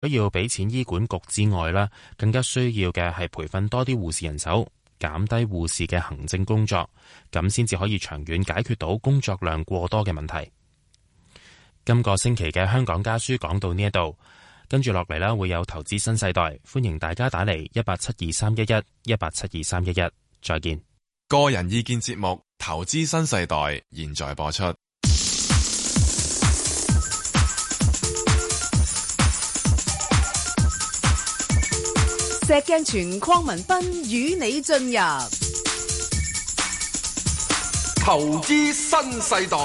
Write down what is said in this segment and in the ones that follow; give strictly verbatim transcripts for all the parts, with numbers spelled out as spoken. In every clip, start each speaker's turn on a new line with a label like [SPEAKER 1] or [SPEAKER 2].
[SPEAKER 1] 除要俾錢醫管局之外啦，更加需要嘅係培訓多啲護士人手，減低護士嘅行政工作，咁先至可以長遠解決到工作量過多嘅問題。今個星期嘅香港家書講到呢一度，跟住落嚟啦，會有投資新世代，歡迎大家打嚟一八七二三一一一八七二三一一，再見。
[SPEAKER 2] 個人意見節目《投資新世代》現在播出。
[SPEAKER 3] 石鏡泉鄺民彬與你進入
[SPEAKER 4] 投資新世代。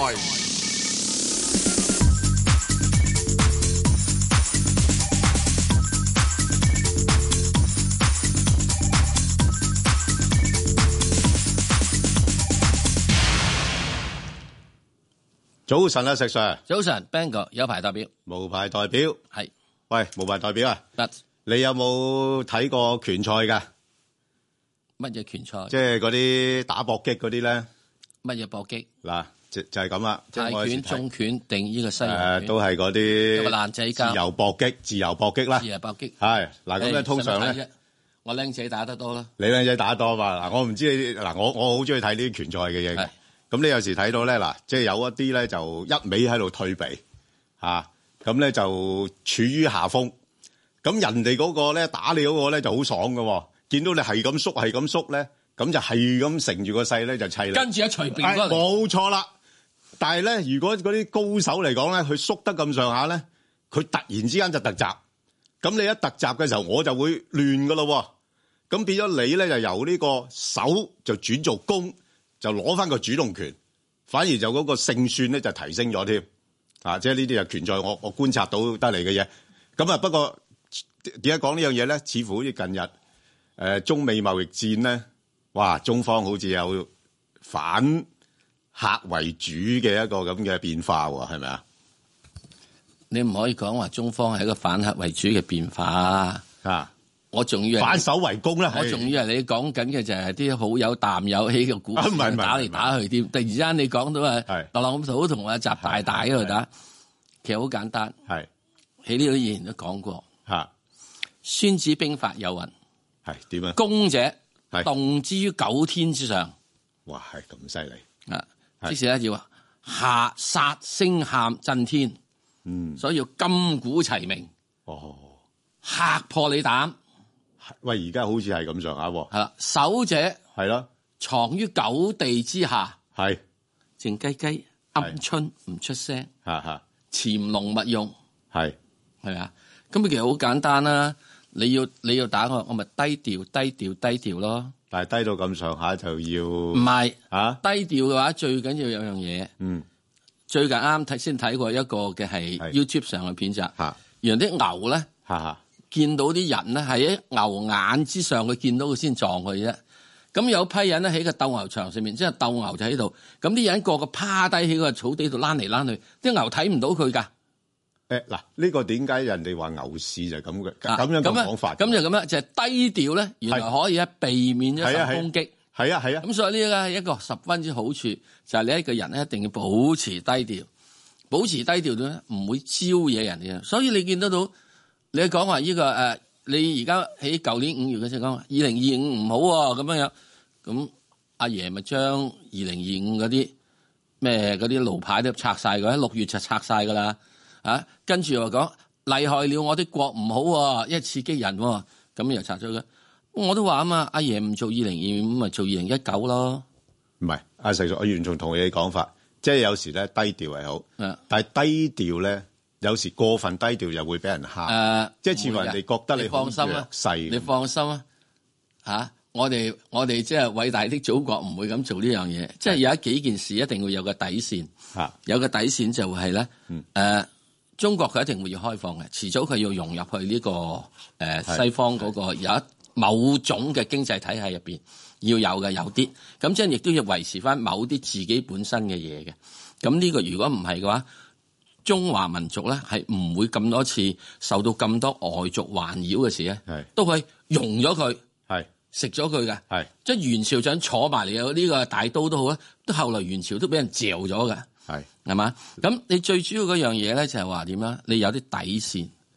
[SPEAKER 5] 早晨啊，石 Sir。
[SPEAKER 6] 早晨 ，Bang 哥有牌代表，
[SPEAKER 5] 無牌代表
[SPEAKER 6] 係。
[SPEAKER 5] 喂，無牌代表啊，
[SPEAKER 6] 得。
[SPEAKER 5] 你有冇睇過拳賽噶？
[SPEAKER 6] 乜嘢拳賽？
[SPEAKER 5] 即係嗰啲打搏擊嗰啲咧？
[SPEAKER 6] 乜嘢搏擊？
[SPEAKER 5] 嗱，就就係咁啦。
[SPEAKER 6] 泰拳、中拳定呢個西洋拳？
[SPEAKER 5] 誒，都係嗰啲。
[SPEAKER 6] 有個爛仔交。
[SPEAKER 5] 自由搏擊，自由搏擊啦。
[SPEAKER 6] 自由搏擊。
[SPEAKER 5] 係嗱，咁咧通常咧，
[SPEAKER 6] 我僆仔打得多啦。
[SPEAKER 5] 你僆仔打得多嘛？嗱，我唔知你嗱，我我好中意睇呢啲拳賽嘅嘢。咁你有時睇到咧，嗱，即係有一啲咧就一味喺度退避嚇，咁咧就處於下風。咁人哋嗰個咧打你嗰個咧就好爽㗎，見到你係咁縮係咁縮咧，咁就係咁乘住個勢咧就砌啦。
[SPEAKER 6] 跟住一隨便過嚟，
[SPEAKER 5] 冇錯啦。但係咧，如果嗰啲高手嚟講咧，佢縮得咁上下咧，佢突然之間就突襲。咁你一突襲嘅時候，我就會亂㗎咯。咁變咗你咧就由呢個守就轉做攻，就攞翻個主動權，反而就嗰個勝算咧就提升咗添。啊，即係呢啲係拳賽我我觀察到得嚟嘅嘢。咁啊，不過。點解講呢樣嘢咧？似乎好似近日誒、呃、中美貿易戰咧，哇！中方好似有反客為主嘅一個咁嘅變化喎，係咪啊？
[SPEAKER 6] 你唔可以講話中方係一個反客為主嘅變化啊！我仲以為
[SPEAKER 5] 反守為攻啦。
[SPEAKER 6] 我仲以為你講緊嘅就係啲好有啖有氣嘅股票打嚟打去添。突然之間你講到啊，特朗普同阿習大大喺度打，其實好簡單。
[SPEAKER 5] 係
[SPEAKER 6] 喺呢度以前都講過。
[SPEAKER 5] 嚇。
[SPEAKER 6] 孫子兵法有云，
[SPEAKER 5] 係點啊？
[SPEAKER 6] 攻者動之於九天之上。
[SPEAKER 5] 哇，係咁犀利
[SPEAKER 6] 啊！即是咧要下殺聲喊震天，嗯，所以要金鼓齊鳴，
[SPEAKER 5] 哦，
[SPEAKER 6] 嚇破你膽。
[SPEAKER 5] 喂，而家好似係咁上下喎。
[SPEAKER 6] 係啦，守者
[SPEAKER 5] 係咯，
[SPEAKER 6] 藏於九地之下，
[SPEAKER 5] 係
[SPEAKER 6] 靜雞雞鵪鶉唔出聲，
[SPEAKER 5] 嚇嚇，
[SPEAKER 6] 潛龍勿用，
[SPEAKER 5] 係
[SPEAKER 6] 係咪啊？咁其實好簡單啦。你要你要打我，我咪低調低調低調咯。
[SPEAKER 5] 但係低到咁上下就要
[SPEAKER 6] 唔係
[SPEAKER 5] 啊？
[SPEAKER 6] 低調嘅話，最緊要有樣嘢。
[SPEAKER 5] 嗯，
[SPEAKER 6] 最近啱睇先睇過一個嘅係 YouTube 上嘅片集。嚇，原來啲牛咧，
[SPEAKER 5] 嚇嚇
[SPEAKER 6] 見到啲人咧係喺牛眼之上，佢見到佢先撞佢啫。咁有批人咧喺個鬥牛場上面，即係鬥牛就喺度。咁啲人個個趴低喺個草地度躝嚟躝去，啲牛睇唔到佢㗎。
[SPEAKER 5] 誒嗱，呢個點解人哋話牛市就係咁嘅咁樣嘅講法？
[SPEAKER 6] 咁就咁樣，就係低調咧，原來可以咧避免咗受攻擊。
[SPEAKER 5] 係啊係啊。
[SPEAKER 6] 咁所以呢個係一個十分之好處，就係你一個人咧一定要保持低調，保持低調咧唔會招惹人嘅。所以你見得到，你講話呢個誒，你而家喺舊年五月嘅時候講話二零二五唔好喎，咁樣樣，咁阿爺咪將二零二五嗰啲咩嗰啲路牌都拆晒㗎，喺六月就拆晒㗎啦。啊，跟住又話講厲害了，我啲國唔好喎，一刺激人喎，咁又拆咗佢。我都話啊嘛，阿爺唔做二零二五，咪做二零一九咯。
[SPEAKER 5] 唔係，阿石叔，我完全同意你講法，即係有時咧低調係好，但係低調咧有時過分低調又會俾人蝦。誒、呃，即係似乎人哋覺得你好弱勢。
[SPEAKER 6] 你放心啊，嚇、啊！我哋我哋即係偉大的祖國唔會咁做呢樣嘢，即係有一幾件事一定會有個底線。嚇，有個底線就係咧，誒、嗯。呃中國佢一定會要開放嘅，遲早佢要融入去呢、這個誒、呃、西方嗰個有一某種嘅經濟體系入邊要有嘅有啲，咁即係亦都要維持翻某啲自己本身嘅嘢嘅。咁呢個如果唔係嘅話，中華民族咧係唔會咁多次受到咁多外族環繞嘅事咧，都係融咗佢，係食咗佢嘅，係即係元朝想坐埋嚟有呢個大刀都好啦，都後來元朝都俾人嚼咗嘅。係，係嘛？咁你最主要嗰樣嘢咧，就係話點啊？你有啲底線，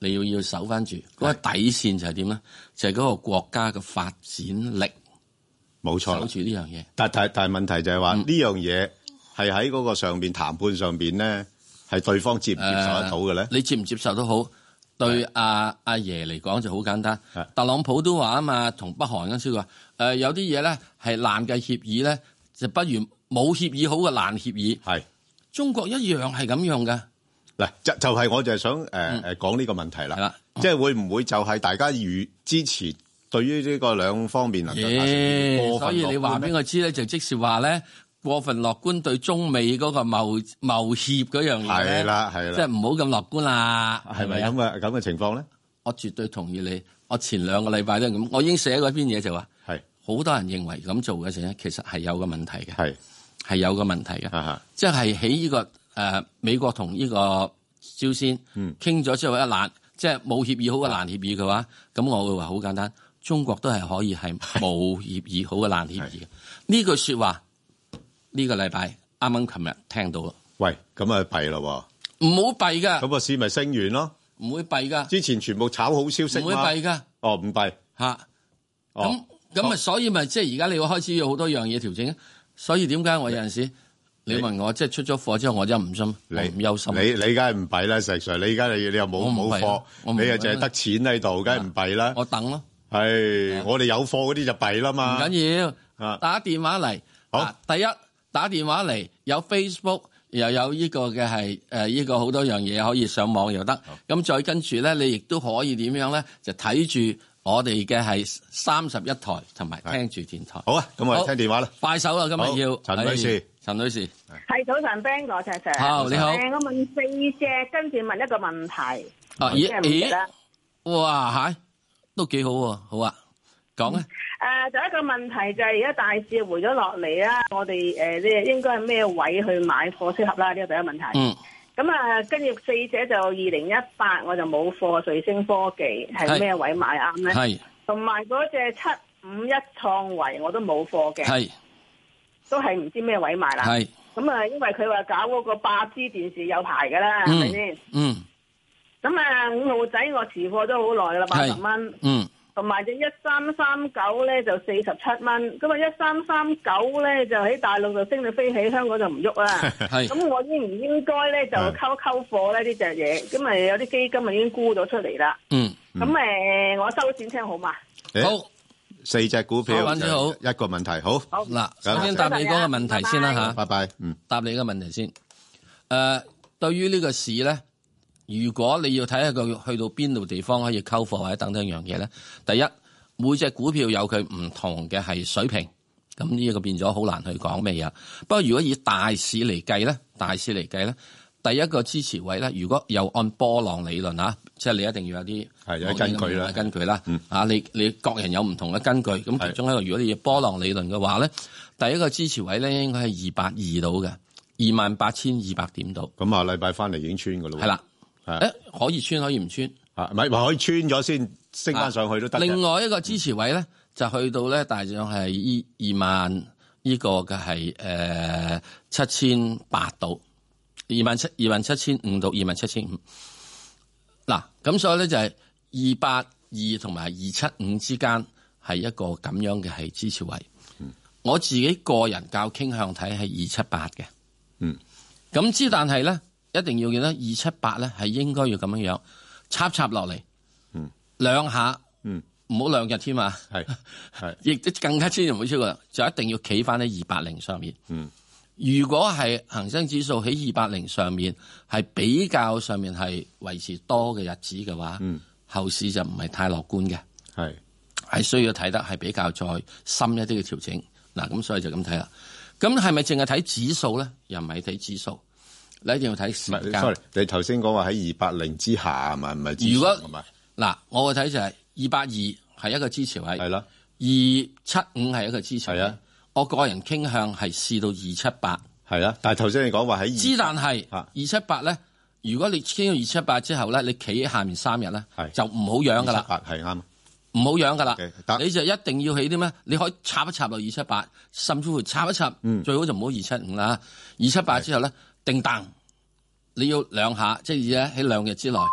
[SPEAKER 6] 你要要守翻住嗰個底線就係點咧？就係、是、嗰個國家嘅發展力，
[SPEAKER 5] 冇錯，
[SPEAKER 6] 守住呢樣嘢。
[SPEAKER 5] 但但但係問題就係話呢樣嘢係喺嗰個上邊談判上邊咧，係對方接唔接受得到嘅咧、呃？你
[SPEAKER 6] 接唔接受都好，對阿阿爺嚟講就好簡單。特朗普都話啊嘛，同北韓嗰陣時話誒有啲嘢咧係爛嘅協議咧，就不如冇協議好嘅爛協議。係中國一樣係咁樣嘅。
[SPEAKER 5] 嗱，就就係我就係想誒誒講呢個問題啦。係啦，即係會唔會就係大家預之前對於呢個兩方面能夠達成過分樂觀？所以你話
[SPEAKER 6] 俾我知咧，就即是話咧過分樂觀對中美嗰個貿貿協嗰樣嘢咧，係啦係啦，即係唔好咁樂觀啦。係咪咁嘅咁嘅情況咧？我絕對同意你。我前兩個禮拜都係咁，我已經寫過一篇嘢就話，係好多人認為咁做嘅時候咧，其實係有個問題嘅，係係有個問題嘅，即係喺呢個。誒、呃，美國同呢個朝鮮傾咗之後一爛，即係冇協議好嘅爛協議嘅話，咁我會話好簡單，中國都係可以係冇協議好嘅爛協議嘅。呢句說話呢、這個禮拜啱啱琴日聽到咯。喂，咁啊弊咯，唔好弊噶。咁個市咪升完咯？唔會弊噶。之前全部炒好消息，唔會弊噶。哦，唔弊吓。咁咁啊，所以咪即係而家你要開始有好多樣嘢調整。所以點解我有陣時？你問我即係出咗貨之後，我真係唔心，你唔憂心。你你梗係唔弊啦，石 Sir。你而家你你又冇冇貨，你又淨係得錢喺度，梗係唔弊啦。我等咯。係，我哋有貨嗰啲就弊啦嘛。唔緊要，打電話嚟。好，第一打電話嚟，有 Facebook 又有呢個嘅係誒呢個好多樣嘢可以上網又得。咁再跟住咧，你亦都可以點樣咧？就睇住我哋嘅係三十一台，同埋聽住電台。好啊，咁我哋聽電話啦。快手啦，今日要陳女士。陳女士，係早晨 ，Ben 哥，石 Sir，好，你好。誒，我問四隻，跟住問一個問題。啊，咦咦，哇，吓，都幾好喎，好啊，講啊。誒，第一個問題就係而家大市回咗落嚟啦，我哋誒，呢應該係咩位去買貨適合啦？呢個第一個問題。嗯。咁啊，跟住四隻就二零一八，我就冇貨，瑞星科技係咩位買啱咧？係。同埋嗰隻七五一創維我都冇貨嘅。係。都係唔知咩位買啦，係咁啊！因為佢話搞嗰個八 G 電視有排噶啦，係咪先？嗯。咁啊，五號仔我持貨都好耐噶啦，八十蚊。嗯。同埋隻一三三九咧就四十七蚊，咁啊一三三九咧就喺大陸就升到飛起，香港就唔喐啦。係。咁我應唔應該咧就溝溝貨咧呢隻嘢？咁啊有啲基金啊已經沽咗出嚟啦。嗯。咁誒，我收錢聽好嘛？好。四隻股票，好一個問題，好。好嗱，首先答你嗰個問題先啦吓，拜拜。嗯，答你個問題先。誒、呃，對於呢個市咧，如果你要睇下佢去到邊度地方可以溝貨或者等等樣嘢咧，第一，每隻股票有佢唔同嘅係水平，咁呢一個變咗好難去講咩嘢。不過如果以大市嚟計咧，大市嚟計咧。第一個支持位咧，如果又按波浪理論啊，即係你一定要有啲係有根據啦，根據啦，嗯、啊，你你各人有唔同嘅根據，咁其中一個如果你要波浪理論嘅話咧，第一個支持位咧應該係二百二度嘅，二萬八千二百點度。咁啊，禮拜翻嚟已經穿㗎咯。係啦，誒可以穿可以唔穿啊？唔係話可以穿咗先升翻上去都得。另外一個支持位咧，就去到咧大約係依二萬呢個嘅係誒七千八度。二萬七二萬七千五到二萬七千五，嗱咁所以咧就係二八二同埋二七五之間係一個咁樣嘅係支持位。嗯，我自己個人較傾向睇係二七八嘅。嗯，咁之但係咧一定要記得二七八咧係應該要咁樣樣插插落嚟。嗯，兩下。嗯，唔好兩日添嘛。係係，亦都更加千祈唔好超過，就一定要企翻喺二八零上面。嗯。如果係恒生指數喺二百零上面係比較上面係維持多嘅日子嘅話，嗯，後市就唔係太樂觀嘅，係係需要睇得係比較再深一啲嘅調整。嗱，咁所以就咁睇啦。咁係咪淨係睇指數咧？又唔係睇指數，你一定要睇時間。sorry，你頭先講話喺二百零之下係咪？唔係指數。如果嗱，我嘅睇就係二百二係一個支持位，係啦，二七五係一個支持位。係啊。我個人傾向係試到二七八，係啊，但係頭先你講話喺二，之但係二七八咧，如果你傾到二七八之後咧，你企喺下面三日咧，就唔好養噶啦，係啱，唔好養噶啦，你就一定要起啲咩？你可以插一插落二七八，甚至乎插一插，嗯、最好就唔好二七五啦，二七八之後咧，定彈，你要兩下，即係咧喺兩日之內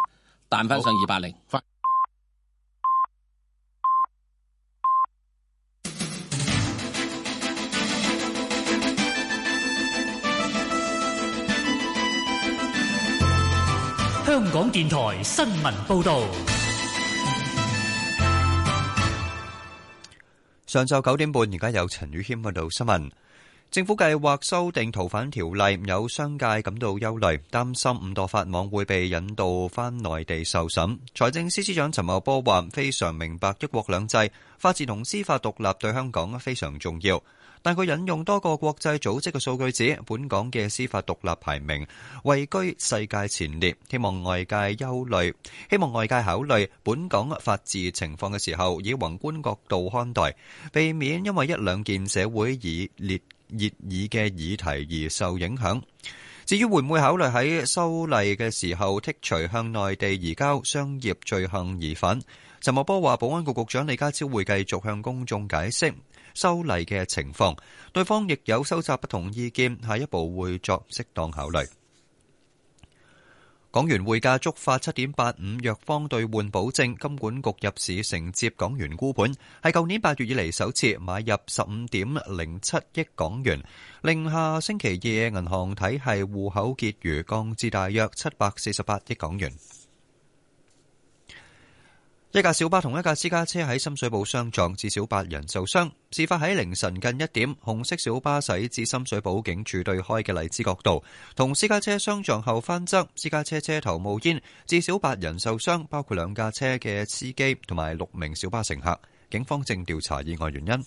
[SPEAKER 6] 彈翻上二百零。
[SPEAKER 7] 香港電台新聞報導。
[SPEAKER 8] 上晝九點半，而家有陳宇謙報道新聞。政府計劃修訂逃犯條例，有商界感到憂慮，擔心五墮法網會被引渡返內地受審。財政司司長陳茂波話：非常明白一國兩制、法治同司法獨立對香港非常重要。但佢引用多個國際組織嘅數據指，本港嘅司法獨立排名位居世界前列，希望外界憂慮，希望外界考慮本港法治情況嘅時候，以宏觀角度看待，避免因為一兩件社會以熱熱議嘅議題而受影響。至於會唔會考慮喺修例嘅時候剔除向內地移交商業罪行疑犯，陳茂波話：保安局局長李家超會繼續向公眾解釋修例嘅情況，對方亦有收集不同意見，下一步會作適當考慮。港元匯價觸發七點八五弱方兌換保證，金管局入市承接港元沽盤，係舊年八月以嚟首次買入十五點零七億港元，令下星期二銀行體系戶口結餘降至大約七百四十八億港元。一架小巴同一架私家車喺深水埗相撞，至少八人受傷。事發喺凌晨近一點，紅色小巴駛至深水埗警署對開嘅荔枝角道，同私家車相撞後翻側，私家車車頭冒煙，至少八人受傷，包括兩架車嘅司機同埋六名小巴乘客。警方正調查意外原因。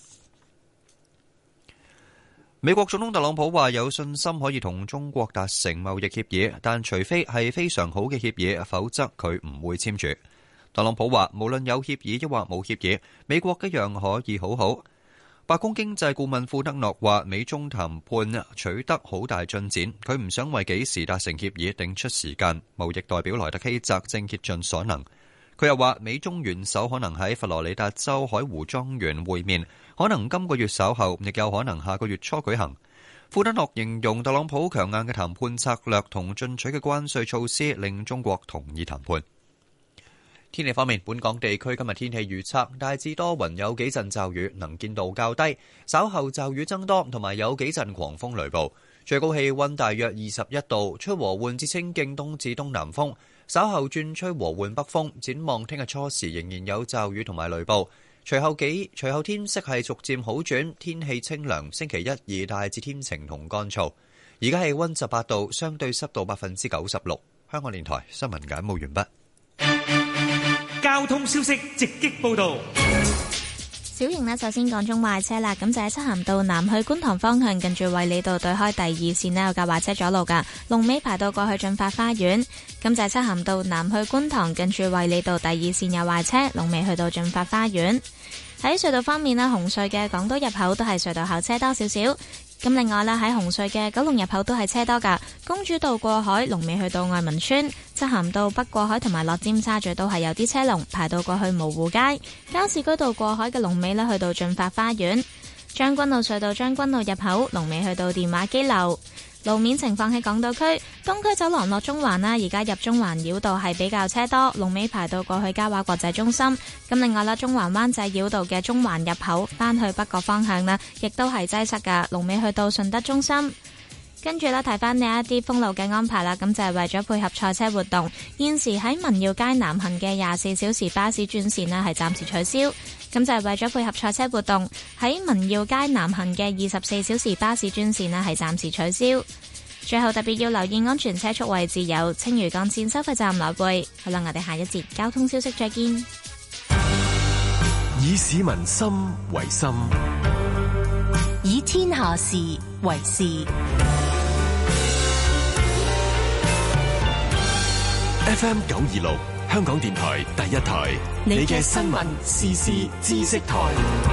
[SPEAKER 8] 美國總統特朗普話有信心可以同中國達成貿易協議，但除非係非常好嘅協議，否則佢唔會簽署。特朗普話：無論有協議抑或冇協議，美國一樣可以好好。白宮經濟顧問庫德諾話：美中談判取得好大進展，佢唔想為幾時達成協議定出時間。貿易代表萊特希澤正竭盡所能。佢又話：美中元首可能喺佛羅里達州海湖莊園會面，可能今個月稍後，亦有可能下個月初舉行。庫德諾形容特朗普強硬嘅談判策略同進取嘅關稅措施令中國同意談判。天氣方面，本港地區今日天氣預測大致多雲，有幾陣驟雨，能見度較低，稍後驟雨增多，同埋有幾陣狂風雷暴。最高氣溫大約二十一度，吹和緩至清勁東至東南風，稍後轉吹和緩北風。展望聽日初時仍然有驟雨同埋雷暴，隨後幾隨後天色係逐漸好轉，天氣清涼。星期一二大致天晴同乾燥。而家氣溫十八度，相對濕度百分之九十六。香港電台新聞簡報完畢。
[SPEAKER 7] 交通消息直擊報道。
[SPEAKER 9] 小型呢，首先講中壞車啦，咁就喺漆咸道南去觀塘方向，近住衛理道對開第二線呢，有架壞車阻路噶，龍尾排到過去駿發花園。咁就喺漆咸道南去觀塘，近住衛理道第二線有壞車，龍尾去到駿發花園。喺隧道方面呢，紅隧嘅港島入口都係隧道後車多少少。咁另外啦，喺紅隧嘅九龍入口都係車多噶，公主道過海龍尾去到愛民村，漆咸道北過海同埋落尖沙咀都係有啲車龍排到過去蕪湖街，加士居道過海嘅龍尾呢去到駿發花園，將軍澳隧道將軍澳入口龍尾去到電話機樓。路面情況喺港島區東區走廊落中環啦，而家入中環繞道係比較車多，龍尾排到過去嘉華國際中心。咁另外啦，中環灣仔繞道嘅中環入口返去北角方向啦，亦都係擠塞噶，龍尾去到順德中心。跟住咧，提翻呢一啲封路嘅安排啦，咁就係為咗配合賽車活動，現時喺民耀街南行嘅廿四小時巴士專線呢係暫時取消。咁就係為咗配合賽車活動，喺民耀街南行嘅二十四小時巴士專線呢係暫時取消。最後特別要留意安全車速位置有青嶼幹線收費站來回。好啦，我哋下一節交通消息再見。
[SPEAKER 10] 以市民心為心，
[SPEAKER 11] 以天下事為事。
[SPEAKER 10] F M 九二六香港電台第一台，你嘅新聞時事知識台。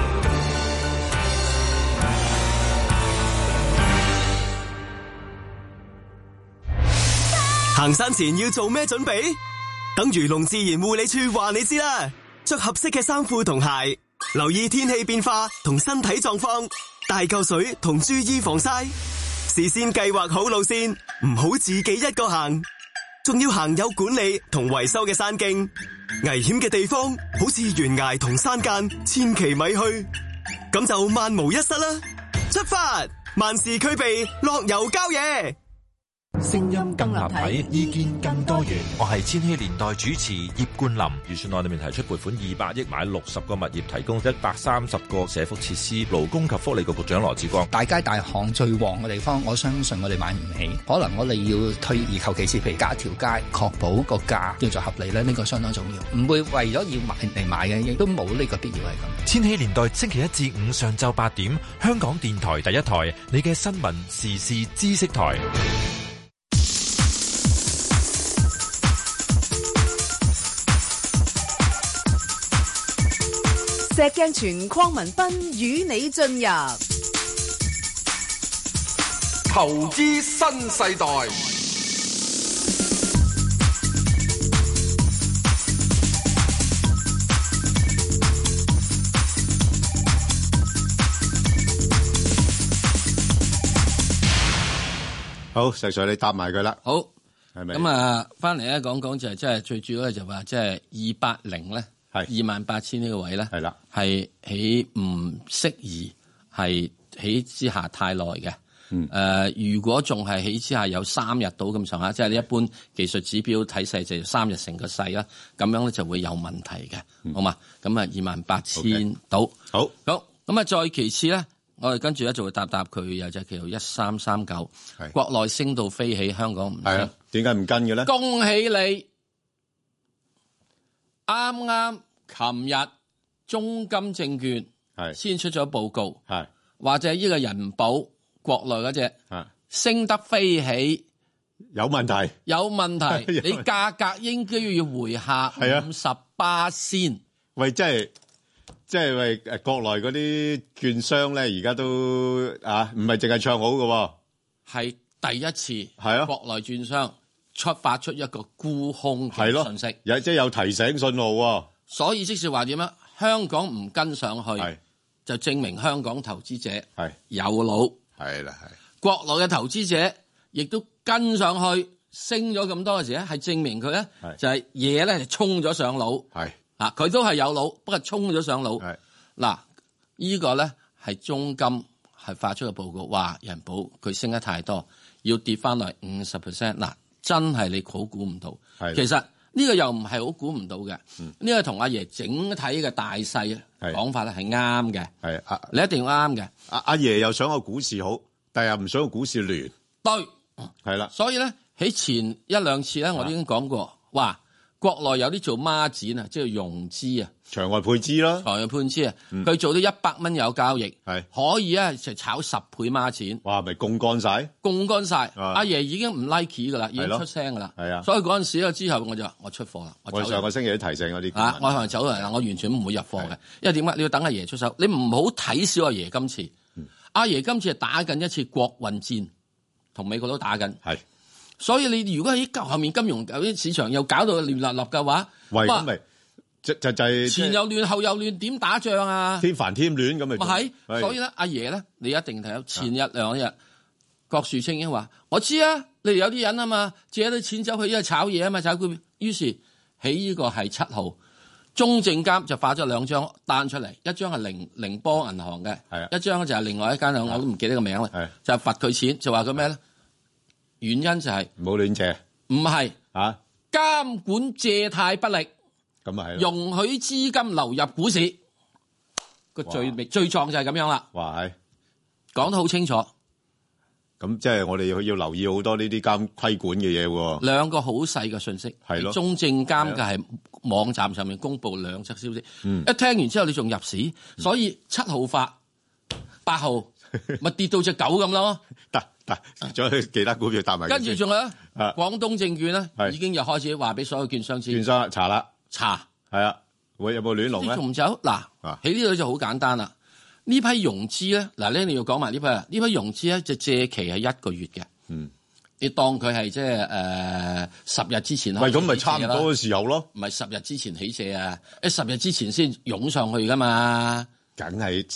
[SPEAKER 10] 行山前要做咩準備？等漁農自然護理處話你知啦。着合適嘅衫褲同鞋，留意天氣變化同身體狀況，帶夠水同注意防曬。事先計劃好路線，唔好自己一個行。 仲要行有管理同維修嘅山徑，危險嘅地方好似懸崖同山間，千祈咪去，咁就萬無一失啦！出發，萬事俱備，樂遊郊野。
[SPEAKER 12] 聲音更立體，意見更多元。我係千禧年代主持葉冠霖。
[SPEAKER 13] 預算案裏面提出撥款二百億買六十個物業，提供一百三十個社福設施。勞工及福利局局長羅致光：
[SPEAKER 14] 大街大巷最旺嘅地方，我相信我哋買唔起，可能我哋要退而求其次，譬如加條街，確保個價叫做合理咧，呢、這個相當重要。唔會為咗要買嚟買嘅，亦都冇呢個必要係咁。
[SPEAKER 12] 千禧年代星期一至五上晝八點，香港電台第一台，你嘅新聞時事知識台。
[SPEAKER 3] 石鏡泉鄺民彬與你進入
[SPEAKER 4] 投資新世代。
[SPEAKER 5] 好，石 Sir 你答埋佢啦。
[SPEAKER 6] 好，
[SPEAKER 5] 係咪？
[SPEAKER 6] 咁啊，翻嚟咧講講就係即係最主要咧就話即係二八零咧。係二萬八千呢個位咧，係啦，係喺唔適宜係喺之下太耐嘅。嗯，誒、呃，如果仲係喺之下有三日到咁上下，即係你一般技術指標睇勢就三日成個勢啦，咁樣咧就會有問題嘅，嗯、好嘛？咁啊，二萬八千到，好，好，咁啊，再其次咧，我哋跟住咧就會答答佢，有隻叫做一三三九，國內升到飛起，香港唔升，
[SPEAKER 5] 點解唔跟嘅咧？
[SPEAKER 6] 恭喜你！啱啱琴日中金證券係先出咗報告，係或者呢個人保國內嗰隻升得飛起，
[SPEAKER 5] 有問題，
[SPEAKER 6] 有問題，你價格應該要回下五十八先。
[SPEAKER 5] 喂，即係即係喂誒，國內嗰啲券商咧，而家都啊，唔係淨係唱好嘅，
[SPEAKER 6] 係第一次
[SPEAKER 5] 係啊，
[SPEAKER 6] 國內券商。出發出一個沽空嘅信息，
[SPEAKER 5] 有即係有提醒信號喎。
[SPEAKER 6] 所以即是話點樣？香港唔跟上去，就證明香港投資者係有腦。
[SPEAKER 5] 係啦，係
[SPEAKER 6] 國內嘅投資者亦都跟上去，升咗咁多嘅時咧，係證明佢咧就係嘢咧係衝咗上腦。係啊，佢都係有腦，不過衝咗上腦。係嗱，呢個咧係中金係發出嘅報告，話人保佢升得太多，要跌翻落五十 percent 嗱。真係你好估唔到，其實呢個又唔係好估唔到嘅。呢、嗯這個同阿爺整體嘅大勢講法咧係啱嘅。係啊，你一定要啱嘅。
[SPEAKER 5] 阿阿爺又想個股市好，但係又唔想個股市亂。
[SPEAKER 6] 對，
[SPEAKER 5] 係啦。所
[SPEAKER 6] 以咧喺前一兩次咧，我都已經講過，話國內有啲做孖展啊，即係融資啊，
[SPEAKER 5] 場外配資啦，
[SPEAKER 6] 場外配資啊，佢、嗯、做到一百蚊有交易，係可以啊，就炒十倍孖展。
[SPEAKER 5] 哇，咪槓桿晒，
[SPEAKER 6] 槓桿晒。阿爺已經唔 like 噶啦，已經出聲噶啦。係啊，所以嗰陣時咧之後，我就話我出貨啦。
[SPEAKER 5] 我上個星期都提醒嗰啲
[SPEAKER 6] 啊，我係走嚟啦，我完全唔會入貨嘅，因為點解？你要等阿爺出手，你唔好睇小阿爺今次。阿、嗯、爺今次係打緊一次國運戰，同美國都打緊。係。所以你如果喺後面金融有啲市場又搞到亂立立嘅話，
[SPEAKER 5] 喂，咁咪就就就係
[SPEAKER 6] 前又亂後又亂，點打仗啊？
[SPEAKER 5] 添煩添亂咁咪。
[SPEAKER 6] 係，所以咧，阿爺咧，你一定睇到前日兩日，郭樹清已經話：我知啊，你哋有啲人啊嘛，借啲錢走去因為炒嘢啊嘛，炒股票。於是喺呢個係七號，中證監就發咗兩張單出嚟，一張係寧寧波銀行嘅，一張就係另外一間，我都唔記得個名啦，就係罰佢錢，就話佢咩咧？原因就係
[SPEAKER 5] 唔好亂借，
[SPEAKER 6] 唔係
[SPEAKER 5] 啊
[SPEAKER 6] 監管借貸不力，
[SPEAKER 5] 咁啊係
[SPEAKER 6] 容許資金流入股市，個罪罪狀就係咁樣啦。
[SPEAKER 5] 哇，係
[SPEAKER 6] 講得好清楚。
[SPEAKER 5] 咁即係我哋要要留意好多呢啲監規管嘅嘢喎。兩
[SPEAKER 6] 個好細嘅信息，係咯。中證監嘅係網站上面公布兩則消息，嗯、一聽完之後你仲入市，嗯、所以七號發，八號咪跌到隻狗咁咯。
[SPEAKER 5] 得。仲有其他股票搭埋，
[SPEAKER 6] 跟住仲有咧，廣東證券咧已經又開始話俾所有券商知，
[SPEAKER 5] 券商查啦，
[SPEAKER 6] 查
[SPEAKER 5] 係啊，會有冇亂龍咧？
[SPEAKER 6] 仲走嗱，喺呢度就好簡單啦。呢批融資咧，嗱咧你要講埋呢批啊，呢批融資咧就借期係一個月嘅，嗯，你當佢係即係誒十日之前啦。喂，
[SPEAKER 5] 咁咪差唔多嘅時候咯？
[SPEAKER 6] 唔係十日之前起借啊，誒十日之前先湧上去噶嘛。
[SPEAKER 5] 梗係十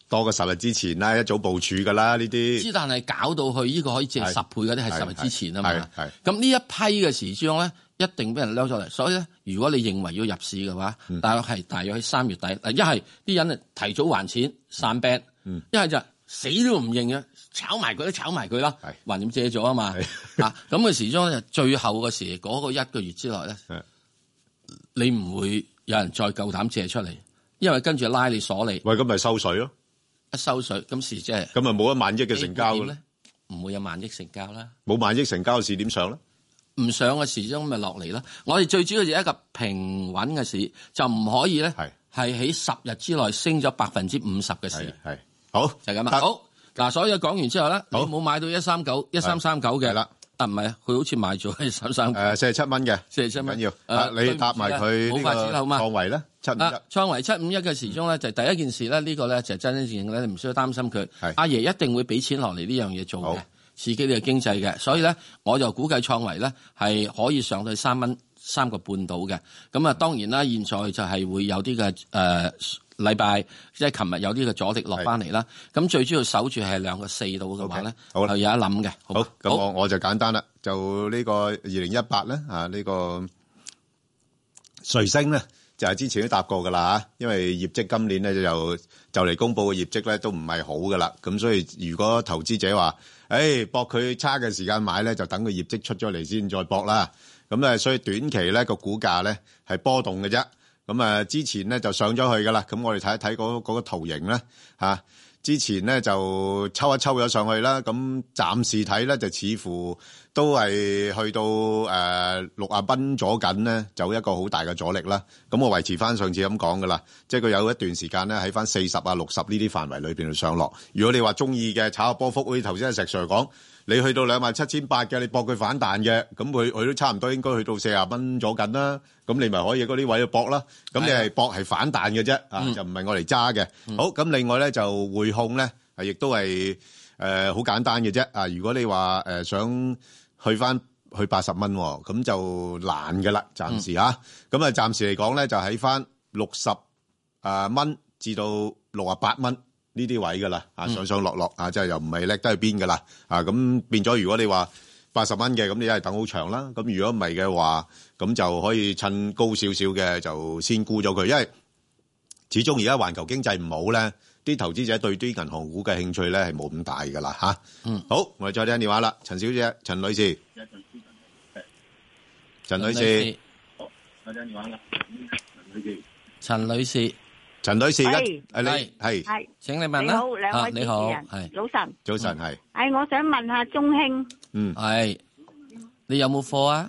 [SPEAKER 5] 多過十日之前啦，一早部署噶啦呢啲。
[SPEAKER 6] 之但係搞到去呢個可以借十倍嗰啲係十日之前啊嘛。
[SPEAKER 5] 係
[SPEAKER 6] 咁呢一批嘅時鐘咧，一定俾人掠咗嚟。所以咧，如果你認為要入市嘅話，嗯、大約係大約喺三月底。嗱，一係啲人提早還錢散 band，一係就死都唔認嘅，炒埋佢都炒埋佢啦。橫掂借咗啊嘛。啊，咁嘅時鐘咧，最後嘅時嗰、嗰個一個月之內咧，你唔會有人再夠膽借出嚟，因為跟住拉你鎖你。
[SPEAKER 5] 喂，咁咪收水咯？
[SPEAKER 6] 一收水，咁時即係
[SPEAKER 5] 咁咪冇一萬億嘅成交
[SPEAKER 6] 咧？唔會有萬億成交啦。
[SPEAKER 5] 冇萬億成交嘅市點上咧？
[SPEAKER 6] 唔上嘅時鐘咪落嚟啦。我哋最主要就係一個平穩嘅市，就唔可以咧係係喺十日之內升咗百分之五十嘅市。
[SPEAKER 5] 係好
[SPEAKER 6] 就係咁啊。好嗱，所以講完之後咧，你冇買到一三九一三三九嘅啦。啊，唔係啊，佢好似賣咗一三三
[SPEAKER 5] 誒四十七蚊嘅，
[SPEAKER 6] 四十七蚊
[SPEAKER 5] 緊要。啊，你搭埋佢呢個創維咧，七五一。
[SPEAKER 6] 創維七五一嘅時鐘咧，就第一件事咧，呢個咧就真真正正咧，你唔需要擔心佢。阿爺一定會俾錢落嚟呢樣嘢做嘅，刺激呢個經濟嘅。所以咧，我就估計創維咧係可以上到三蚊三個半到嘅。咁啊，當然啦，現在就係會有啲嘅誒禮拜，即係琴日有啲嘅阻力落翻嚟啦。咁最主要守住係兩個四度嘅話咧，係有一諗嘅。
[SPEAKER 5] 好，咁我我就簡單啦，就呢個二零一八咧啊，呢個瑞星咧就係之前都答過噶啦嚇，因為業績今年咧就就嚟公佈嘅業績咧都唔係好噶啦，咁所以如果投資者話，誒搏佢差嘅時間買咧，就等佢業績出咗嚟先再搏啦。咁咧，所以短期咧個股價咧係波動嘅啫。咁啊，之前咧就上咗去噶啦，咁我哋睇一睇嗰嗰個圖形咧嚇。之前咧就抽一抽咗上去啦，咁暫時睇咧就似乎都係去到誒六啊蚊左緊咧，就一個好大嘅阻力啦。咁我維持翻上次咁講噶啦，即係佢有一段時間咧喺翻四十啊六十呢啲範圍裏邊度上落。如果你話中意嘅炒下波幅，好似頭先阿石 Sir 講，你去到兩萬七千八嘅，你搏佢反彈嘅，咁佢佢都差唔多應該去到四十蚊左緊啦。咁你咪可以嗰啲位去搏啦。咁你係搏係反彈嘅啫，啊、嗯、就唔係我嚟揸嘅。好，咁另外咧就匯控咧，係亦都係誒好簡單嘅啫。啊，如果你話誒、呃、想去翻去八十蚊，咁就難嘅啦，暫時嚇。咁啊，暫時嚟講咧，就喺翻六十啊蚊至到六啊八蚊呢啲位噶啦。啊，上上落落啊，即係又唔係叻得去邊噶啦。啊，咁變咗，如果你話八十蚊嘅，咁你一係等好長啦。咁如果唔係嘅話，咁就可以趁高少少嘅就先沽咗佢，因為始終而家環球經濟唔好咧，啲投資者對啲銀行股嘅興趣咧係冇咁大噶啦嚇。嗯，好，我哋再聽電話啦，陳小姐，陳女士，陳女士，
[SPEAKER 15] 好，再聽電話啦，陳女士，
[SPEAKER 6] 陳女士，
[SPEAKER 5] 陳女士，
[SPEAKER 15] 係，
[SPEAKER 5] 係係
[SPEAKER 15] 係，
[SPEAKER 6] 請你問啦。
[SPEAKER 15] 你好，兩位主持人，
[SPEAKER 6] 你好，係，
[SPEAKER 15] 早晨，
[SPEAKER 5] 早晨係。
[SPEAKER 15] 係，我想問下中興，
[SPEAKER 5] 嗯，
[SPEAKER 6] 係，你有冇貨啊？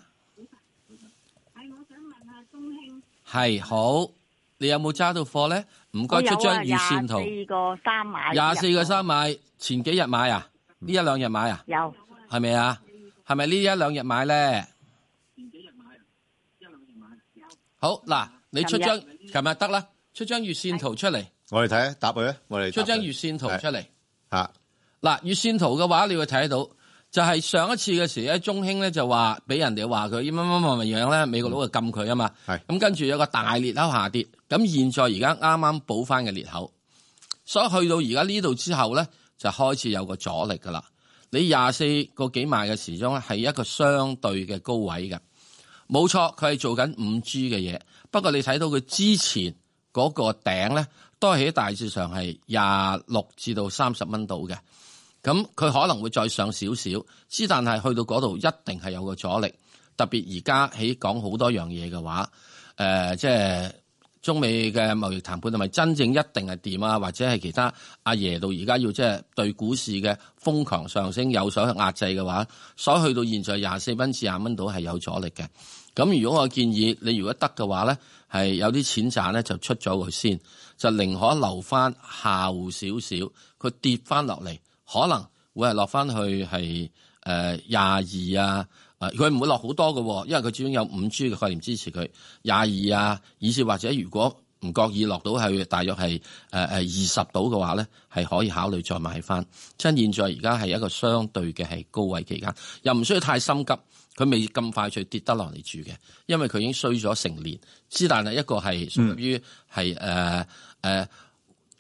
[SPEAKER 6] 係好，你有冇揸到貨咧？唔該，出張預線圖。
[SPEAKER 15] 廿四個三買。
[SPEAKER 6] 廿四個三買，前幾日買啊？呢一兩日買啊？
[SPEAKER 15] 有。
[SPEAKER 6] 係咪啊？係咪呢一兩日買咧？
[SPEAKER 15] 前幾日買，一兩日買。有。
[SPEAKER 6] 好嗱，你出張，琴日得啦，出張月線圖出嚟。
[SPEAKER 5] 我哋睇下，答佢啊，我哋
[SPEAKER 6] 出張月線圖出嚟。
[SPEAKER 5] 吓，
[SPEAKER 6] 嗱，月線圖嘅話，你會睇到。就係上一次嘅時咧，中興咧就話俾人哋話佢乜乜乜乜樣咧，美國佬就禁佢啊嘛。係咁跟住有個大裂口下跌，咁現在而家啱啱補翻嘅裂口，所以去到而家呢度之後咧，就開始有個阻力噶啦。你廿四個幾賣嘅時鐘咧，係一個相對嘅高位嘅，冇錯，佢係做緊五 G 嘅嘢。不過你睇到佢之前嗰個頂咧，都係喺大致上係廿六至到三十蚊度嘅。咁佢可能會再上少少，之但係去到嗰度一定係有個阻力。特別而家喺講好多樣嘢嘅話，誒、呃，即係中美嘅貿易談判係咪真正一定係掂啊？或者係其他阿爺到而家要即係對股市嘅瘋狂上升有所壓制嘅話，所以去到現在廿四蚊至廿蚊度係有阻力嘅。咁如果我建議你如果得嘅話咧，係有啲錢賺咧就出咗佢先，就寧可留翻下戶少少，佢跌翻落嚟。可能會係落翻去係誒廿二啊，誒佢唔會落好多嘅，因為佢始終有五 G 嘅概念支持佢廿二啊，以至或者如果唔覺意落到係大約係誒誒二十度嘅話咧，係可以考慮再買翻。趁現在而家係一個相對嘅係高位期間，又唔需要太心急，佢未咁快脆跌得落嚟住嘅，因為佢已經衰咗成年。之但係一個係屬於係誒誒。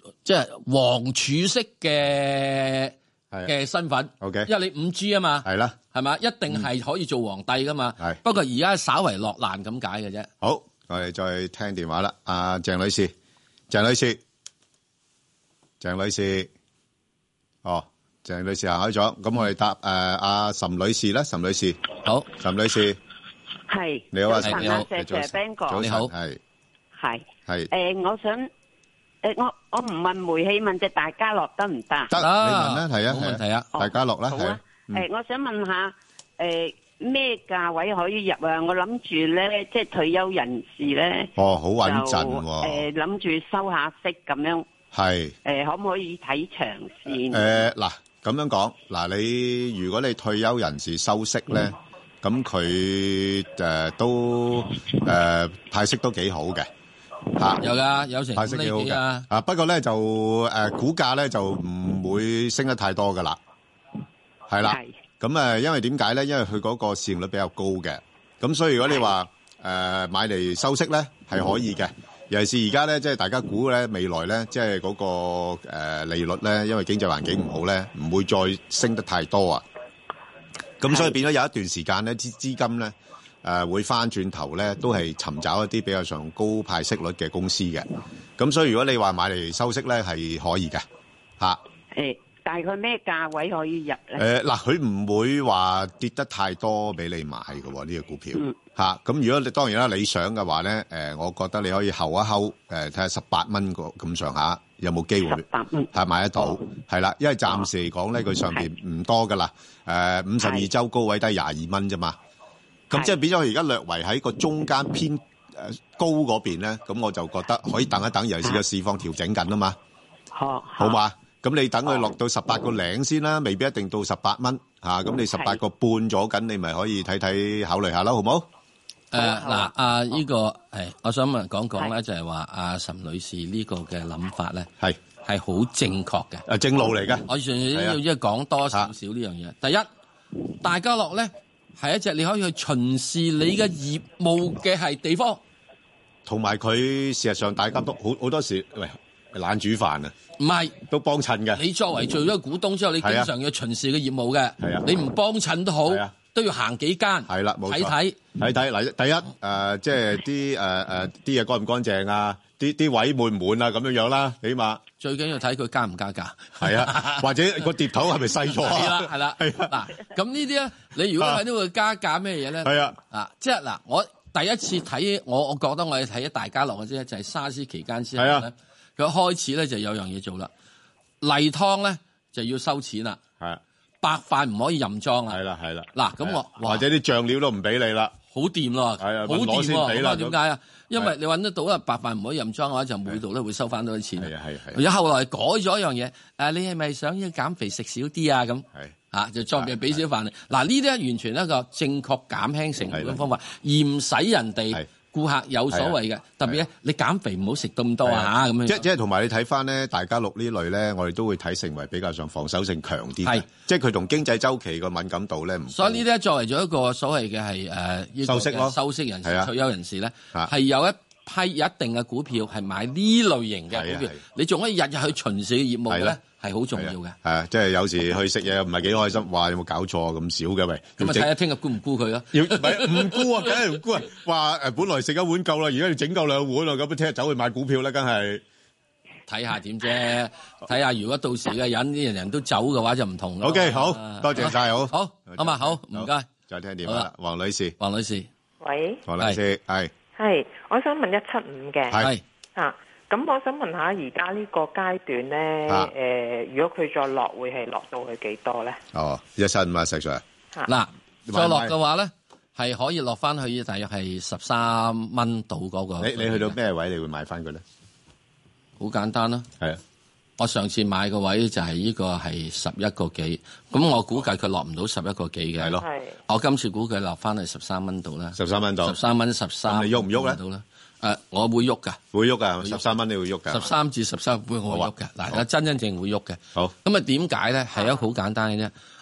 [SPEAKER 6] 即係黃儲式嘅嘅身份。
[SPEAKER 5] OK，
[SPEAKER 6] 因為你五 G 啊嘛，
[SPEAKER 5] 係啦，
[SPEAKER 6] 係嘛，一定係可以做皇帝噶嘛。係，不過而家稍為落難咁解嘅啫。
[SPEAKER 5] 好，我哋再聽電話啦。阿鄭女士，鄭女士，鄭女士，哦，鄭女士行開咗，咁我哋答誒阿岑女士啦，岑女士，
[SPEAKER 6] 好，
[SPEAKER 5] 岑女士，
[SPEAKER 15] 係，
[SPEAKER 5] 你好啊，
[SPEAKER 15] 早晨啊，謝謝 Ben 哥，
[SPEAKER 5] 你好，係，
[SPEAKER 15] 係，
[SPEAKER 5] 係，
[SPEAKER 15] 誒，我想，誒，我我唔問煤氣，問隻大家樂得唔得？
[SPEAKER 5] 得，你問啦，係啊，
[SPEAKER 6] 冇問題啊，
[SPEAKER 5] 大家樂啦，
[SPEAKER 15] 好啊，誒，我想問下，誒，咩價位可以入啊？我諗住咧，即係退休人士咧，
[SPEAKER 5] 哦，好穩陣
[SPEAKER 15] 喎，誒，諗住收下息咁樣。
[SPEAKER 5] 係，
[SPEAKER 15] 誒，可唔可以睇長線？
[SPEAKER 5] 誒，嗱，咁樣講，嗱，你如果你退休人士收息咧，咁佢誒都誒派息都幾好嘅，吓，
[SPEAKER 6] 有噶，有成
[SPEAKER 5] 派息幾好嘅，啊，不過咧就誒股價咧就唔會升得太多噶啦，係啦，咁誒，因為點解咧？因為佢嗰個市盈率比較高嘅，咁所以如果你話誒買嚟收息咧，係可以嘅。尤其是而家咧，即係大家估咧，未來咧，即係嗰個誒利率咧，因為經濟環境唔好咧，唔會再升得太多啊。咁所以變咗有一段時間咧，資資金咧誒會翻轉頭咧，都係尋找一啲比較上高派息率嘅公司嘅。咁所以如果你話買嚟收息咧，係可以嘅嚇。
[SPEAKER 15] 誒，大概咩價位可以入
[SPEAKER 5] 誒
[SPEAKER 15] 咧？
[SPEAKER 5] 嗱，佢唔會話跌得太多俾你買嘅喎，呢個股票。嚇，咁如果你當然啦，理想嘅話咧，誒，我覺得你可以候一候，誒，睇下十八蚊個咁上下有冇機會，十八蚊係買得到，係啦，因為暫時嚟講咧，佢上邊唔多噶啦，誒，五十二週高位低廿二蚊啫嘛，咁即係變咗佢而家略為喺個中間偏誒高嗰邊咧，咁我就覺得可以等一等，尤其是個市況調整緊啊嘛，好，好嘛，咁你等佢落到十八個零先啦，未必一定到十八蚊嚇，咁你十八個半咗緊，你咪可以睇睇考慮下啦，好冇？
[SPEAKER 6] 誒嗱，阿呢個係，我想問講講咧，就係話阿岑女士呢個嘅諗法咧，係係好正確嘅，
[SPEAKER 5] 誒正路嚟嘅。
[SPEAKER 6] 我仲要要即係講多少少呢樣嘢。第一，大家樂咧係一隻你可以去巡視你嘅業務嘅係地方，
[SPEAKER 5] 同埋佢事實上大家都好好多時喂懶煮飯啊，
[SPEAKER 6] 唔係
[SPEAKER 5] 都幫襯嘅。
[SPEAKER 6] 你作為做咗股東之後，你經常要巡視嘅業務嘅，係啊，你唔幫襯都好。都要行幾間，係啦，冇錯，睇睇
[SPEAKER 5] 睇睇嗱，第一誒、呃，即係啲誒誒啲嘢乾唔乾淨啊，啲啲位滿唔滿啊，咁樣樣啦，起碼
[SPEAKER 6] 最緊要睇佢加唔加價，
[SPEAKER 5] 係啊，或者個碟頭係咪細咗啊？
[SPEAKER 6] 係啦，係啦，係嗱，咁呢啲咧，你如果睇到佢加價咩嘢咧？係啊，啊，即係嗱，我第一次睇，我我覺得我哋睇咗大家樂嘅啫，就係、是、沙士期間之後咧，佢開始咧就有樣嘢做啦，例湯咧就要收錢啦，係。白飯唔可以任裝啊！係啦，係啦。嗱，咁我
[SPEAKER 5] 或者啲醬料都唔俾你啦，
[SPEAKER 6] 好掂咯，係啊，好掂喎。咁啊，點解啊？因為你揾得到啊，白飯唔可以任裝嘅話，就每度咧會收翻多啲錢。係啊，係係。而家後來改咗一樣嘢，誒，你係咪想要減肥食少啲啊？咁係啊，就作別俾少飯你。嗱，呢啲咧完全一個正確減輕成本嘅方法，而唔使人哋顧客有所謂嘅。特別咧，你減肥唔好食咁多啊嚇咁樣。
[SPEAKER 5] 即即係同埋你睇翻咧，大家樂呢類咧，我哋都會睇成為比較上防守性強啲。係，即係佢同經濟週期個敏感度咧唔。所以呢啲作為咗一個所謂嘅係誒收息咯，收息人士、退休人士咧，係有一批一定嘅股票係買呢類型嘅股票，你仲可以日日去巡視嘅業務咧，係好重要嘅。係啊，即係有時去食嘢唔係幾開心，話有冇搞錯咁少嘅喂。
[SPEAKER 6] 咁啊睇下聽日沽唔沽佢咯？
[SPEAKER 5] 要唔係唔沽啊？梗係唔沽啊！話誒，本來食一碗夠啦，而家要整夠兩碗啦，咁聽日走去買股票咧，梗係
[SPEAKER 6] 睇下點啫。睇下如果到時嘅人啲人人都走嘅話，就唔同啦。
[SPEAKER 5] O K，好多謝晒，好，
[SPEAKER 6] 好，好嘛，好，唔該。
[SPEAKER 5] 再聽電話啦，黃女士，
[SPEAKER 6] 黃女士，
[SPEAKER 16] 喂，
[SPEAKER 5] 黃女士，係。
[SPEAKER 16] 係，我想問一七五嘅。
[SPEAKER 5] 係
[SPEAKER 16] 啊，咁我想問下，而家呢個階段咧，誒、啊呃，如果佢再落，會係落到去幾多咧？
[SPEAKER 5] 哦，一七五啊，石 Sir。
[SPEAKER 6] 嗱，再落嘅話咧，係可以落翻去大約係十三蚊到嗰個。
[SPEAKER 5] 你你去到咩位你會買翻佢咧？
[SPEAKER 6] 好簡單啦。
[SPEAKER 5] 係啊，
[SPEAKER 6] 我上次買個位就係呢個係十一個幾，咁我估計佢落唔到十一個幾嘅。係咯。我今次估計落翻去十三蚊度啦。
[SPEAKER 5] 十三蚊度。
[SPEAKER 6] 十三蚊十三。
[SPEAKER 5] 你喐唔喐咧？
[SPEAKER 6] 到啦。誒，我會喐噶。
[SPEAKER 5] 會喐噶，十三蚊你會喐噶。
[SPEAKER 6] 十三至十三會我會喐嘅。嗱，我真真正會喐嘅。
[SPEAKER 5] 好。
[SPEAKER 6] 咁啊，點解咧？係一個好簡單嘅啫。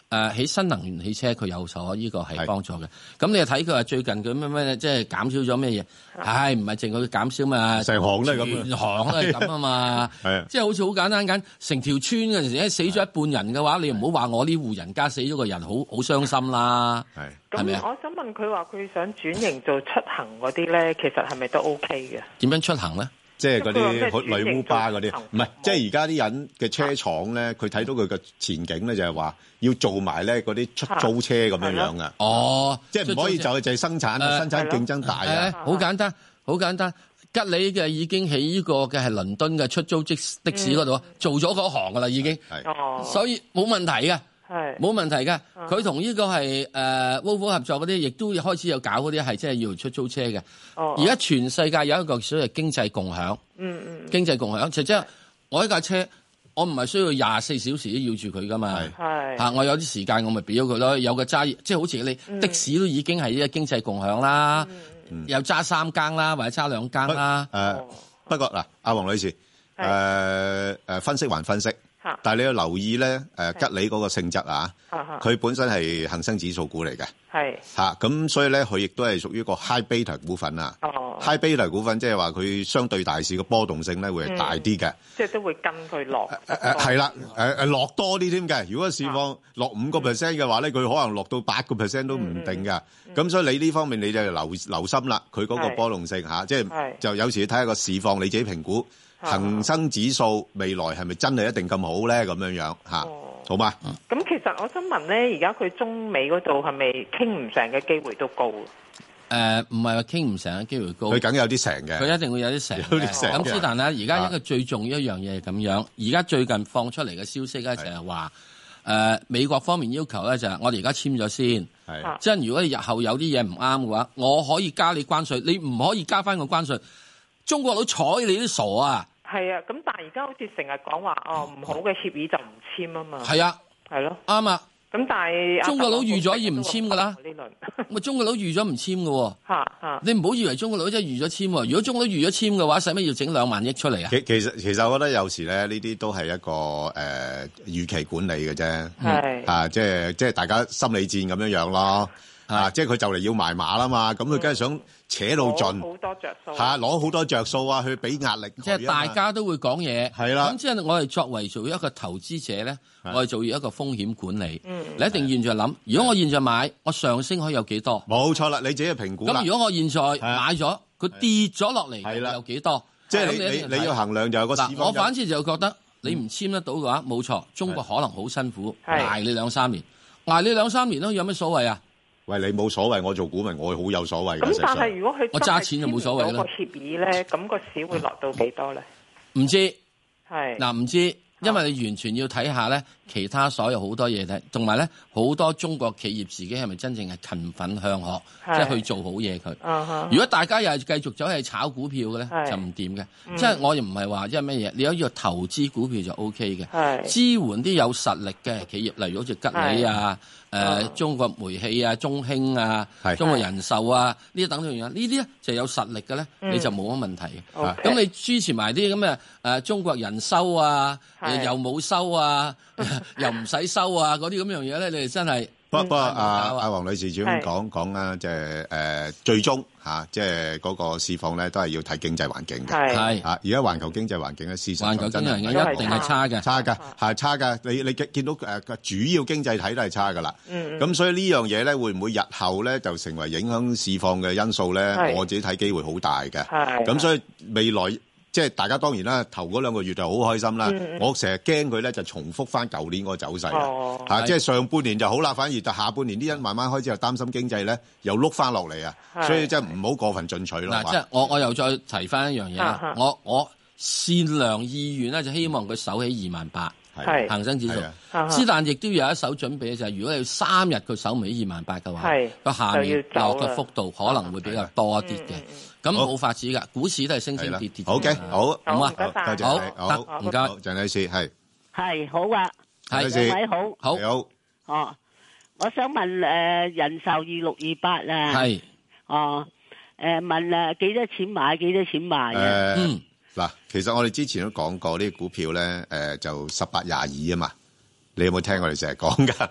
[SPEAKER 6] 誒喺新能源汽車佢有所呢個係幫助嘅。咁你又睇佢話最近佢咩咩即係減少咗咩嘢？唉，唔係淨係佢減少嘛，
[SPEAKER 5] 成行都係咁，
[SPEAKER 6] 全行都係咁啊嘛。係即係好似好簡單緊，成條村嗰陣時死咗一半人嘅話，你唔好話我呢戶人家死咗個人，好好傷心啦。係係咪啊？
[SPEAKER 16] 我想問佢話佢想轉型做出行嗰啲咧，其實係咪都 OK 嘅？
[SPEAKER 6] 點樣出行咧？
[SPEAKER 5] 即係嗰啲女烏巴嗰啲，唔係，即係而家啲人嘅車廠咧，佢睇到佢嘅前景咧，就係話要做埋咧嗰啲出租車咁樣樣啊。
[SPEAKER 6] 哦，
[SPEAKER 5] 即係唔可以就係就係生產，生產競爭大啊。
[SPEAKER 6] 好簡單，好簡單。吉利嘅已經喺呢個嘅係倫敦嘅出租的士嗰度做咗嗰行噶啦，已經。係，所以冇問題嘅。係冇問題㗎，佢同呢個係誒 Volvo 合作嗰啲，亦都開始有搞嗰啲係即係要出租車嘅。哦，而家全世界有一個所謂經濟共享。嗯嗯。經濟共享就即係我呢架車，我唔係需要廿四小時都要住佢噶嘛。係。嚇，我有啲時間我咪俾咗佢咯。有個揸，即係好似你、嗯、的士都已經係呢個經濟共享啦。嗯。有揸三更啦，或者揸兩更啦。誒、呃，不過嗱，阿黃女士，誒誒、
[SPEAKER 5] 呃、分析還分析。但係你要留意咧，誒吉利嗰個性質啊，佢本身係恒生指數股嚟嘅，係嚇咁，所以咧佢亦都係屬於個 high beta 股份啊。哦 ，high beta 股份即係話佢相對大市嘅波動性咧會係大啲嘅，即係都會跟佢落。誒誒係啦，誒誒落多啲添嘅。如果市況落五個 percent 嘅話咧，佢可能落到八個 percent 都唔定㗎。咁所以你呢方面你就留留心啦，佢嗰個波動性嚇，即係就有時睇下個市況，你自己評估。恒生指數未來係咪真係一定咁好咧？咁樣樣嚇，好嘛？
[SPEAKER 16] 咁其實我想問咧，而家佢中美嗰度係咪傾唔成嘅機會都高？
[SPEAKER 6] 誒，唔係話傾唔成嘅機會高，
[SPEAKER 5] 佢梗有啲成嘅，
[SPEAKER 6] 佢一定會有啲成。咁之但係而家一個最重要一樣嘢係咁樣，而家最近放出嚟嘅消息咧就係話，誒美國方面要求咧就係我哋而家簽咗先，即係如果你日後有啲嘢唔啱嘅話，我可以加你關稅，你唔可以加翻個關稅。中國佬睬你都傻啊！係
[SPEAKER 16] 啊，咁但係而家好似成日講話哦，唔好嘅協議就唔簽啊嘛。
[SPEAKER 6] 係啊，
[SPEAKER 16] 係咯，
[SPEAKER 6] 啱啊。
[SPEAKER 16] 咁但係
[SPEAKER 6] 中國佬預咗要唔簽噶啦，咪中國佬預咗唔簽嘅喎。嚇嚇，你唔好以為中國佬真係預咗簽喎。如果中國佬預咗簽嘅話，使乜要整兩萬億出嚟啊？其
[SPEAKER 5] 其實其實我覺得有時咧，呢啲都係一個誒、呃、預期管理嘅啫。係啊，即係即係大家心理戰咁樣樣咯。啊，即係佢就嚟要埋馬啦嘛，咁佢梗係想扯到盡，好多着數，係攞好多着數啊，去俾壓力。
[SPEAKER 6] 即係大家都會講嘢，
[SPEAKER 5] 係啦。
[SPEAKER 6] 咁即係我哋作為做一個投資者咧，我哋做一個風險管理。嗯，你一定現在諗，如果我現在買，我上升可以有幾多？
[SPEAKER 5] 冇錯啦，你自己評估啦。
[SPEAKER 6] 咁如果我現在買咗，佢跌咗落嚟，係啦，有幾多？
[SPEAKER 5] 即係你你你要衡量就有個市況。
[SPEAKER 6] 我反之就覺得你唔簽得到嘅話，冇錯，中國可能好辛苦，捱你兩三年，捱你兩三年咯，有咩所謂啊？
[SPEAKER 5] 喂，你冇所謂，我做股民，我好有所謂。
[SPEAKER 16] 咁但係如果佢
[SPEAKER 6] 我揸錢就冇所謂啦。
[SPEAKER 16] 個協議咧，咁個市會落到幾多咧？
[SPEAKER 6] 唔知
[SPEAKER 16] 係
[SPEAKER 6] 嗱，唔知，因為你完全要睇下咧，其他所有好多嘢睇，同埋咧好多中國企業自己係咪真正係勤奮向學，即係去做好嘢佢。Uh-huh. 如果大家又係繼續走去炒股票嘅咧，就唔掂嘅。即係我又唔係話即係乜嘢，你有呢個投資股票就 O K 嘅，支援啲有實力嘅企業，例如好似吉利啊。誒、呃、中國煤氣啊、中興啊、中國人壽啊，呢啲等等樣，呢啲咧就有實力嘅咧、嗯，你就冇乜問題嘅。咁、okay. 你支持埋啲咁嘅誒中國人收啊，又冇收啊，又唔使收啊，嗰啲咁樣嘢咧，你哋真係。不
[SPEAKER 5] 不過阿阿黃女士主要講講啦，即係誒最終嚇，即係嗰個市況咧，都係要睇經濟環境嘅。係嚇，而家環球經濟環境咧，事實上真係
[SPEAKER 6] 一定係差嘅，
[SPEAKER 5] 差㗎，係差㗎。你你見到誒個主要經濟體都係差㗎啦。嗯。咁所以呢樣嘢咧，會唔會日後咧就成為影響市況嘅因素咧？我自己睇機會好大嘅。係。咁所以未來。即係大家當然啦，頭嗰兩個月就好開心啦。嗯、我成日驚佢咧就重複翻舊年嗰個走勢啦、哦啊。即係上半年就好啦，反而就下半年啲人慢慢開始又擔心經濟咧，又碌翻落嚟啊。所以即係唔好過分進取咯。
[SPEAKER 6] 嗱，即係我我又再提翻一樣嘢啦。我我善良意願咧就希望佢守喺二萬八，恒生指數。之但亦都有一手準備，就係如果你三日佢守唔喺二萬八嘅話，個下面落嘅幅度可能會比較多一啲嘅。咁冇法子噶，股市都係升升跌跌。
[SPEAKER 5] 好嘅，好，
[SPEAKER 6] 好啊，
[SPEAKER 5] 多謝，好，唔該，鄭女士係，
[SPEAKER 17] 係好啊，
[SPEAKER 6] 係
[SPEAKER 17] 兩位好，
[SPEAKER 6] 好，
[SPEAKER 5] 好，
[SPEAKER 17] 哦，我想問誒人壽二六二八啊，
[SPEAKER 6] 係，
[SPEAKER 17] 哦，誒問誒幾多錢買，幾多錢賣啊？
[SPEAKER 5] 嗯，嗱，其實我哋之前都講過呢啲股票咧，誒就十八廿二啊嘛，你有冇聽我哋成日講噶？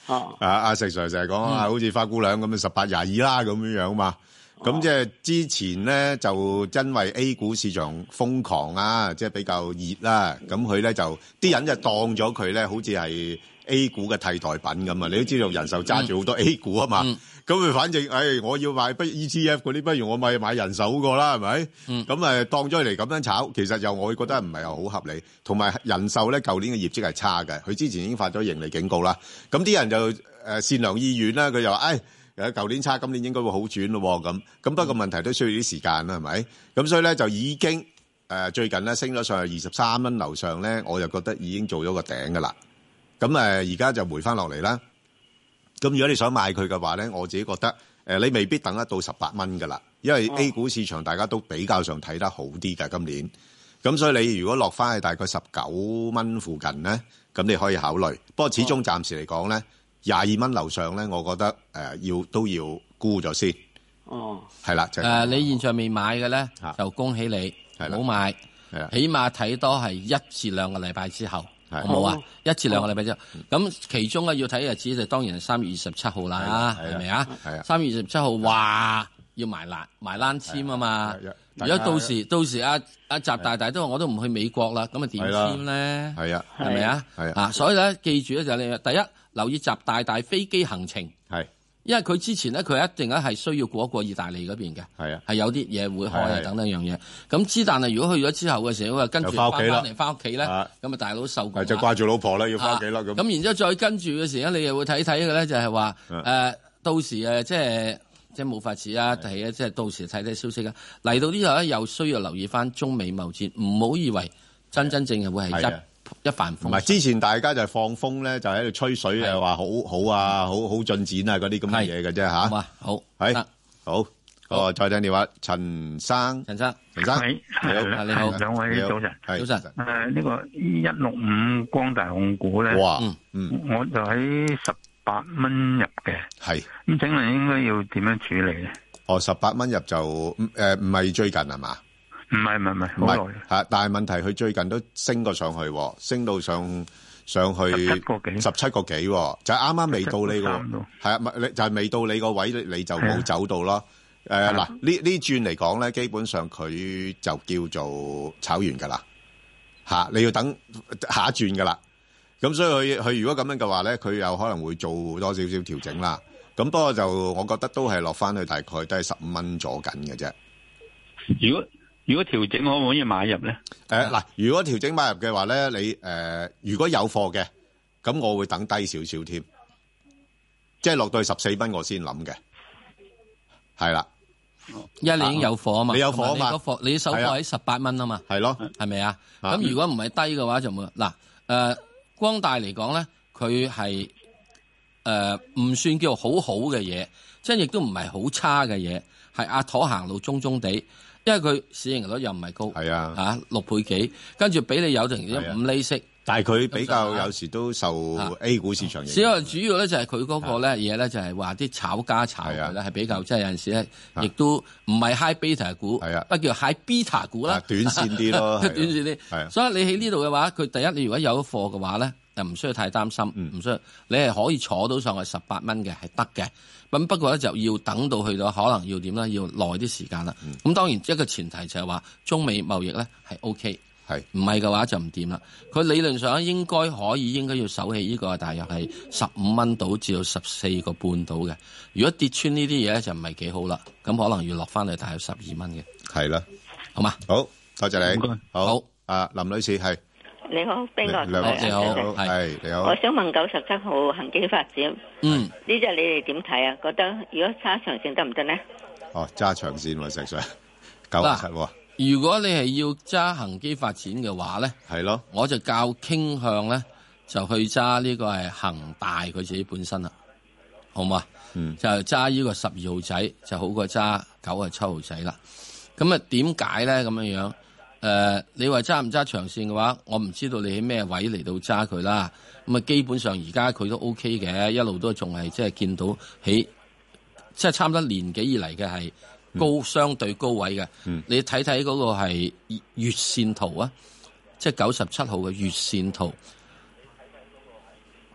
[SPEAKER 5] 啊阿石 Sir 成日講啊，好似花姑娘咁樣十八廿二啦咁樣樣嘛。咁即係之前咧就因為 A 股市場瘋狂啊，即係比較熱啦，咁佢咧就啲人就當咗佢咧好似係 A 股嘅替代品咁啊！你都知道人壽揸住好多 A 股啊嘛，咁佢、嗯、反正誒、哎，我要買不 E T F 嗰啲，不如我咪買人壽好過啦，係咪？咁、嗯、誒當咗嚟咁樣炒，其實又我覺得唔係又好合理。同埋人壽咧，舊年嘅業績係差嘅，佢之前已經發咗盈利警告啦。咁啲人就誒善良意願啦，佢就話誒。誒，舊年差，今年應該會好轉咯，咁咁不過問題都需要啲時間啦，係咪？咁所以咧就已經誒、呃、最近咧升咗上去二十三蚊樓上咧，我就覺得已經做咗個頂噶啦。咁誒而家就回翻落嚟啦。咁如果你想買佢嘅話咧，我自己覺得誒、呃、你未必等得到十八蚊噶啦，因為 A 股市場大家都比較上睇得好啲㗎今年。咁所以你如果落翻去大概十九蚊附近咧，咁你可以考慮。不過始終暫時嚟講咧。廿二蚊樓上咧，我覺得誒、呃、要都要沽咗先。哦，係啦，就誒、是呃、你現在未買嘅咧，就恭喜你，唔好買。係啊，起碼睇多係一至兩個禮拜之後，好冇啊？一至兩個禮拜之後，咁、哦、其中咧要睇日子就當然係三月二十七號啦，係咪啊？係啊，三月二十七號話要埋欄埋欄籤啊嘛。如果到時到時阿阿習大大都話我都唔去美國啦，咁啊點籤咧？係啊，係咪啊？係啊，所以咧記住咧就係你第一。留意習大大飛機行程，係，因為佢之前咧，佢一定咧係需要過一過意大利嗰邊嘅，係啊，係有啲嘢會開啊等等樣嘢。咁之但係如果去咗之後嘅時候，佢跟住翻翻嚟翻屋企咧，咁啊大佬受過，就掛住老婆啦，要翻屋企啦咁。咁、啊、然之後再跟住嘅時候咧，你又會睇睇嘅咧，就係話誒，到時誒即係即係冇法子啊，係啊，即係到時睇睇消息啊。嚟到呢度咧，又需要留意翻中美貿戰，唔好以為真真正正會係一。一帆風順，唔係之前大家就係放風咧，就喺度吹水啊，話好好啊，好好進展啊，嗰啲咁嘅嘢嘅啫吓。好啊，好，係好，好，再聽電話，陳生，陳生，陳生，你好，你好，
[SPEAKER 18] 兩位早晨，
[SPEAKER 5] 早晨。
[SPEAKER 18] 誒，呢個一六五光大控股咧，哇，嗯，我就喺十八蚊入嘅，係，咁請問應該要點樣處理咧？
[SPEAKER 5] 哦，十八蚊入就誒唔係最近係嘛？
[SPEAKER 18] 唔係唔係唔係，好耐
[SPEAKER 5] 嚇！但係問題佢最近都升過上去，升到上上去十七個幾，十七個幾，就係啱啱未到你個，係啊，咪就係未到你個位，你就冇走到咯。誒嗱，呢呢轉嚟講咧，基本上佢就叫做炒完㗎啦嚇，你要等下一轉㗎啦。咁所以佢佢如果咁樣嘅話咧，佢有可能會做多少少調整啦。咁不過就我覺得都係落翻去大概都係十五蚊左緊嘅啫。
[SPEAKER 18] 如果如果調整可唔可以買入咧？
[SPEAKER 5] 誒，嗱，如果調整買入嘅話咧，你誒、呃，如果有貨嘅，咁我會等低少少添，即係落到去十四蚊我先諗嘅，係啦，
[SPEAKER 6] 因為你已經有貨啊嘛，
[SPEAKER 5] 你有貨啊嘛，
[SPEAKER 6] 你貨你手貨喺十八蚊啊嘛，
[SPEAKER 5] 係咯，
[SPEAKER 6] 係咪啊？咁如果唔係低嘅話就冇嗱，誒、呃，光大嚟講咧，佢係誒唔算叫好好嘅嘢，即係亦都唔係好差嘅嘢，係阿妥行路中中地。因為佢市盈率又唔係高，係啊，嚇六倍幾，跟住俾你有成五厘息，
[SPEAKER 5] 但係佢比較有時都受 A 股市場影響。
[SPEAKER 6] 因為主要咧就係佢嗰個咧嘢咧就係話啲炒家炒佢咧係比較即係有陣時咧，亦都唔係 high beta 股，係啊，不叫 high beta 股啦，
[SPEAKER 5] 短線啲咯，
[SPEAKER 6] 短線啲。係，所以你喺呢度嘅話，佢第一你如果有貨嘅話咧，就唔需要太擔心，唔、嗯、需要你係可以坐到上去十八蚊嘅係得嘅。咁不過咧就要等到去到可能要點咧，要耐啲時間啦。咁、嗯、當然一個前提就係話中美貿易咧係 O K， 係唔係嘅話就唔掂啦。佢理論上應該可以應該要守起呢個大約係十五蚊到至到十四個半到嘅。如果跌穿呢啲嘢咧就唔係幾好啦。咁可能要落翻去大約十二蚊嘅。係啦，好嘛？好，多謝你。好，好啊，林女士係。
[SPEAKER 19] 你好，邊個？
[SPEAKER 5] 你好，係你好。
[SPEAKER 19] 我想問九十七號恒基發展，嗯，呢隻你哋點睇啊？覺得如果揸長線得唔得呢？
[SPEAKER 5] 哦，揸長線喎，石 Sir，九十七喎。
[SPEAKER 6] 如果你係要揸恒基發展嘅話咧，
[SPEAKER 5] 係咯，我
[SPEAKER 6] 就較傾向咧就去揸呢個係恒大佢自己本身啦，好嘛？嗯，就揸呢個十二號仔就好過揸九十七號仔啦。咁啊，點解咧咁樣樣？誒、呃，你話揸唔揸長線嘅話，我唔知道你喺咩位嚟到揸佢啦。咁啊，基本上而家佢都 O K 嘅，一路都仲係即係見到喺即係差唔多年幾以嚟嘅係高、嗯、相對高位嘅、嗯。你睇睇嗰個係月線圖啊，即係九十七號嘅月線圖。嗱，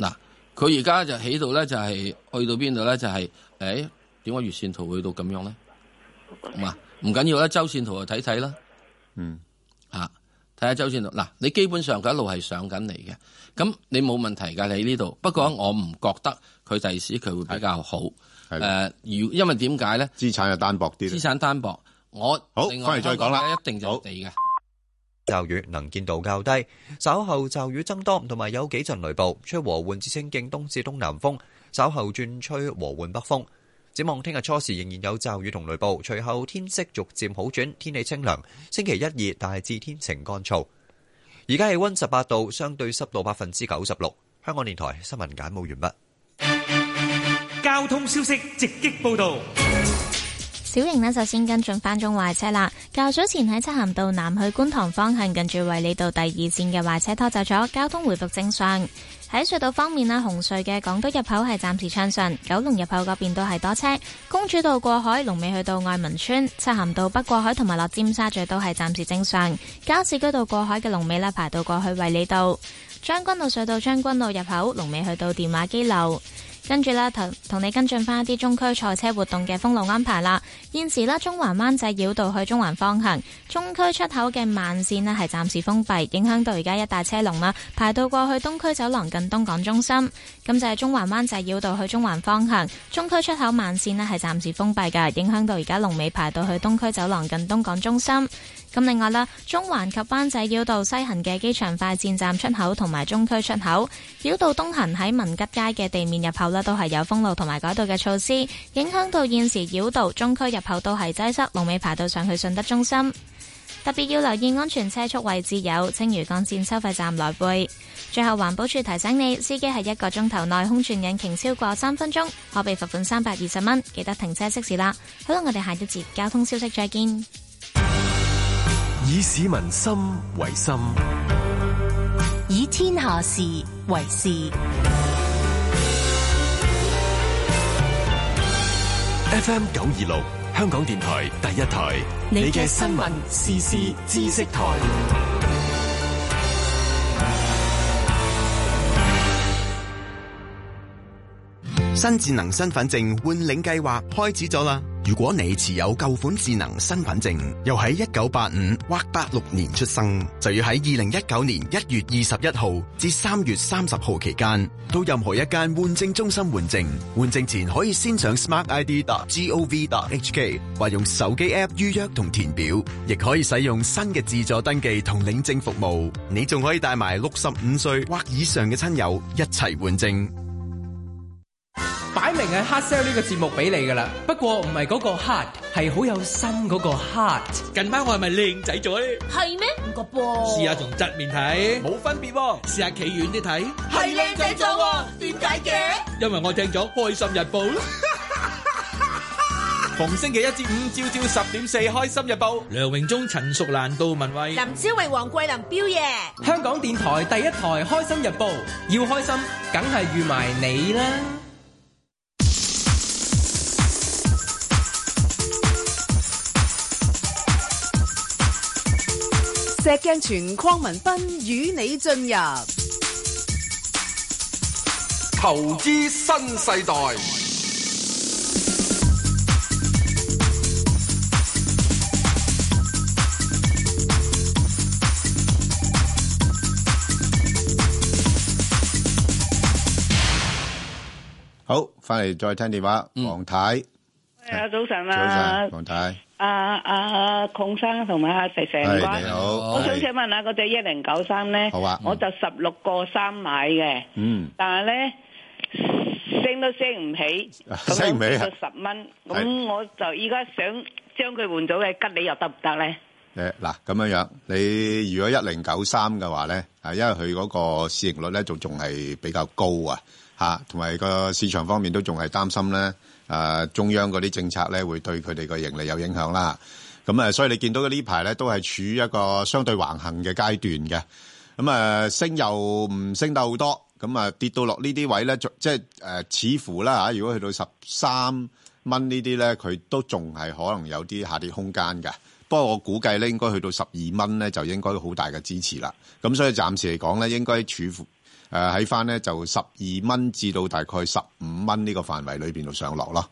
[SPEAKER 6] 佢而家就起到咧，就係、是、去到邊度咧？就係、是、誒，點解月線圖去到咁樣咧？唔啊，唔緊要啦，周線圖就睇睇啦。
[SPEAKER 5] 嗯，
[SPEAKER 6] 啊，睇下周線圖嗱，你基本上佢一路係上緊嚟嘅，咁你冇問題㗎，你喺呢度。不過我唔覺得佢第時佢會比較好。誒，如、呃、因為點解咧？
[SPEAKER 5] 資產又單薄啲。資
[SPEAKER 6] 產單薄，我
[SPEAKER 5] 好
[SPEAKER 6] 另外
[SPEAKER 5] 翻嚟再講啦，
[SPEAKER 6] 一定就地嘅。
[SPEAKER 8] 驟雨能見度較低，稍後驟雨增多，同埋有幾陣雷暴，吹和緩至清勁東至東南風，稍後轉吹和緩北風。展望聽日初時仍然有驟雨同雷暴，隨後天色逐漸好轉，天氣清涼。星期一二大致天晴乾燥。而家氣溫十八度，相對濕度百分之九十六。香港電台新聞簡報完
[SPEAKER 7] 畢。交通消息直擊報道。
[SPEAKER 9] 小型呢，就先跟進翻中壞車啦。較早前喺漆咸道南去觀塘方向，近住衛理道第二線嘅壞車拖走咗，交通回復正常。喺隧道方面呢，紅隧嘅港島入口係暫時暢順，九龍入口嗰邊都係多車。公主道過海龍尾去到愛民村，漆咸道北過海同埋落尖沙咀都係暫時正常。加士居道過海嘅龍尾呢，排到過去衛理道。將軍澳隧道將軍澳入口龍尾去到電話機樓。跟住啦，同同你跟進翻一啲中區賽車活動嘅封路安排啦。現時啦，中環灣仔繞道去中環方向，中區出口嘅慢線呢係暫時封閉，影響到而家一大車龍啦，排到過去東區走廊近東港中心。咁就係中環灣仔繞道去中環方向，中區出口慢線呢係暫時封閉㗎，影響到而家龍尾排到去東區走廊近東港中心。咁另外啦，中環及灣仔繞道西行嘅機場快線站出口同埋中區出口，繞道東行喺文吉街嘅地面入口呢都係有封路同埋改道嘅措施，影響到現時繞道中區入口都係擠塞，龍尾排到上去順德中心。特別要留意安全車速位置有青嶼幹線收費站來回。最後環保署提醒你，司機喺一個鐘頭內空轉引擎超過三分鐘，可被罰款三百二十蚊，記得停車熄匙啦。好啦，我哋下一節交通消息再見。
[SPEAKER 10] 以市民心為心，
[SPEAKER 11] 以天下事為事。
[SPEAKER 10] F M 九二六，香港電台第一台，你嘅新聞時事知識台。
[SPEAKER 20] 新智能身份證換領計劃開始咗啦！如果你持有舊款智能身份證，又喺一九八五或八六年出生，就要喺二零一九年一月二十一號至三月三十號期間，到任何一間換證中心換證。換證前可以先上 smart I D dot gov dot h k 或用手機 app 預約同填表，亦可以使用新嘅自助登記同領證服務。你仲可以帶埋六十五歲或以上嘅親友一齊換證。
[SPEAKER 21] 擺明係 hard sell 呢個節目俾你噶啦，不過唔係嗰個 hard， 係好有心嗰個 heart。
[SPEAKER 22] 近排我係咪靚仔咗咧？
[SPEAKER 23] 係咩？唔覺噃。
[SPEAKER 22] 試下從側面睇，冇分別喎。試下企遠啲睇，
[SPEAKER 23] 係靚仔咗喎。點解嘅？
[SPEAKER 22] 因為我聽咗《開心日報》。逢星期一至五朝朝十點四，《開心日報》。梁榮忠、陳淑蘭、杜文慧、
[SPEAKER 23] 林超榮、黃桂林、彪爺。
[SPEAKER 21] 香港電台第一台《開心日報》，要開心，梗係預埋你啦。
[SPEAKER 3] 石鏡泉鄺民彬與你進入
[SPEAKER 4] 投資新世代。
[SPEAKER 5] 好，翻嚟再聽電話，黃太。
[SPEAKER 24] 係啊，早晨啊，
[SPEAKER 5] 早晨，黃太。
[SPEAKER 24] 阿阿鄺生同埋阿石石唔該，
[SPEAKER 5] 你好，
[SPEAKER 24] 我想請問下嗰隻一零九三咧，
[SPEAKER 5] 好啊，
[SPEAKER 24] 我就十六個三買嘅，嗯，但係咧升都升唔起，
[SPEAKER 5] 升唔起
[SPEAKER 24] 啊，十蚊，咁我就依家想將佢換咗嘅吉利又得唔得咧？
[SPEAKER 5] 誒嗱，咁樣樣，你如果一零九三嘅話咧，啊，因為佢嗰個市盈率咧仲仲係比較高啊，嚇，同埋個市場方面都仲係擔心咧。誒、呃、中央嗰啲政策咧，會對佢哋個盈利有影響啦。咁誒，所以你見到嘅呢排咧，都係處於一個相對橫行嘅階段嘅。咁誒，升又唔升得好多，咁啊跌到落呢啲位咧，即係誒、呃，似乎啦嚇，如果去到十三蚊呢啲咧，佢都仲係可能有啲下跌空間嘅。不過我估計咧，應該去到十二蚊咧，就應該好大嘅支持啦。咁所以暫時嚟講咧，應該處乎誒喺翻咧就十二蚊至到大概十五蚊呢個範圍裏邊度上落咯。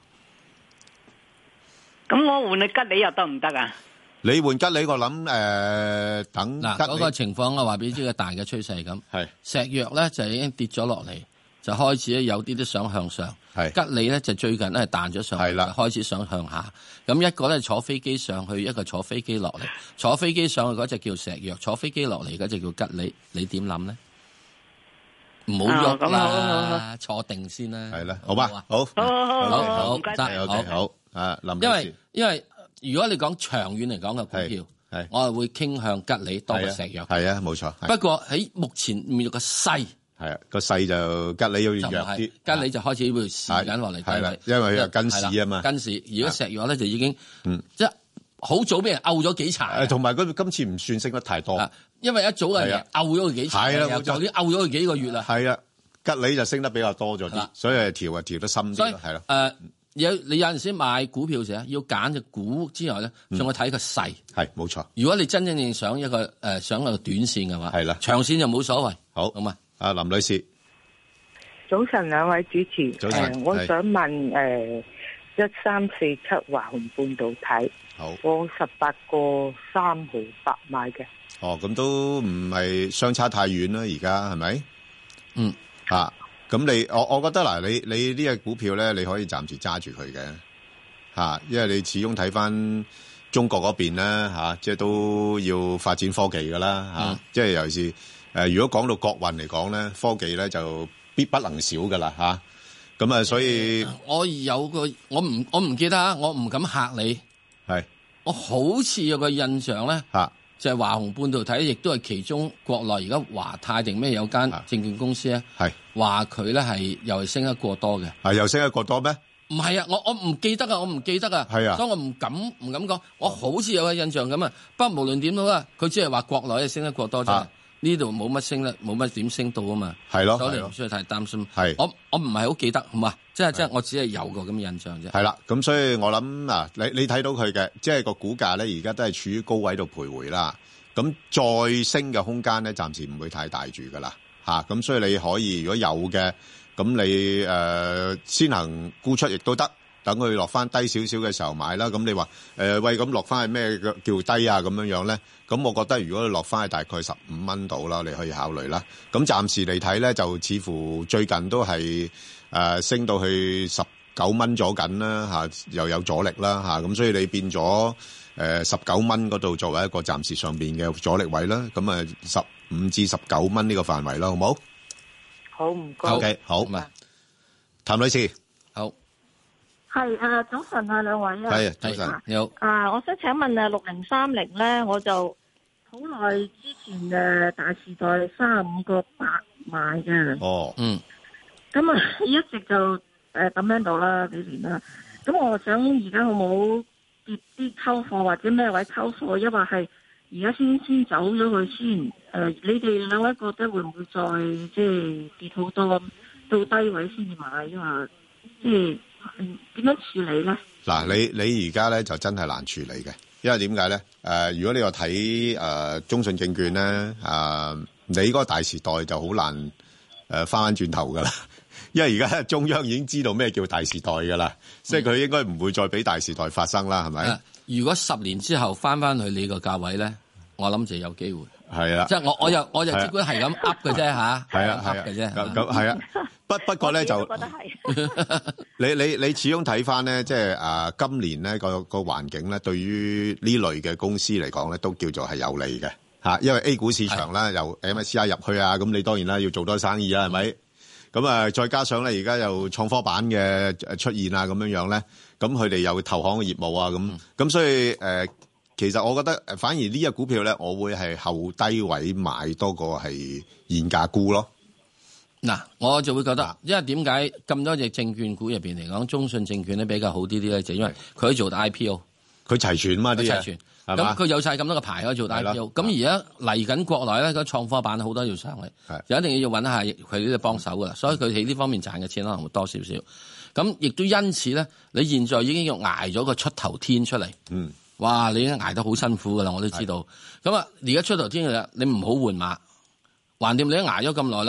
[SPEAKER 24] 咁我換你吉利又得唔得啊？
[SPEAKER 5] 你換吉利，我諗誒、呃、等
[SPEAKER 6] 嗱嗰、那個情況我話俾你知個大嘅趨勢係咁。係石藥咧就已經跌咗落嚟，就開始咧有啲啲想向上。係吉利咧就最近咧彈咗上去，係啦，開始想向下。咁一個咧坐飛機上去，一個坐飛機落嚟。坐飛機上去嗰隻叫石藥，坐飛機落嚟嗰隻叫吉利。你點諗咧？唔好喐啦，坐定先啦。係啦，
[SPEAKER 5] 好吧，好，
[SPEAKER 24] 好好好
[SPEAKER 5] 好，
[SPEAKER 24] 唔該
[SPEAKER 5] 得，好，好，啊，林女士，
[SPEAKER 6] 因為因為如果你講長遠嚟講嘅股票，係我係會傾向吉利多過石藥。
[SPEAKER 5] 係啊，冇錯。
[SPEAKER 6] 不過喺目前面個勢，
[SPEAKER 5] 係啊，個勢就吉利要弱啲，
[SPEAKER 6] 吉利就開始會試緊落嚟。
[SPEAKER 5] 係啦，因為佢係跟市啊嘛。
[SPEAKER 6] 跟市，如果石藥咧就已經，嗯，即係好早俾人漚咗幾柴。
[SPEAKER 5] 誒，同埋佢今次唔算升得太多，
[SPEAKER 6] 因為一早嘅人漚咗佢幾柴，
[SPEAKER 5] 係啦，
[SPEAKER 6] 就啲漚咗佢幾個月啦。
[SPEAKER 5] 係啊。吉利就升得比較多咗啲，所以調啊調得深啲咯，係咯。
[SPEAKER 6] 誒，有你有陣時買股票時要揀隻股之外咧，仲要睇個勢。
[SPEAKER 5] 係冇錯。
[SPEAKER 6] 如果你真正正想一個誒想一個短線嘅話，
[SPEAKER 5] 係啦，
[SPEAKER 6] 長線就冇所謂。
[SPEAKER 5] 好，
[SPEAKER 6] 好嘛。
[SPEAKER 5] 阿林女士，
[SPEAKER 1] 早晨兩位主持，
[SPEAKER 5] 早晨，
[SPEAKER 1] 我想問誒一三四七華虹半導體，
[SPEAKER 5] 好，
[SPEAKER 1] 我十八個三毫八買嘅。
[SPEAKER 5] 哦，咁都唔係相差太遠啦，而家係咪？嗯。啊，咁你我我覺得嗱，你你呢隻股票咧，你可以暫時揸住佢嘅，吓、啊，因為你始終睇翻中國嗰邊咧，吓、啊，即係都要發展科技噶啦，吓、啊嗯，即係尤其是誒、呃，如果講到國運嚟講咧，科技咧就必不能少噶啦，吓，咁啊，所以
[SPEAKER 6] 我有個我唔我唔記得啊，我唔敢嚇你，係，我好似有個印象咧，吓、啊。就係華虹半導體，亦都係其中國內而家華泰定咩有間證券公司咧，係話佢咧係又係升得過多嘅。係又升得過多咩？唔係啊，我我唔記得啊，我唔記得啊。係啊，所以我唔敢唔敢講。我好似有個印象咁啊。不過無論點都啦，佢只係話國內係升得過多啫。呢度冇乜升咧，冇乜點升到啊嘛。係咯，所以你唔需要太擔心。係我我唔係好記得，好嘛？即係即係我只係有個咁嘅印象啫。係啦，咁所以我諗嗱，你你睇到佢嘅，即係個股價咧，而家都係處於高位度徘徊啦。咁再升嘅空間咧，暫時唔會太大住噶啦，吓，咁所以你可以如果有嘅，咁你誒、呃、先行沽出亦都得，等佢落翻低少少嘅時候買啦。咁你話誒、呃、喂，咁落翻係咩叫低啊？咁樣樣咧，咁我覺得如果你落翻係大概十五蚊度啦，你可以考慮啦。咁暫時嚟睇咧，就似乎最近都係誒、呃、升到去十九蚊咗緊啦，吓，又有阻力啦，吓，咁所以你變咗。誒十九蚊嗰度作為一個暫時上邊嘅阻力位啦，咁啊十五至十九蚊呢個範圍啦，好冇？
[SPEAKER 1] 好唔該。
[SPEAKER 5] O K，好。譚女士，好。
[SPEAKER 2] 係誒，早晨啊，兩位啊。
[SPEAKER 5] 係，早晨。你好。
[SPEAKER 2] 啊，我想請問啊，六零三零咧，我就好耐之前嘅大時代三十五個八買嘅。
[SPEAKER 5] 哦。嗯。
[SPEAKER 2] 咁啊，一直就誒咁樣到啦，幾年啦。咁我想而家好冇？跌啲溝貨或者咩位溝貨，抑或係而家先先走咗佢先？誒、呃，你哋兩位覺得會唔會再即係跌好多到低位先至買？因為即係點樣處理咧？嗱，
[SPEAKER 5] 你你而家咧就真係難處理嘅，因為點解咧？誒、呃，如果你話睇誒中信證券咧，誒、呃，你嗰個大時代就好難誒翻翻轉頭噶啦。因為而家中央已經知道咩叫大時代噶啦，即係佢應該唔會再俾大時代發生啦，係咪？
[SPEAKER 6] 如果十年之後翻翻去你個價位咧，我諗就有機會。
[SPEAKER 5] 係啊，
[SPEAKER 6] 即係我我又我就只管係咁噏嘅啫吓，
[SPEAKER 5] 係啊
[SPEAKER 6] 噏嘅啫。
[SPEAKER 5] 咁咁係啊，不不過咧就，你你你始終睇翻咧，即係啊今年咧個個環境咧，對於呢類嘅公司嚟講咧，都叫做係有利嘅吓，因為 A 股市場啦，由 M S C I 入去啊，咁你當然啦要做多生意啦，係咪？咁啊，再加上咧，而家有創科板嘅出現啊，咁樣樣咧，咁佢哋有投行嘅業務啊，咁咁、嗯、所以誒、呃，其實我覺得反而呢隻股票咧，我會係後低位買多過係現價沽咯。
[SPEAKER 6] 嗱，我就會覺得，因為點解咁多隻證券股入邊嚟講，中信證券咧比較好啲啲咧，就因為佢做 I P O，
[SPEAKER 5] 佢齊全嘛啲嘢。齊全
[SPEAKER 6] 咁佢有晒咁多個牌可以做 I P O， 咁而家嚟緊國內咧，個創科板好多要上嚟，就一定要揾下佢呢啲幫手噶啦，所以佢喺呢方面賺嘅錢可能會多少少。咁亦都因此咧，你現在已經要捱咗個出頭天出嚟。嗯，哇！你已經捱得好辛苦噶啦，我都知道。咁啊，而家出頭天嘅啦，你唔好換馬，橫掂你都捱咗咁耐啦。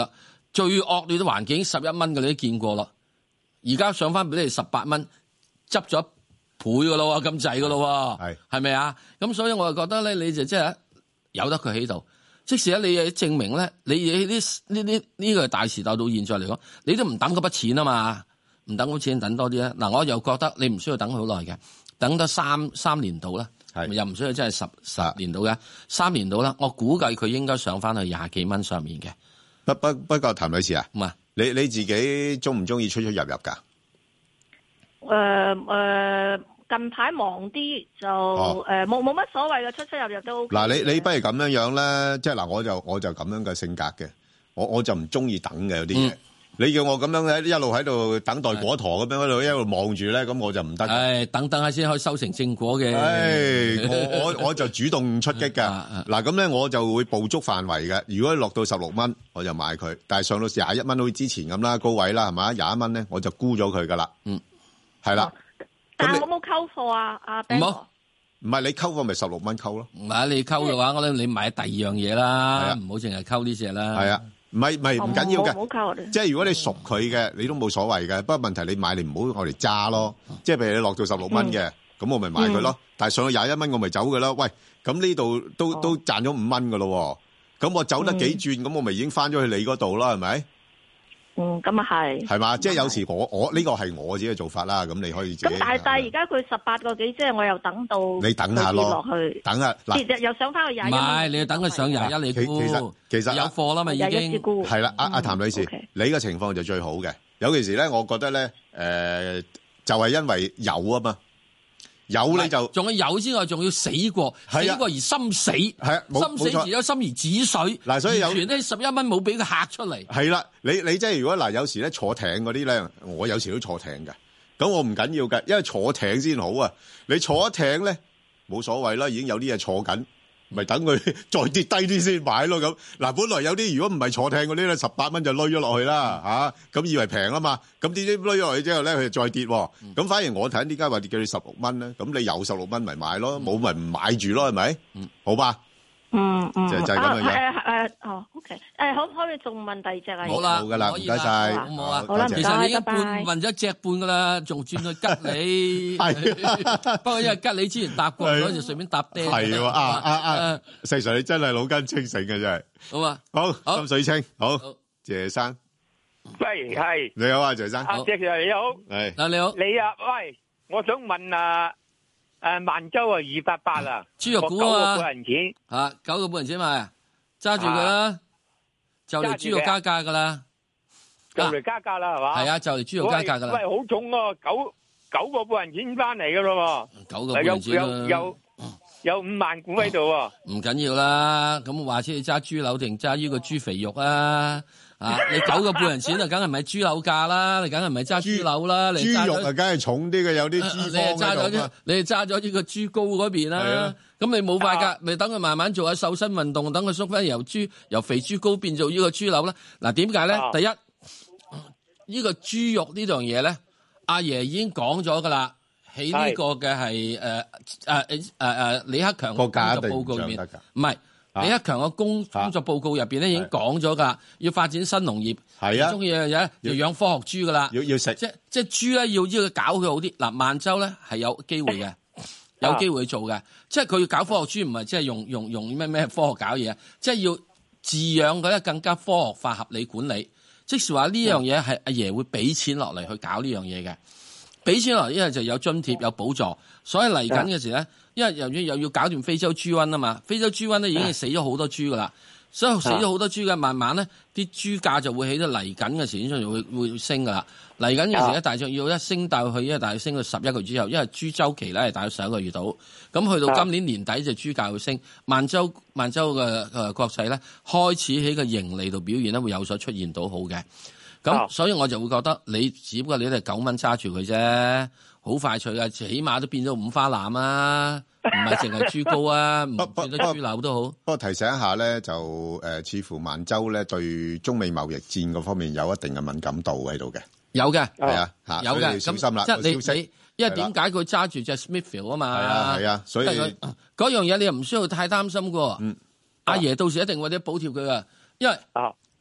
[SPEAKER 6] 最惡劣嘅環境十一蚊嘅你都見過啦，而家上翻俾你十八蚊，執咗一倍噶咯，咁滯噶咯，係係咪啊？咁所以我就覺得咧，你就即係由得佢喺度。即使咧，你證明咧，你呢呢呢呢個大時代到現在嚟講，你都唔等嗰筆錢啊嘛，唔等嗰筆錢，等多啲啦。嗱，我又覺得你唔需要等好耐嘅，等得三三年到啦，又唔需要真係十十年到嘅，三年到啦。我估計佢應該上翻去廿幾蚊上面嘅。
[SPEAKER 5] 不不不過，譚女士啊，
[SPEAKER 6] 唔係
[SPEAKER 5] 你你自己中唔中意出出入入㗎？
[SPEAKER 2] 誒誒。近排忙啲就誒冇冇乜所謂嘅，出出入入都 OK。
[SPEAKER 5] 嗱，你你不如咁樣樣咧，即係嗱，我就我就咁樣嘅性格嘅，我我就唔中意等嘅有啲嘢。你叫我咁樣咧，一路喺度等待果陀咁樣，喺度一路望住咧，咁我就唔得。
[SPEAKER 6] 誒，等等下先可以收成正果嘅。
[SPEAKER 5] 誒，我我我就主動出擊㗎。嗱，咁咧我就會捕捉範圍嘅。如果落到十六蚊，我就買佢；但係上到廿一蚊，好似之前咁啦，高位啦，係嘛？廿一蚊咧，我就沽咗佢㗎啦。嗯，係啦。
[SPEAKER 2] 但係我冇溝貨啊，阿 Ben 哥。
[SPEAKER 5] 唔係你溝貨咪十六蚊溝咯。
[SPEAKER 6] 唔係你溝嘅話，我諗你買第二樣嘢啦，唔好淨係溝呢隻啦。
[SPEAKER 5] 係啊，唔係唔係唔緊要嘅。
[SPEAKER 2] 唔好溝我哋。
[SPEAKER 5] 即係如果你熟佢嘅，你都冇所謂嘅。不過問題你買你唔好我哋揸咯。即係譬如你落到十六蚊嘅，咁我咪買佢咯。但係上到廿一蚊我咪走㗎啦。喂，咁呢度都都賺咗五蚊㗎咯。咁我走得幾轉，咁我咪已經翻咗去你嗰度啦，係咪？
[SPEAKER 2] 嗯，咁啊係，
[SPEAKER 5] 係嘛，即係有時我我呢個係我自己嘅做法啦，咁你可以自己。
[SPEAKER 2] 咁但係但係而家佢十八個幾，即係我又等到
[SPEAKER 5] 你等下咯，
[SPEAKER 2] 落去
[SPEAKER 5] 等下嗱，
[SPEAKER 2] 其實又上翻去廿一。
[SPEAKER 6] 唔係，你要等佢上廿一你沽。其實
[SPEAKER 5] 其實
[SPEAKER 6] 有貨啦嘛，已經
[SPEAKER 5] 係啦。阿阿譚女士，你嘅情況就最好嘅。有其時咧，我覺得咧，誒，就係因為有啊嘛。有你就
[SPEAKER 6] 仲有有之外，仲要死過，死過而心死，
[SPEAKER 5] 係啊，
[SPEAKER 6] 心死而有心而止水。
[SPEAKER 5] 嗱，所以有
[SPEAKER 6] 全咧十一蚊冇俾佢嚇出嚟。
[SPEAKER 5] 係啦，你你即係如果嗱，有時咧坐艇嗰啲咧，我有時都坐艇嘅，咁我唔緊要嘅，因為坐艇先好啊。你坐一艇咧冇所謂啦，已經有啲嘢坐緊。咪等佢再跌低啲先買咯咁。嗱，本來有啲如果唔係坐艇嗰啲咧，十八蚊就攞咗落去啦嚇，咁以為平啊嘛，咁點知攞咗落去之後咧，佢就再跌喎。咁反而我睇點解話跌叫你十六蚊咧？咁你有十六蚊咪買咯，冇咪唔買住咯，係咪？嗯，好吧。
[SPEAKER 2] 嗯嗯，
[SPEAKER 5] 就就係咁樣樣。
[SPEAKER 2] 誒誒哦 OK，誒可唔可以仲問第二隻啊？
[SPEAKER 6] 好啦，
[SPEAKER 5] 好噶啦，唔該晒，
[SPEAKER 6] 好唔好啊？
[SPEAKER 2] 好啦，唔該，
[SPEAKER 6] 其實你已經
[SPEAKER 2] 拜拜。
[SPEAKER 6] 問咗一隻半噶啦，仲轉去吉你。係，不過因為吉你之前搭過，所以就順便搭爹。
[SPEAKER 5] 係喎，啊啊啊！細 Sir 你真係腦筋清醒嘅真係。
[SPEAKER 6] 好啊，
[SPEAKER 5] 好，心水清，好，謝生。
[SPEAKER 12] 喂，係。
[SPEAKER 5] 你好啊，謝生。
[SPEAKER 12] 阿謝 Sir 你好。
[SPEAKER 5] 係。
[SPEAKER 6] 啊你好。
[SPEAKER 12] 你啊，喂，我想問啊。誒，萬洲啊，二八八啊，
[SPEAKER 6] 豬肉股啊嘛，
[SPEAKER 12] 九個半銀錢，
[SPEAKER 6] 吓九個半銀錢買，揸住佢啦，就嚟豬肉加價噶啦，
[SPEAKER 12] 就嚟加價啦係嘛？
[SPEAKER 6] 係啊，就嚟豬肉加價噶啦。
[SPEAKER 12] 喂，好重喎，九九個半銀錢翻嚟噶咯喎，
[SPEAKER 6] 九個半銀錢啦，
[SPEAKER 12] 有有有五萬股喺度喎。
[SPEAKER 6] 唔緊要啦，咁話知你揸豬柳定揸呢個豬肥肉啊？啊！你九個半人錢啊，梗係唔係豬柳價啦？你梗係唔係揸豬柳啦？
[SPEAKER 5] 豬肉啊，梗係重啲嘅，有啲脂肪喺度。
[SPEAKER 6] 你係揸咗呢個豬膏嗰邊啦。咁你冇法㗎，咪等佢慢慢做下瘦身運動，等佢縮翻由豬由肥豬膏變做呢個豬柳啦。嗱，點解咧？第一，呢個豬肉呢樣嘢咧，阿爺已經講咗㗎啦，喺呢個嘅係誒誒誒誒誒李克強個工作報告入面，唔係。李克強嘅工工作報告入邊咧已經講咗噶，要發展新農業，係啊，中意嘅嘢要養科學豬噶啦，
[SPEAKER 5] 要要食，即
[SPEAKER 6] 即係豬咧要要搞佢好啲。嗱，萬洲咧係有機會嘅，有機會做嘅，即係佢要搞科學豬，唔係即係用用用咩咩科學搞嘢，即係要飼養佢咧更加科學化、合理管理。即是話呢樣嘢係阿爺會俾錢落嚟去搞呢樣嘢嘅，俾錢落嚟，因為就有津貼有補助，所以嚟緊嘅時咧。因為由於又要搞掂非洲豬瘟啊嘛，非洲豬瘟咧已經死咗好多豬噶啦，所以死咗好多豬嘅，慢慢咧啲豬價就會起到嚟緊嘅時，先就會會升噶啦。嚟緊嘅時咧，大約要一升到去，因為大約升到十一個月之後，因為豬週期咧係大約十一個月到，咁去到今年年底就豬價會升。萬洲萬洲嘅誒國際咧開始喺個盈利度表現咧會有所出現到好嘅，咁所以我就會覺得你只不過你都係九蚊揸住佢啫。好快脆啊！起碼都變咗五花腩啊，唔係淨係豬膏啊，唔變咗豬柳都好。
[SPEAKER 5] 不過提醒一下咧，就誒、呃，似乎萬洲咧對中美貿易戰嗰方面有一定嘅敏感度喺度嘅。
[SPEAKER 6] 有嘅，
[SPEAKER 5] 係啊，嚇，
[SPEAKER 6] 有嘅。
[SPEAKER 5] 小心啦，
[SPEAKER 6] 即係你你，因為點解佢揸住隻 Smithfield 啊嘛？
[SPEAKER 5] 係啊係啊，所以
[SPEAKER 6] 嗰樣嘢你又唔需要太擔心嘅。嗯，阿爺到時一定會啲補貼佢噶，因為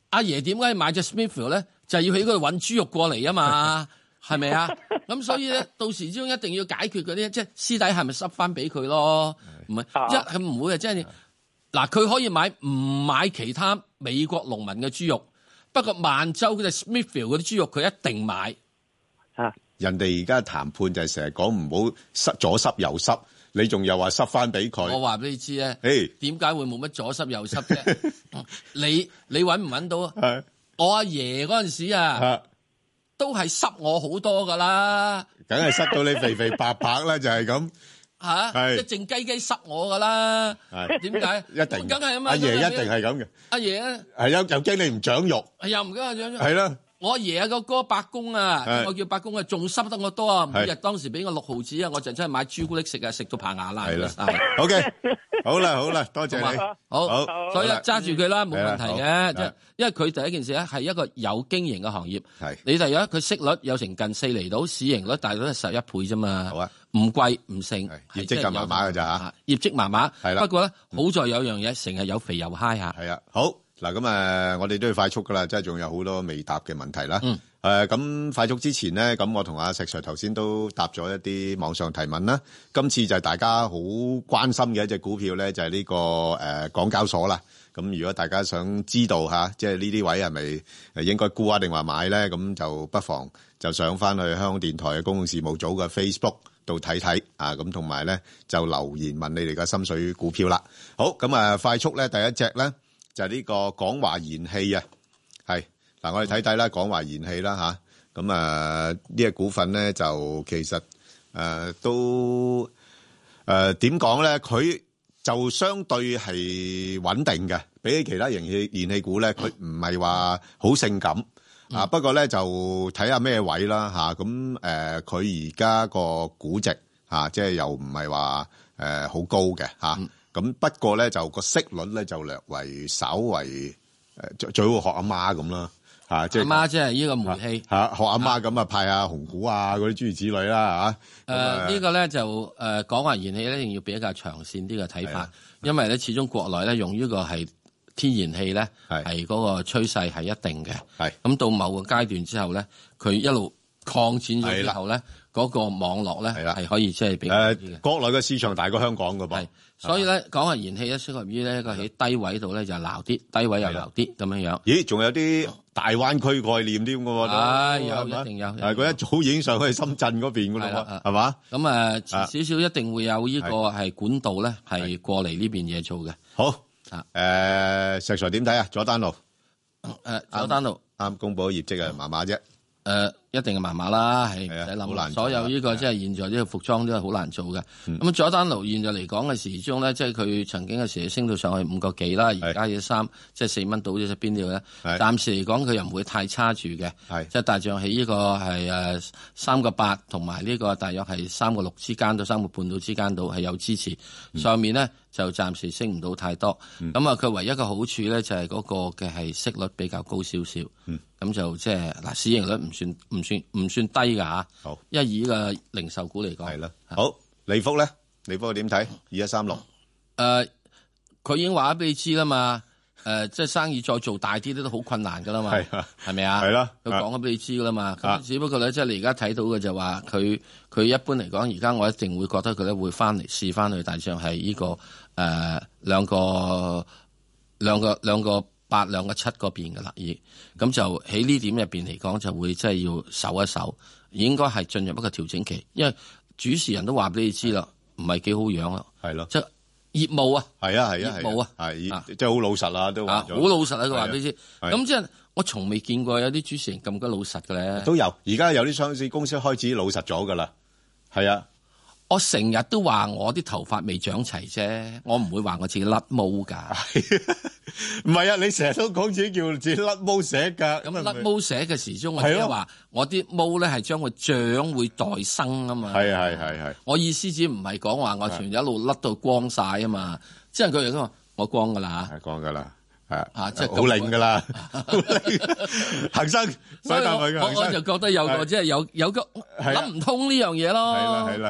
[SPEAKER 6] 阿爺點解買隻 Smithfield 咧？就係要喺嗰度揾豬肉過嚟啊嘛，係咪啊？咁所以咧，到時之中一定要解決嗰啲，即係私底係咪濕翻俾佢咯？唔係一係唔會啊，即係嗱，佢可以買唔買其他美國農民嘅豬肉，不過萬州嗰隻 Smithfield 嗰啲豬肉佢一定買。
[SPEAKER 5] 啊！人哋而家談判就係成日講唔好濕左濕右濕，你仲又話濕翻俾佢。
[SPEAKER 6] 我話俾你知咧，點解會冇乜左濕右濕啫？你你揾唔揾到啊？我阿爺嗰陣時啊，都係濕我好多噶啦，
[SPEAKER 5] 梗係濕到你肥肥白白啦，就係咁
[SPEAKER 6] 吓，即係靜雞雞濕我噶啦。點解？一定，梗係啊嘛。
[SPEAKER 5] 阿爺一定係咁嘅。阿
[SPEAKER 6] 爺咧
[SPEAKER 5] 係有又驚你唔長肉，
[SPEAKER 6] 又唔驚我長肉。
[SPEAKER 5] 係啦。
[SPEAKER 6] 我阿爺啊個哥伯公啊，我叫伯公啊，仲濕得我多啊！每日當時俾我六毫子啊，我就真係買朱古力食啊，食到排牙爛。係啦
[SPEAKER 5] ，OK，好啦好啦，多謝你，
[SPEAKER 6] 好，所以揸住佢啦，冇問題嘅，即係因為佢第一件事咧係一個有經營嘅行業。係你第一，佢息率有成近四厘到，市盈率大概都係十一倍啫嘛。好啊，唔貴唔盛，
[SPEAKER 5] 業績就麻麻㗎咋嚇？
[SPEAKER 6] 業績麻麻，係啦。不過咧，
[SPEAKER 5] 嗯、
[SPEAKER 6] 好在有樣嘢，成日有肥油嗨下。
[SPEAKER 5] 係啊，好嗱，咁誒，我哋都要快速噶啦，即係仲有好多未答嘅問題啦。嗯。誒，咁快速之前咧，咁我同阿石 Sir 頭先都答咗一啲網上提問啦。今次就係大家好關心嘅一隻股票咧，就係呢個誒港交所啦。咁如果大家想知道吓，即係呢啲位係咪誒應該沽啊定話買咧？咁就不妨就上翻去香港電台嘅公共事務組嘅 Facebook 度睇睇啊。咁同埋咧就留言問你哋嘅心水股票啦。好，咁啊快速咧第一隻咧就係呢個港華燃氣啊，係。嗱，我哋睇睇啦，港華燃氣啦吓，咁啊呢隻股份咧就其實誒、呃、都誒點講咧，佢、呃、就相對係穩定嘅，比起其他燃氣燃氣股咧，佢唔係話好性感、嗯、啊。不過咧就睇下咩位啦吓，咁誒佢而家個估值吓，即係又唔係話誒好高嘅吓，咁、嗯、不過咧就個息率咧就略為稍為誒最最好學阿媽咁啦。啊！即係
[SPEAKER 6] 阿媽，即係呢個煤氣
[SPEAKER 5] 嚇，學阿媽咁啊，派下紅股啊，嗰啲諸如此類啦嚇。
[SPEAKER 6] 誒呢個咧就誒講話燃氣咧，一定要比較長線啲嘅睇法，因為咧始終國內咧用呢個係天然氣咧係嗰個趨勢係一定嘅。係咁到某個階段之後咧，佢一路擴展咗之後咧，嗰個網絡咧係可以即係比較啲嘅。
[SPEAKER 5] 國內嘅市場大過香港㗎噃。
[SPEAKER 6] 所以咧講話燃氣咧適合於咧個喺低位度咧就撈啲，低位又撈啲咁樣樣。
[SPEAKER 5] 咦？仲有啲大灣區概念添㗎喎？
[SPEAKER 6] 係有一定有。
[SPEAKER 5] 係佢一早已經上去深圳嗰邊㗎啦，係嘛？
[SPEAKER 6] 咁啊遲少少一定會有呢個係管道咧係過嚟呢邊嘢做嘅。
[SPEAKER 5] 好啊，誒石 Sir 點睇啊？佐丹奴
[SPEAKER 6] 誒佐丹奴
[SPEAKER 5] 啱公佈業績啊，麻麻啫。
[SPEAKER 6] 誒一定係麻麻啦，係唔使諗。所有呢個即係現在呢個服裝都係好難做嘅。咁佐丹奴現在嚟講嘅時鐘咧，即係佢曾經嘅時升到上去五個幾啦，而家嘅三即係四蚊到咗邊度咧？暫時嚟講佢又唔會太差住嘅，即係大約喺呢個係誒三個八同埋呢個大約係三個六之間到三個半到之間度係有支持。嗯、上面咧就暫時升唔到太多。咁啊，佢唯一一個好處咧就係嗰個嘅係息率比較高少少。嗯咁就即係嗱，市盈率唔算唔算唔算低㗎吓。好，因為以呢個零售股嚟講係啦。
[SPEAKER 5] 好，利福咧，利福點睇？二一三六。
[SPEAKER 6] 誒，佢已經話咗俾你知啦嘛。誒、呃，即係生意再做大啲都都好困難㗎啦嘛。係啊，係咪啊？係啦。佢講咗俾你知㗎啦嘛。咁只不過咧，即係你而家睇到嘅就話佢佢一般嚟講，而家我一定會覺得佢咧會翻嚟試翻去，大致上係呢個誒兩個兩個兩個。八兩個七嗰邊嘅啦，已咁就喺呢點入邊嚟講，就會即係要守一守，應該係進入一個調整期，因為主持人都話俾你知啦，唔係幾好樣咯，係咯，即係業務啊，
[SPEAKER 5] 係啊係啊，業務啊，係即係好老實啦，都話好老實啊，佢話俾你知，咁即係我從未見過有啲主持人咁鬼老實嘅咧，都有，而家有啲上市公司開始老實咗噶啦，係啊。
[SPEAKER 6] 我成日都話我啲頭髮未長齊啫，我唔會話我自己甩毛㗎。
[SPEAKER 5] 唔係啊，你成日都講自己叫自己甩毛寫㗎。
[SPEAKER 6] 咁甩毛寫嘅時鐘，我即係話我啲毛咧係將會長會代生啊嘛。係係係係。我意思只唔係講話我全一路甩到光晒啊嘛。即係佢哋都話我光㗎啦。係光㗎啦。係啊，即係好靚㗎啦。恒生，所以我我就覺得有個即係有有個諗唔通呢樣嘢咯。係啦係啦。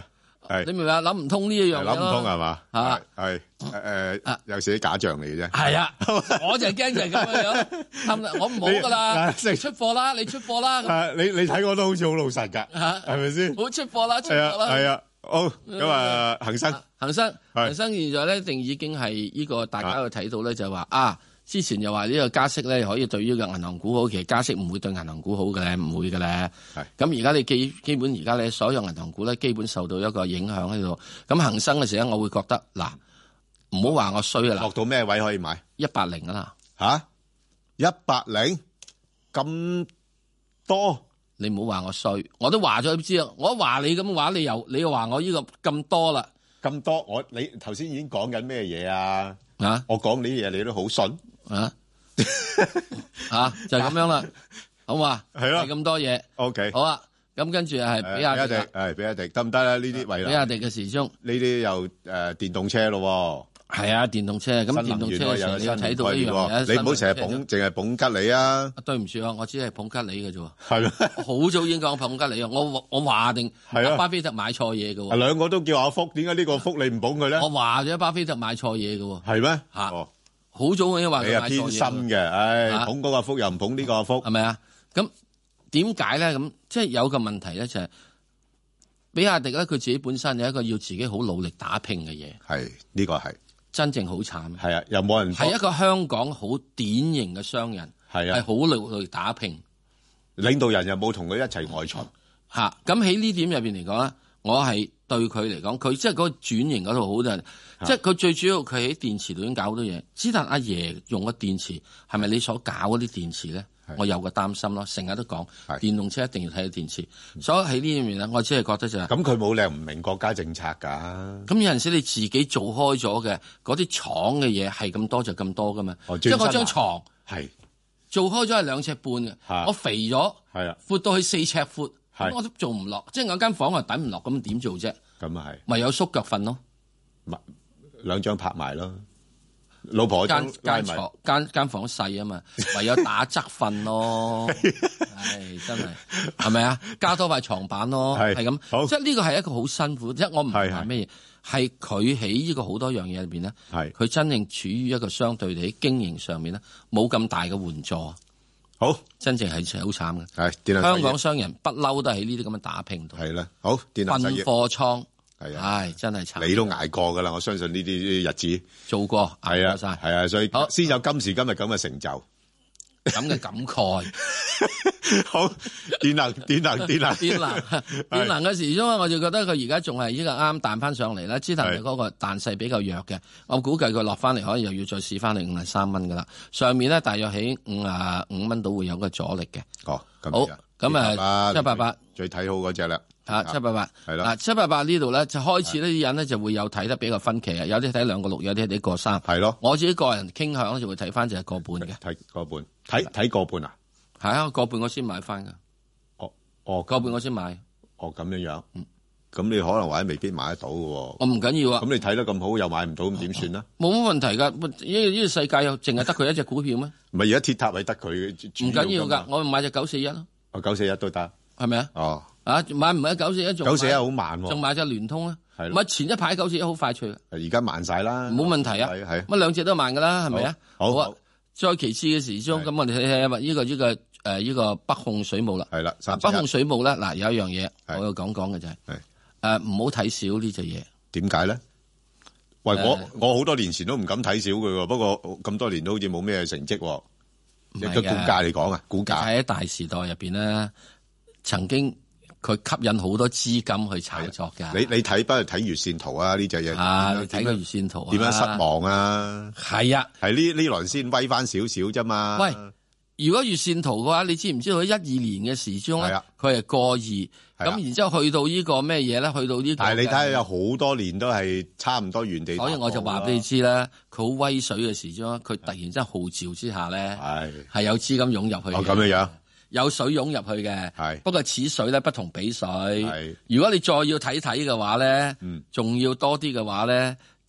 [SPEAKER 6] 你明唔明啊？諗唔通呢一樣嘢咯，
[SPEAKER 5] 諗唔通係嘛？
[SPEAKER 6] 啊，
[SPEAKER 5] 係誒，有時啲假象嚟嘅啫。
[SPEAKER 6] 係啊，我就係驚就係咁樣樣，我唔好噶啦，你出貨啦，你出貨啦。
[SPEAKER 5] 你你睇我都好似好老實㗎，係咪先？
[SPEAKER 6] 好出貨啦，出貨啦。
[SPEAKER 5] 係啊，好咁啊，恒生，
[SPEAKER 6] 恒生，恒生現在咧，一定已經係呢個大家去睇到咧，就係話啊。之前又話呢個加息咧可以對於個銀行股好，其實加息唔會對銀行股好嘅咧，唔會嘅咧。咁而家你基基本而家咧所有銀行股咧基本受到一個影響喺度。咁恒生嘅時候，我會覺得嗱，唔好話我衰啊啦。
[SPEAKER 5] 落到咩位可以買？
[SPEAKER 6] 一百零啊啦。
[SPEAKER 5] 吓？一百零咁多？
[SPEAKER 6] 你唔好話我衰，我都話咗你知啊。我話你咁話，你又你又話我呢個咁多啦。
[SPEAKER 5] 咁多？我你頭先已經講緊咩嘢啊？
[SPEAKER 6] 啊！
[SPEAKER 5] 我講呢啲嘢你都好信。
[SPEAKER 6] 啊，啊就係、是、咁樣啦，好嘛？
[SPEAKER 5] 係咯，
[SPEAKER 6] 咁多嘢。
[SPEAKER 5] O K，
[SPEAKER 6] 好啊。咁跟住係比亞迪，
[SPEAKER 5] 係比亞迪得唔得咧？呢啲位啦。
[SPEAKER 6] 比亞迪嘅時鐘，
[SPEAKER 5] 呢啲又誒、呃、電動車咯。
[SPEAKER 6] 係啊，電動車。咁電動車嘅你又睇到呢樣嘢，
[SPEAKER 5] 你唔好成日捧，淨係捧吉利啊！
[SPEAKER 6] 對唔住啊，我只係捧吉利嘅啫。
[SPEAKER 5] 係咯，
[SPEAKER 6] 好早已經講捧吉利啊！我我話定，巴菲特買錯嘢嘅。
[SPEAKER 5] 兩個都叫阿福，點解呢個福你唔捧佢咧？
[SPEAKER 6] 我話咗巴菲特買錯嘢嘅。
[SPEAKER 5] 係咩？
[SPEAKER 6] 吓、哦，好早已經話佢買錯嘢。
[SPEAKER 5] 你係偏心嘅，唉、哎，捧嗰個福又唔捧呢個福，
[SPEAKER 6] 係咪啊？咁點解咧？咁即係有個問題咧，就係、是、比亞迪咧，佢自己本身有一個要自己好努力打拼嘅嘢。
[SPEAKER 5] 係呢、這個係。
[SPEAKER 6] 真正好慘，
[SPEAKER 5] 係啊，又冇人
[SPEAKER 6] 係一個香港好典型嘅商人，係啊，係好努力打拼，
[SPEAKER 5] 領導人又冇同佢一齊外巡
[SPEAKER 6] 嚇。咁喺呢點入邊嚟講咧，我係對佢嚟講，佢即係嗰個轉型嗰度好多人，即係佢最主要佢喺電池度已經搞好多嘢。之但阿爺用嘅電池係咪你所搞嗰啲電池咧？我有個擔心咯，成日都講電動車一定要睇下電池，所以喺呢方面咧，我只係覺得就係
[SPEAKER 5] 咁，佢冇理由唔明國家政策㗎。
[SPEAKER 6] 咁有陣時你自己做開咗嘅嗰啲廠嘅嘢係咁多就咁多㗎嘛，
[SPEAKER 5] 哦、
[SPEAKER 6] 即係嗰張牀
[SPEAKER 5] 係
[SPEAKER 6] 做開咗係兩尺半嘅，我肥咗，
[SPEAKER 5] 係啊，
[SPEAKER 6] 闊到去四尺闊，我都做唔落，即係我間房啊等唔落，咁點做啫？
[SPEAKER 5] 咁啊係，
[SPEAKER 6] 咪有縮腳瞓咯，
[SPEAKER 5] 咪兩張拍埋咯。老婆
[SPEAKER 6] 間間房間間房細啊嘛，唯有打側瞓咯，唉真係係咪啊？加多塊床板咯，係咁，即係呢個係一個好辛苦，即係我唔係話咩嘢，係佢喺呢個好多樣嘢裏邊咧，係佢真正處於一個相對地喺經營上面咧冇咁大嘅援助，
[SPEAKER 5] 好
[SPEAKER 6] 真正係好慘嘅。
[SPEAKER 5] 係
[SPEAKER 6] 香港商人不嬲都喺呢啲咁嘅打拼度，
[SPEAKER 5] 係啦，好電能
[SPEAKER 6] 分貨倉。
[SPEAKER 5] 係啊，
[SPEAKER 6] 唉，真係慘！
[SPEAKER 5] 你都捱過噶啦，我相信呢啲日子
[SPEAKER 6] 做過，
[SPEAKER 5] 係啊，
[SPEAKER 6] 晒
[SPEAKER 5] 係啊，所以先有今時今日咁嘅成就，
[SPEAKER 6] 咁嘅感慨。
[SPEAKER 5] 好，電能，電能，電能，
[SPEAKER 6] 電能，電能嘅時鐘，我就覺得佢而家仲係呢個啱彈翻上嚟啦。之但係嗰個彈勢比較弱嘅，我估計佢落翻嚟可能又要再試翻嚟五十三蚊噶啦。上面咧大約喺五啊五蚊度會有個阻力嘅。
[SPEAKER 5] 哦，
[SPEAKER 6] 好，咁啊，七八八
[SPEAKER 5] 最睇好嗰隻啦。
[SPEAKER 6] 啊，七八八
[SPEAKER 5] 係啦，
[SPEAKER 6] 嗱七八八呢度咧就開始呢啲人咧就會有睇得比較分歧啊，有啲睇兩個六，有啲睇個三，
[SPEAKER 5] 係咯。
[SPEAKER 6] 我自己個人傾向咧就會睇翻就係個半嘅，
[SPEAKER 5] 睇個半，睇睇個半啊，
[SPEAKER 6] 係啊，個半我先買翻噶，
[SPEAKER 5] 哦哦，
[SPEAKER 6] 個半我先買，
[SPEAKER 5] 哦咁樣樣，嗯，咁你可能或者未必買得到嘅喎，
[SPEAKER 6] 我唔緊要啊，
[SPEAKER 5] 咁你睇得咁好又買唔到，咁點算咧？
[SPEAKER 6] 冇乜問題噶，呢呢個世界又淨係得佢一隻股票咩？
[SPEAKER 5] 唔係而家鐵塔係得佢，
[SPEAKER 6] 唔緊要噶，我買隻九四一咯，
[SPEAKER 5] 哦九四一都得，
[SPEAKER 6] 係咪啊？
[SPEAKER 5] 哦。
[SPEAKER 6] 啊！買唔係九四一，仲
[SPEAKER 5] 九四一好慢喎，
[SPEAKER 6] 仲買隻聯通啊？係咪前一排九四一好快脆？
[SPEAKER 5] 而家慢晒啦，
[SPEAKER 6] 冇問題啊。
[SPEAKER 5] 係係，
[SPEAKER 6] 乜兩隻都慢噶啦，係咪啊？
[SPEAKER 5] 好啊。
[SPEAKER 6] 再其次嘅時鐘，咁我哋睇睇呢個呢個誒呢個北控水務啦。
[SPEAKER 5] 係啦，
[SPEAKER 6] 北控水務咧，嗱有一樣嘢我要講講嘅就係誒唔好睇少呢隻嘢。
[SPEAKER 5] 點解咧？喂，我我好多年前都唔敢睇少佢喎，不過咁多年都好似冇咩成績。一個股價嚟講啊，股價
[SPEAKER 6] 喺大時代入邊咧，曾經。佢吸引好多資金去炒作㗎。
[SPEAKER 5] 你你睇，不如睇月線圖啊！呢隻嘢
[SPEAKER 6] 啊，你睇個月線圖啊，
[SPEAKER 5] 點樣失望啊？
[SPEAKER 6] 係啊，
[SPEAKER 5] 係呢呢輪先威翻少少啫嘛。
[SPEAKER 6] 喂，如果月線圖嘅話，你知唔知道喺一二年嘅時鐘咧，佢係過二，咁然之後去到呢個咩嘢咧？去到呢個，
[SPEAKER 5] 但係你睇下有好多年都係差唔多原地。
[SPEAKER 6] 所以我就話俾你知啦，佢好威水嘅時鐘，佢突然之間號召之下咧，係係有資金湧入去。
[SPEAKER 5] 哦，咁樣樣。
[SPEAKER 6] 有水湧入去嘅，
[SPEAKER 5] 係
[SPEAKER 6] 不過此水咧不同彼水。係如果你再要睇睇嘅話咧，仲、嗯、要多啲嘅話咧，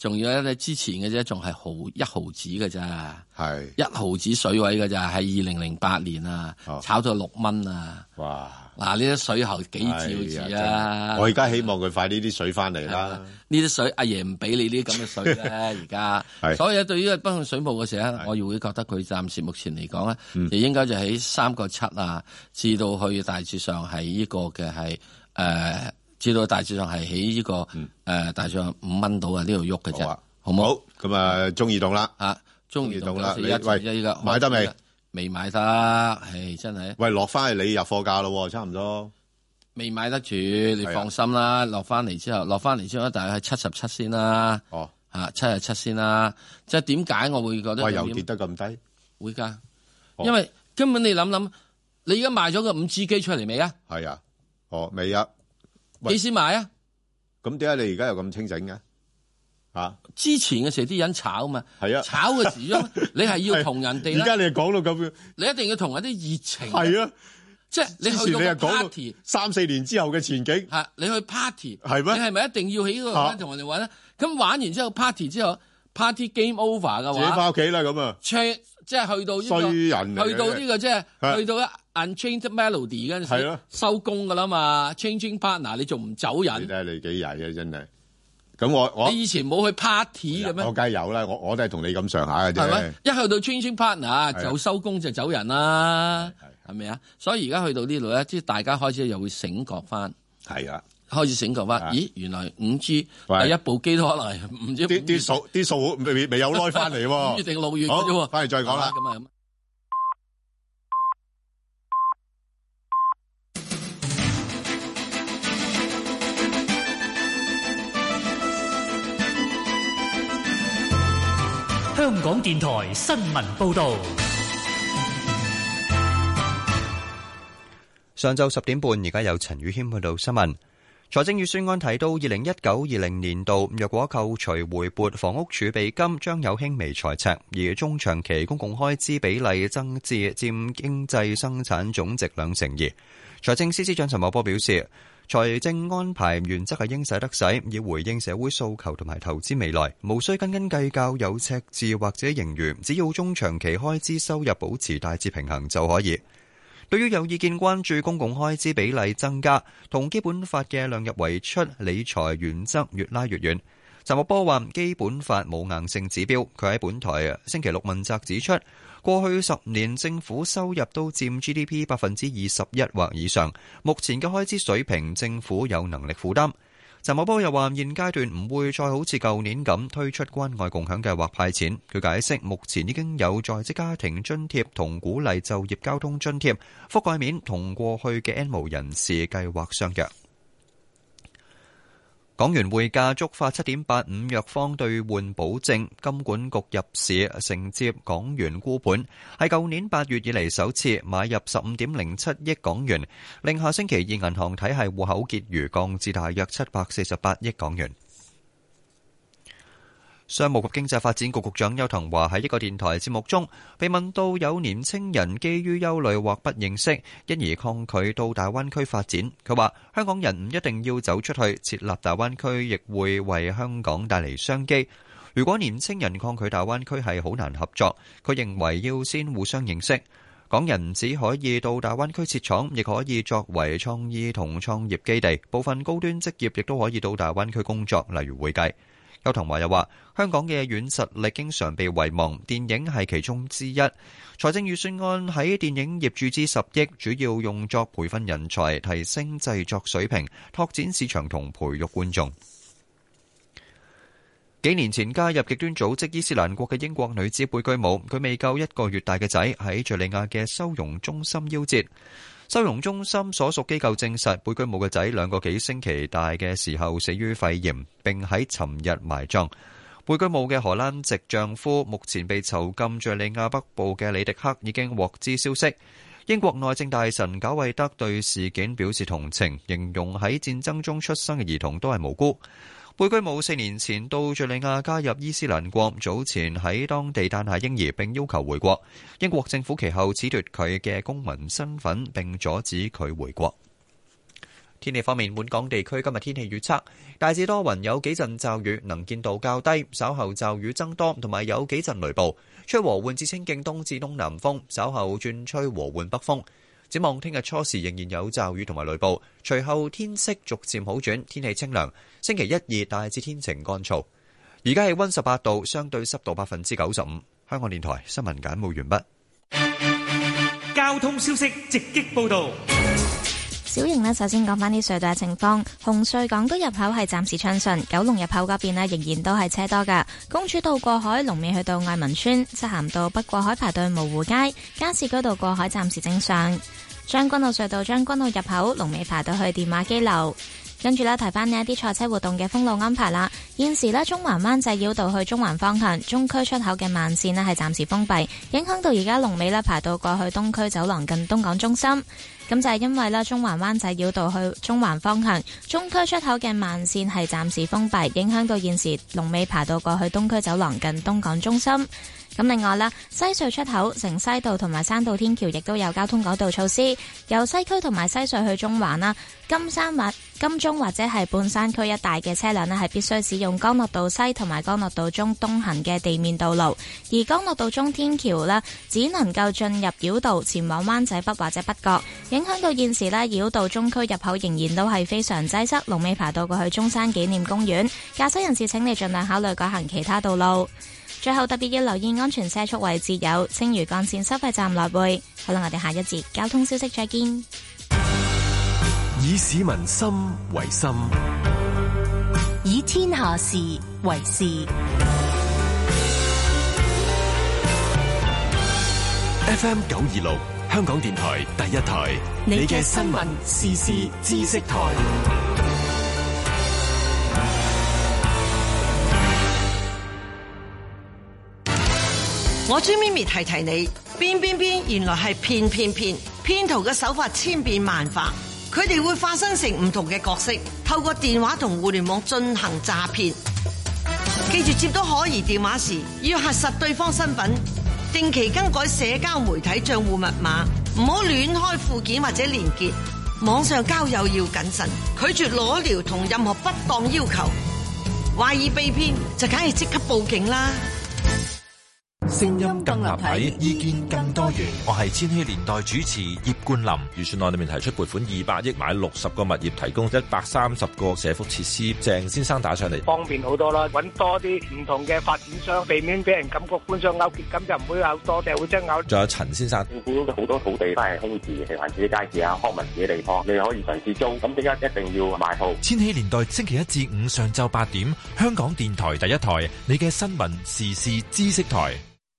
[SPEAKER 6] 仲要咧之前嘅啫，仲係毫一毫子嘅咋，
[SPEAKER 5] 係
[SPEAKER 6] 一毫子水位嘅咋，係二零零八年啊，
[SPEAKER 5] 哦、
[SPEAKER 6] 炒到六蚊啊！
[SPEAKER 5] 哇！
[SPEAKER 6] 嗱，呢啲水喉幾兆字啊！
[SPEAKER 5] 我而家希望佢快啲啲水翻嚟啦。
[SPEAKER 6] 呢啲水阿爺唔俾你呢啲咁嘅水咧，而家。所以對於北向水務嘅時候，我亦會覺得佢暫時目前嚟講咧，嗯、就應該就喺三個七啊，至到去大致上係呢個嘅係誒，至到大致上係喺呢個誒、嗯呃、大致上五蚊到啊呢度喐嘅啫，好唔好？好咁啊，中移動啦嚇，中移動啦，
[SPEAKER 5] 你喂依家買得未？
[SPEAKER 6] 未買得，唉，真係。
[SPEAKER 5] 喂，落翻去你入貨價咯，差唔多。
[SPEAKER 6] 未買得住，你放心啦。落翻嚟之後，落翻嚟之後，大概係七十七先啦。
[SPEAKER 5] 哦，
[SPEAKER 6] 吓七十七先啦。即係點解我會覺得？
[SPEAKER 5] 喂，又跌得咁低？
[SPEAKER 6] 會噶，因為根本你諗諗，你而家賣咗個五 G 機出嚟未啊？
[SPEAKER 5] 係啊，哦，未啊。
[SPEAKER 6] 幾時買啊？
[SPEAKER 5] 咁點解你而家又咁清醒嘅？啊！
[SPEAKER 6] 之前嘅時候啲人炒嘛，
[SPEAKER 5] 係啊，
[SPEAKER 6] 炒嘅時候你係要同人哋。
[SPEAKER 5] 而家你講到咁樣，
[SPEAKER 6] 你一定要同人啲熱情。
[SPEAKER 5] 係啊，
[SPEAKER 6] 即係你去到個 party，
[SPEAKER 5] 三四年之後嘅前景。
[SPEAKER 6] 係你去 party，
[SPEAKER 5] 係咩？
[SPEAKER 6] 你係咪一定要喺嗰度同人哋玩咧？咁玩完之後 party 之後 party game over 嘅話，
[SPEAKER 5] 自己翻屋企啦咁啊！
[SPEAKER 6] 即係去到呢個，
[SPEAKER 5] 衰人
[SPEAKER 6] 去到呢個即係去到一 Unchained Melody 嗰陣時，收工噶啦嘛 ，Changing Partner 你仲唔走人？
[SPEAKER 5] 你睇下你幾曳啊！真係。咁我我
[SPEAKER 6] 你以前冇去 party 嘅咩？
[SPEAKER 5] 我梗係有啦，我我都係同你咁上下嘅啫。
[SPEAKER 6] 係咪？一去到 changing partner 就收工就走人啦，係咪啊？所以而家去到呢度咧，即係大家開始又會醒覺翻。
[SPEAKER 5] 係啊，
[SPEAKER 6] 開始醒覺翻。咦，原來五 G 第一部機都可能係唔知
[SPEAKER 5] 啲啲數啲數未未有耐翻嚟喎。
[SPEAKER 6] 五月定六月嘅啫喎。
[SPEAKER 5] 翻嚟再講啦。
[SPEAKER 6] 咁啊咁。
[SPEAKER 7] 香港電台新聞報道：
[SPEAKER 8] 上晝十點半，而家有陳宇謙去到新聞。財政預算案提到，二零一九二零年度若果扣除回撥房屋儲備金，將有輕微財赤，而中長期公共開支比例增至佔經濟生產總值兩成二。財政司司長陳茂波表示，財政安排原則係應使得使，以回應社會訴求同埋投資未來，無需斤斤計較有赤字或者盈餘，只要中長期開支收入保持大致平衡就可以。對於有意見關注公共開支比例增加同基本法嘅量入為出理財原則越拉越遠，陳茂波話基本法冇硬性指標，佢喺本台星期六問責指出，過去十年政府收入都佔 G D P 百分之二十一或以上，目前嘅開支水平政府有能力負擔。陳茂波又話現階段唔會再好似舊年咁推出關愛共享計劃派錢。佢解釋目前已經有在職家庭津貼同鼓勵就業交通津貼，覆蓋面同過去嘅 N 無人士計劃相若。港元匯價觸發 七點八五 弱方兌換保證，金管局入市承接港元沽盤，係舊年八月以嚟首次買入 十五點零七億港元，令下星期二銀行體系戶口結餘降至大約七百四十八億港元。商務及經濟發展局局長邱騰華喺一個電台節目中被問到有年青人基於憂慮或不認識，因而抗拒到大灣區發展。佢話香港人唔一定要走出去，設立大灣區亦會為香港帶嚟商機。如果年青人抗拒大灣區係好難合作，佢認為要先互相認識。港人只可以到大灣區設廠，亦可以作為創意同創業基地。部分高端職業亦都可以到大灣區工作，例如會計。邱騰華又話：香港嘅軟實力經常被遺忘，電影係其中之一。財政預算案喺電影業注資十億，主要用作培訓人才、提升製作水平、拓展市場同培育觀眾。幾年前加入極端組織伊斯蘭國嘅英國女子貝居姆，佢未夠一個月大嘅仔喺敘利亞嘅收容中心夭折。收容中心所屬機構證實，貝居姆嘅仔兩個幾星期大嘅時候死於肺炎，並喺尋日埋葬。貝居姆嘅荷蘭籍丈夫目前被囚禁敘利亞北部嘅里迪克已經獲知消息。英國內政大臣賈偉德對事件表示同情，形容喺戰爭中出生嘅兒童都係無辜。貝居姆四年前到敘利亞加入伊斯蘭國，早前喺當地誕下嬰兒並要求回國。英國政府其後褫奪佢嘅公民身份並阻止佢回國。 天氣方面，本港地區今日天氣預測大致多雲，有幾陣驟雨，能見度較低，稍後驟雨增多，同埋有幾陣雷暴，吹和緩至清勁東至東南風，稍後轉吹和緩北風。展望聽日初時仍然有驟雨同埋雷暴，隨後天色逐漸好轉，天氣清涼。星期一、二大致天晴乾燥。而家氣溫十八度，相對濕度百分之九十五。香港電台新聞簡報完畢。
[SPEAKER 7] 交通消息直擊報道。
[SPEAKER 9] 小瑩呢，首先講返啲隧道嘅情況。紅隧港島入口係暫時暢順，九龍入口嗰邊呢仍然都係車多㗎。公主道過海龍尾去到愛民村，漆咸道北過海排到蕪湖街，加士居道過海暫時正常。將軍澳隧道將軍澳入口龍尾排到去電話機樓。跟住咧，提翻呢一啲賽車活動嘅封路安排啦。現時呢，中環灣仔繞道去中環方向中區出口嘅慢線呢係暫時封閉，影響到而家龍尾呢排到過去東區走廊近東港中心。咁就係因為呢，中環灣仔繞道去中環方向中區出口嘅慢線係暫時封閉，影響到現時龍尾排到過去東區走廊近東港中心。咁另外啦，西隧出口城西道同埋山道天橋亦都有交通改道措施，由西區同埋西隧去中環啦、金山或金鐘或者係半山區一帶嘅車輛呢係必須使用干諾道西同埋干諾道中東行嘅地面道路，而干諾道中天橋呢只能夠進入繞道前往灣仔北或者北角，影響到現時呢繞道中區入口仍然都係非常擠塞，龍尾排到過去中山紀念公園，駕駛人士請你盡量考慮改行其他道路。最後特別要留意安全車速位置有青嶼幹線收費站來回。好啦，我哋下一節交通消息再見。
[SPEAKER 13] 以市民心為心，
[SPEAKER 11] 以天下事為事。
[SPEAKER 13] F M 九二六香港電台第一台，你嘅新聞時事知識台。
[SPEAKER 14] 我朱咪咪提提你，邊邊邊原來係騙騙騙，騙徒嘅手法千變萬化，佢哋會化身成唔同嘅角色，透過電話同互聯網進行詐騙。記住接到可疑電話時，要核實對方身份，定期更改社交媒體賬戶密碼，唔好亂開附件或者連結。網上交友要謹慎，拒絕裸聊同任何不當要求。懷疑被騙就梗係即刻報警啦。
[SPEAKER 15] 聲音更立體，意見更多元。我係千禧年代主持葉冠霖。預算案裏面提出撥款二百億買六十個物業，提供一百三十個社福設施。鄭先生打上嚟，
[SPEAKER 12] 方便好多啦，揾多啲唔同嘅發展商，避免俾人感覺官商勾結，咁就唔會有多社會爭拗。
[SPEAKER 15] 仲有陳先生，
[SPEAKER 16] 政府好多土地都係空置，係環自己街市啊、康文自己地方，你可以嘗試租，咁點解一定要買鋪？
[SPEAKER 15] 千禧年代星期一至五上晝八點，香港電台第一台，你嘅新聞時事知識台。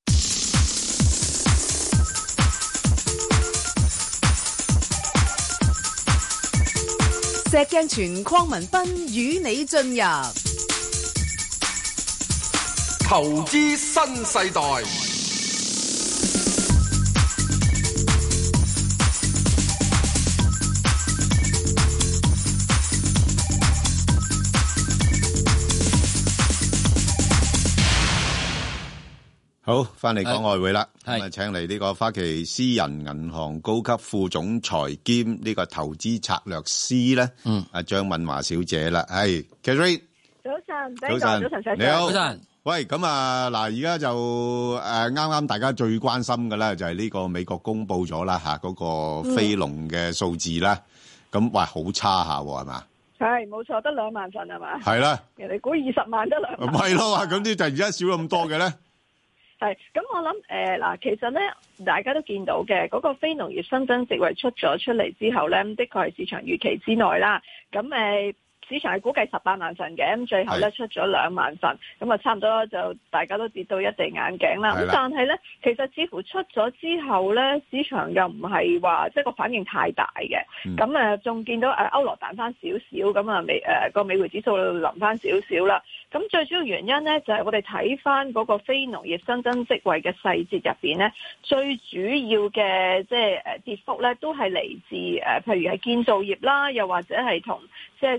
[SPEAKER 3] 石鏡泉鄺民彬與你進入
[SPEAKER 4] 投資新世代。
[SPEAKER 5] 好，翻嚟講外匯啦，咁啊，請嚟呢個花旗私人銀行高級副總裁兼呢個投資策略師咧，嗯，阿張敏華小姐啦，係 Kerry，
[SPEAKER 25] 早晨，
[SPEAKER 5] 早晨，
[SPEAKER 25] 早晨，
[SPEAKER 5] 你好，
[SPEAKER 25] 早晨。
[SPEAKER 5] 喂，咁啊，嗱，而家就誒啱啱大家最關心嘅咧，就係呢個美國公布咗啦吓，嗰個非農嘅數字啦，咁哇好差下係嘛？
[SPEAKER 25] 係冇錯，得兩萬份係嘛？
[SPEAKER 5] 係啦，
[SPEAKER 25] 人哋估二十萬得兩萬，
[SPEAKER 5] 唔係咯，咁啲突然之間少咗咁多嘅咧？
[SPEAKER 25] 係，咁我諗誒嗱，其實咧大家都見到嘅嗰、那個非農業新增職位出咗出嚟之後咧，的確係市場預期之內啦。咁誒、呃、市場係估計十八萬份嘅，咁最後咧出咗兩萬份，咁啊差唔多就大家都跌到一地眼鏡啦。咁但係咧，其實似乎出咗之後咧，市場又唔係話即係個反應太大嘅。咁誒仲見到誒歐羅彈翻少少，咁啊美誒個美匯指數臨翻少少啦。咁最主要原因咧，就係、是、我哋睇翻嗰個非農業新增職位嘅細節入邊咧，最主要嘅即係誒跌幅咧，都係嚟自誒，譬如係建造業啦，又或者係同即係消費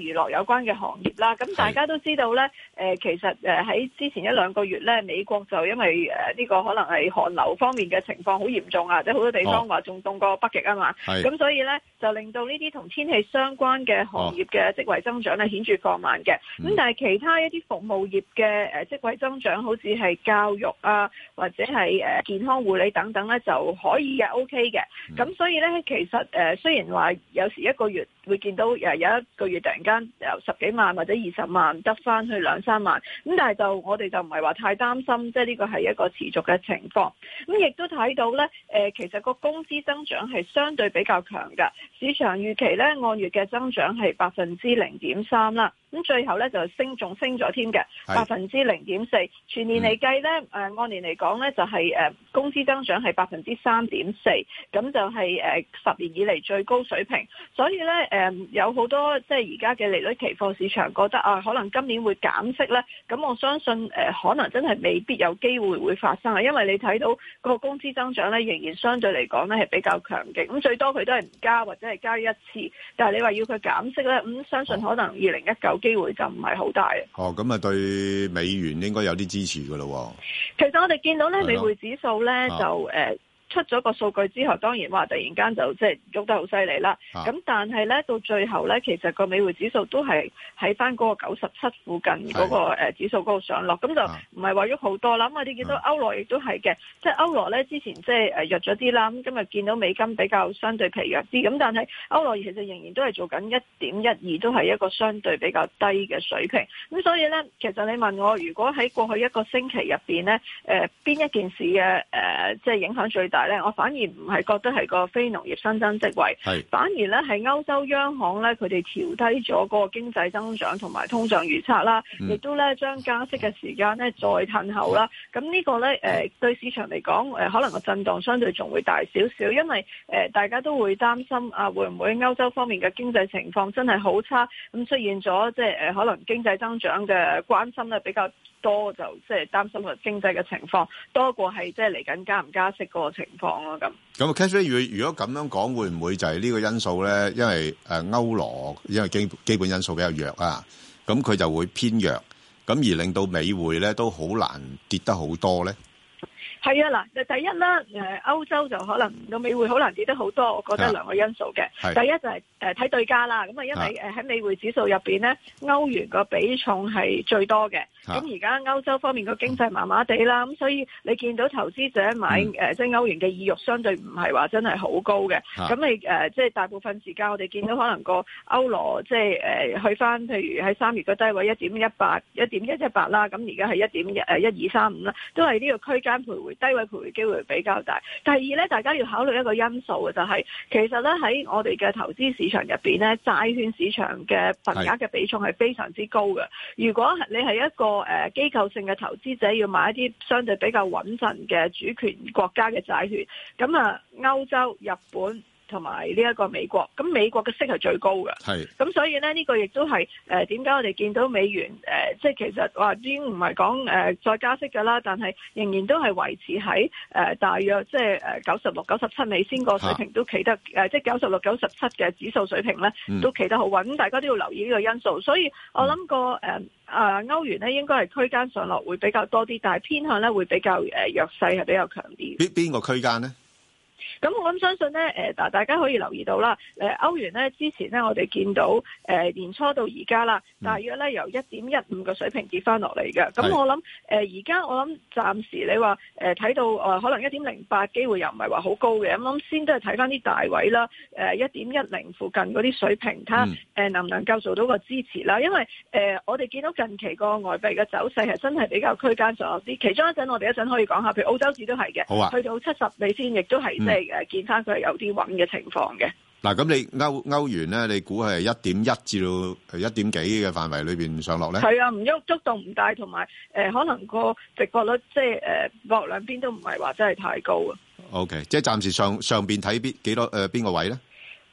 [SPEAKER 25] 娛樂有關嘅行業啦。咁大家都知道咧，誒、呃、其實誒喺之前一兩個月咧，美國就因為誒呢、呃這個可能係寒流方面嘅情況好嚴重啊，即係好多地方話仲凍過北極啊嘛。咁、哦、所以咧就令到呢啲同天氣相關嘅行業嘅職位增長咧顯著放慢嘅。咁、嗯、但係其他一啲服務業嘅誒職位增長，好似係教育啊或者係誒健康護理等等咧就可以嘅 OK 嘅。咁、嗯、所以咧其實誒、呃、雖然話有時一個月會見到誒有一個月突然間由十幾萬或者二十萬得翻去兩三萬，咁但係就我哋就唔係話太擔心，即係呢個係一個持續嘅情況。咁亦都睇到咧，誒其實個工資增長係相對比較強㗎，市場預期咧按月嘅增長係百分之零點三啦。咁最後咧就升，仲升咗添嘅，百分之零點四。全年嚟計咧，誒、呃、按年嚟講咧就係、是、誒、呃、工資增長係百分之三點四，咁就係、是、誒、呃、十年以嚟最高水平。所以咧誒、呃、有好多即係而家嘅利率期貨市場覺得啊，可能今年會減息咧。咁我相信誒、呃、可能真係未必有機會會發生啊，因為你睇到個工資增長咧仍然相對嚟講咧係比較強勁。咁最多佢都係唔加或者係加一次，但係你話要佢減息咧，咁、嗯、相信可能二零一九機會就唔係好大。
[SPEAKER 5] 哦，咁啊對美元應該有啲支持噶咯。
[SPEAKER 25] 其實我哋見到咧美匯指數咧就誒。呃出咗個數據之後，當然話突然間就即係喐得好犀利啦。咁、啊、但係咧到最後咧，其實個美匯指數都係喺翻嗰個九十七附近嗰個誒指數嗰度上落，咁就唔係話喐好多啦。咁我哋見到歐羅亦都係嘅，即係歐羅咧之前即係誒弱咗啲啦。咁今日見到美金比較相對疲弱啲，咁但係歐羅其實仍然都係做緊一點一二，都係一個相對比較低嘅水平。咁所以咧，其實你問我，如果喺過去一個星期入邊咧，誒、呃、邊一件事嘅誒、呃、即係影響最大？我反而唔係覺得係個非農業新增職位，反而咧係歐洲央行咧佢哋調低咗嗰個經濟增長同埋通脹預測啦，亦、嗯、都咧將加息嘅時間咧再褪後啦。咁呢個咧誒、呃、對市場嚟講誒可能個震盪相對仲會大少少，因為誒、呃、大家都會擔心啊會唔會歐洲方面嘅經濟情況真係好差，咁出現咗即係誒可能經濟增長嘅關心咧比較多，就即係擔心個經濟嘅情況多過係即係嚟緊加唔加息嗰個情況咯。咁
[SPEAKER 5] 咁 Catherine 如如果咁樣講，會唔會就係呢個因素咧？因為誒歐羅因為基基本因素比較弱啊，咁佢就會偏弱，咁而令到美匯咧都好難跌得好多咧。
[SPEAKER 25] 係啊，嗱，第一啦，誒歐洲就可能個美匯好難跌得好多，我覺得兩個因素嘅。第一就係誒睇對家啦，咁啊因為誒喺美匯指數入邊咧，歐元個比重係最多嘅。咁而家歐洲方面個經濟麻麻地啦，咁所以你見到投資者買誒、嗯、即係歐元嘅意欲相對唔係話真係好高嘅。咁你誒即係大部分時間我哋見到可能個歐羅即係誒去翻，譬如喺三月嘅低位一點一八、一點一一八啦，咁而家係一點誒一二三五啦，都係呢個區間徘徊。低位徘徊機會比較大。第二咧，大家要考慮一個因素嘅就係、是，其實咧喺我哋嘅投資市場入邊咧，債券市場嘅份額嘅比重係非常之高嘅。如果你係一個誒機構性嘅投資者，要買一啲相對比較穩陣嘅主權國家嘅債券，咁啊歐洲、日本同埋呢一個美國，咁美國嘅息係最高嘅，係咁所以咧呢、這個亦都係誒點解我哋見到美元誒、呃、即係其實話已經唔係講誒再加息㗎啦，但係仍然都係維持喺誒、呃、大約即係誒九十六、九十七美仙個水平都企得誒、呃，即係九十六、九十七嘅指數水平咧都企得好穩，咁大家都要留意呢個因素。所以我諗個誒誒歐元咧應該係區間上落會比較多啲，但係偏向咧會比較誒、呃、弱勢係比較強啲。
[SPEAKER 5] 邊邊個區間咧？
[SPEAKER 25] 咁我諗相信咧，誒，嗱，大家可以留意到啦，誒，歐元咧之前咧，我哋見到誒年初到而家啦，大約咧由一點一五個水平跌翻落嚟嘅。咁我諗誒，而家我諗暫時你話誒睇到誒可能一點零八機會又唔係話好高嘅，咁諗先都係睇翻啲大位啦，誒一點一零附近嗰啲水平，睇下誒能唔能夠做到個支持啦。因為誒我哋見到近期個外幣嘅走勢係真係比較區間上落啲，其中一陣我哋一陣可以講下，譬如澳洲紙都係嘅，啊、去到七十美仙亦都係即係。誒，見翻佢係有啲穩嘅情況嘅。
[SPEAKER 5] 嗱，咁你歐歐元咧，你估係一點一至到一點幾嘅範圍裏邊上落咧？係
[SPEAKER 25] 啊，唔喐，觸動唔大，同埋誒，可能個值博率即係誒，博兩邊都唔係話真係太高啊。
[SPEAKER 5] O K，即係暫時上上邊睇邊幾多誒邊個位咧？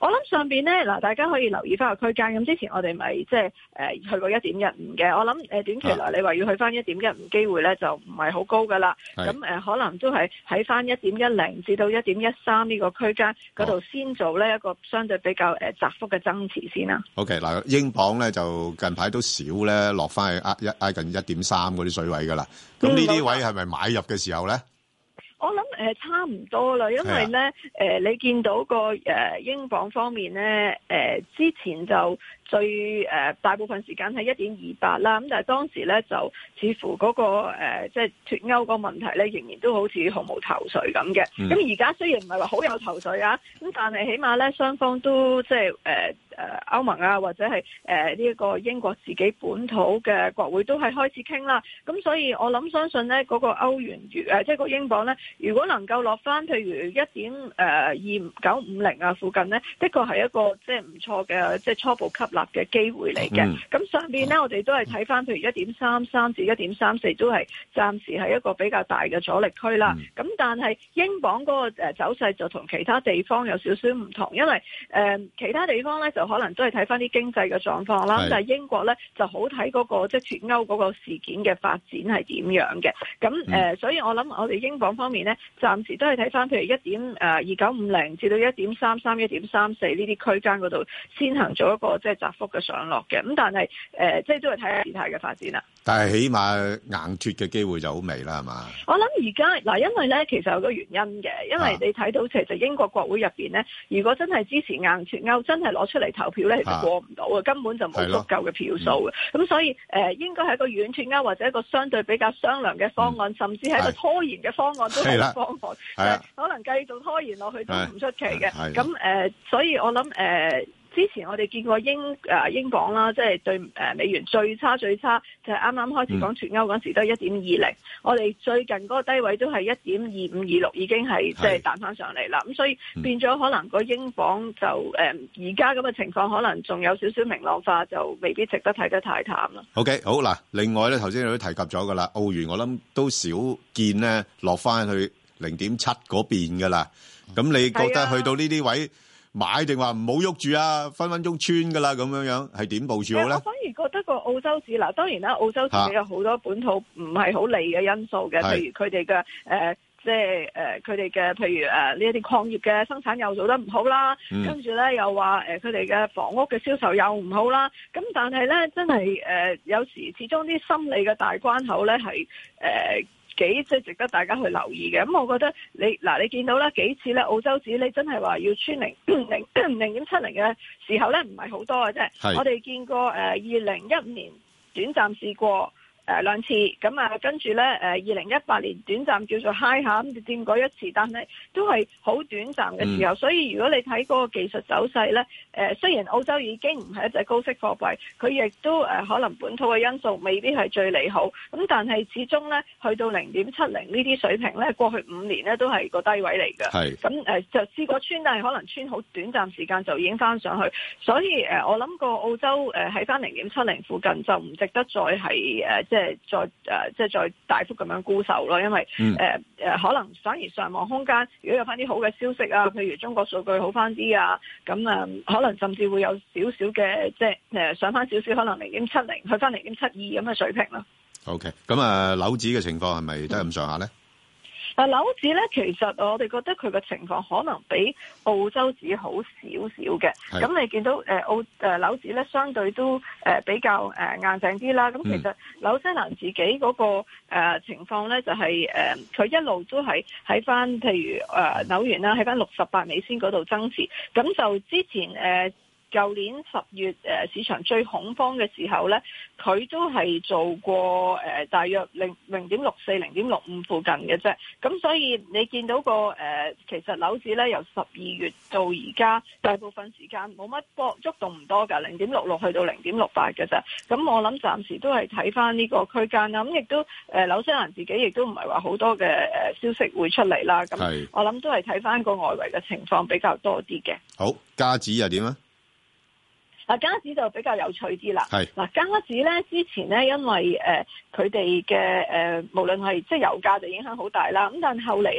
[SPEAKER 25] 我諗上邊咧嗱，大家可以留意翻個區間。咁之前我哋咪即係誒去過一點一五嘅。我諗誒短期內你話要去翻一點一五機會咧就唔係好高噶啦。咁誒、呃、可能都係喺翻一點一零至到一點一三呢個區間嗰度先做呢一個相對比較誒窄幅嘅增持先啦。
[SPEAKER 5] OK 嗱，英鎊咧就近排都少咧落翻去挨一挨近一點三嗰啲水位噶啦。咁呢啲位係咪買入嘅時候咧？
[SPEAKER 25] 我諗誒、呃、差唔多啦，因為咧誒、呃、你見到個誒、呃、英鎊方面咧誒、呃、之前就最誒、呃、大部分時間係一點二八啦，咁但係當時咧就似乎嗰、那個誒即係脫歐個問題咧仍然都好似毫無頭緒咁嘅。咁而家雖然唔係話好有頭緒啊，咁但係起碼咧雙方都即係誒誒歐盟啊或者係誒呢一個英國自己本土嘅國會都係開始傾啦。咁所以我諗相信咧嗰、那個歐元誒、呃、即係個英鎊咧。如果能夠落翻，譬如一點誒二九五零啊附近呢，的確係一個即係唔錯嘅即係初步吸納嘅機會嚟嘅。咁、嗯、上邊呢，我哋都係睇翻，譬如一點三三至一點三四都係暫時係一個比較大嘅阻力區啦。咁、嗯、但係英鎊嗰個誒走勢就同其他地方有少少唔同，因為誒、呃、其他地方呢，就可能都係睇翻啲經濟嘅狀況啦。但係英國呢，就好睇嗰個即係脫歐嗰個事件嘅發展係點樣嘅。咁誒、嗯呃，所以我諗我哋英鎊方面呢。暫時都係睇翻，譬如一點誒二九五零至到一點三三、一點三四呢啲區間嗰度先行做一個即係窄幅嘅上落嘅。咁但係誒、呃，即係都係睇下事態嘅發展啦。
[SPEAKER 5] 但係起碼硬脱嘅機會就好微啦，係嘛？
[SPEAKER 25] 我諗而家嗱，因為咧其實有個原因嘅，因為你睇到其實英國國會入邊咧，如果真係支持硬脱歐，真係攞出嚟投票咧，其實過唔到嘅，根本就冇足夠嘅票數嘅。咁、嗯、所以誒、呃，應該係一個軟脱歐或者一個相對比較商量嘅方案，嗯、甚至係一個拖延嘅方案都係方案。係啊，可能繼續拖延落去都唔出奇嘅。咁誒、呃，所以我諗誒。呃之前我哋見過英誒、呃、英鎊啦，即係對誒、呃、美元最差最差，就係啱啱開始講脫歐嗰陣時都係一點二零。我哋最近嗰個低位都係一點二五二六，已經係即係彈翻上嚟啦。咁所以變咗可能個英鎊就誒而家咁嘅情況，可能仲有少少明朗化，就未必值得睇得太淡啦。
[SPEAKER 5] OK， 好嗱。另外咧，頭先你都提及咗噶啦，澳元我諗都少見咧落翻去零點七嗰邊噶啦。咁你覺得去到呢啲位？買定話唔好喐住啊，分分鐘穿噶啦，咁樣樣係點部署好咧？我反而覺得個澳洲指嗱，當然啦，澳洲自己有好多本土唔係好利嘅因素嘅，譬如佢哋嘅誒，即係誒佢哋嘅譬如誒呢一啲礦業嘅生產又做得唔好啦，嗯、跟住咧又話誒佢哋嘅房屋嘅銷售又唔好啦，咁但係咧真係誒、呃、有時始終啲心理嘅大關口咧係誒。呃幾即係值得大家去留意嘅，咁我覺得你嗱，你見到咧幾次咧澳洲指你真係話要穿零零零點七零嘅時候咧，唔係好多嘅啫。我哋見過誒二零一五年短暫試過。誒、呃、兩次咁啊，跟住咧誒二零一八年短暫叫做 high 下咁掂過一次，但係都係好短暫嘅時候、嗯。所以如果你睇嗰個技術走勢咧，誒、呃、雖然澳洲已經唔係一隻高息貨幣，佢亦都誒、呃、可能本土嘅因素未必係最利好，咁但係始終咧去到零點七零呢啲水平咧，過去五年咧都係個低位嚟嘅。係咁誒就試過穿，但係可能穿好短暫時間就已經翻上去，所以誒、呃、我諗個澳洲誒喺翻零點七零附近就唔值得再係誒。呃即係再誒、呃，即係再大幅咁樣沽售咯，因為誒誒、嗯呃，可能反而上望空間，如果有翻啲好嘅消息啊，譬如中國數據好翻啲啊，咁啊、呃，可能甚至會有少少嘅，即係誒上翻少少，可能零點七零去翻零點七二咁嘅水平咯。OK， 咁啊，樓指嘅情況係咪都係咁上下咧？
[SPEAKER 25] 嗱，樓指咧，其實我哋覺得佢嘅情況可能比澳洲指好少少嘅。咁你見到誒澳誒樓指咧，相對都誒比較誒硬淨啲啦。咁其實紐西蘭自己嗰個誒情況咧，就係誒佢一路都係喺翻譬如誒紐元啦，喺翻六十八美仙嗰度增持。咁就之前誒。舊年十月誒市場最恐慌嘅時候咧，佢都係做過誒、呃、大約零零點六四、零點六五附近嘅啫。咁所以你見到個誒、呃、其實樓指咧由十二月到而家，大部分時間冇乜波觸動唔多㗎，零點六六去到零點六八嘅啫。咁我諗暫時都係睇翻呢個區間啦。咁亦都誒紐西蘭自己亦都唔係話好多嘅誒消息會出嚟啦。咁我諗都係睇翻個外圍嘅情況比較多啲嘅。
[SPEAKER 5] 好，加指又點啊？
[SPEAKER 25] 嗱，加指就比較有趣啲啦。係嗱，加指咧之前咧，因為誒佢哋嘅誒無論係即係油價就影響好大啦。咁但係後嚟咧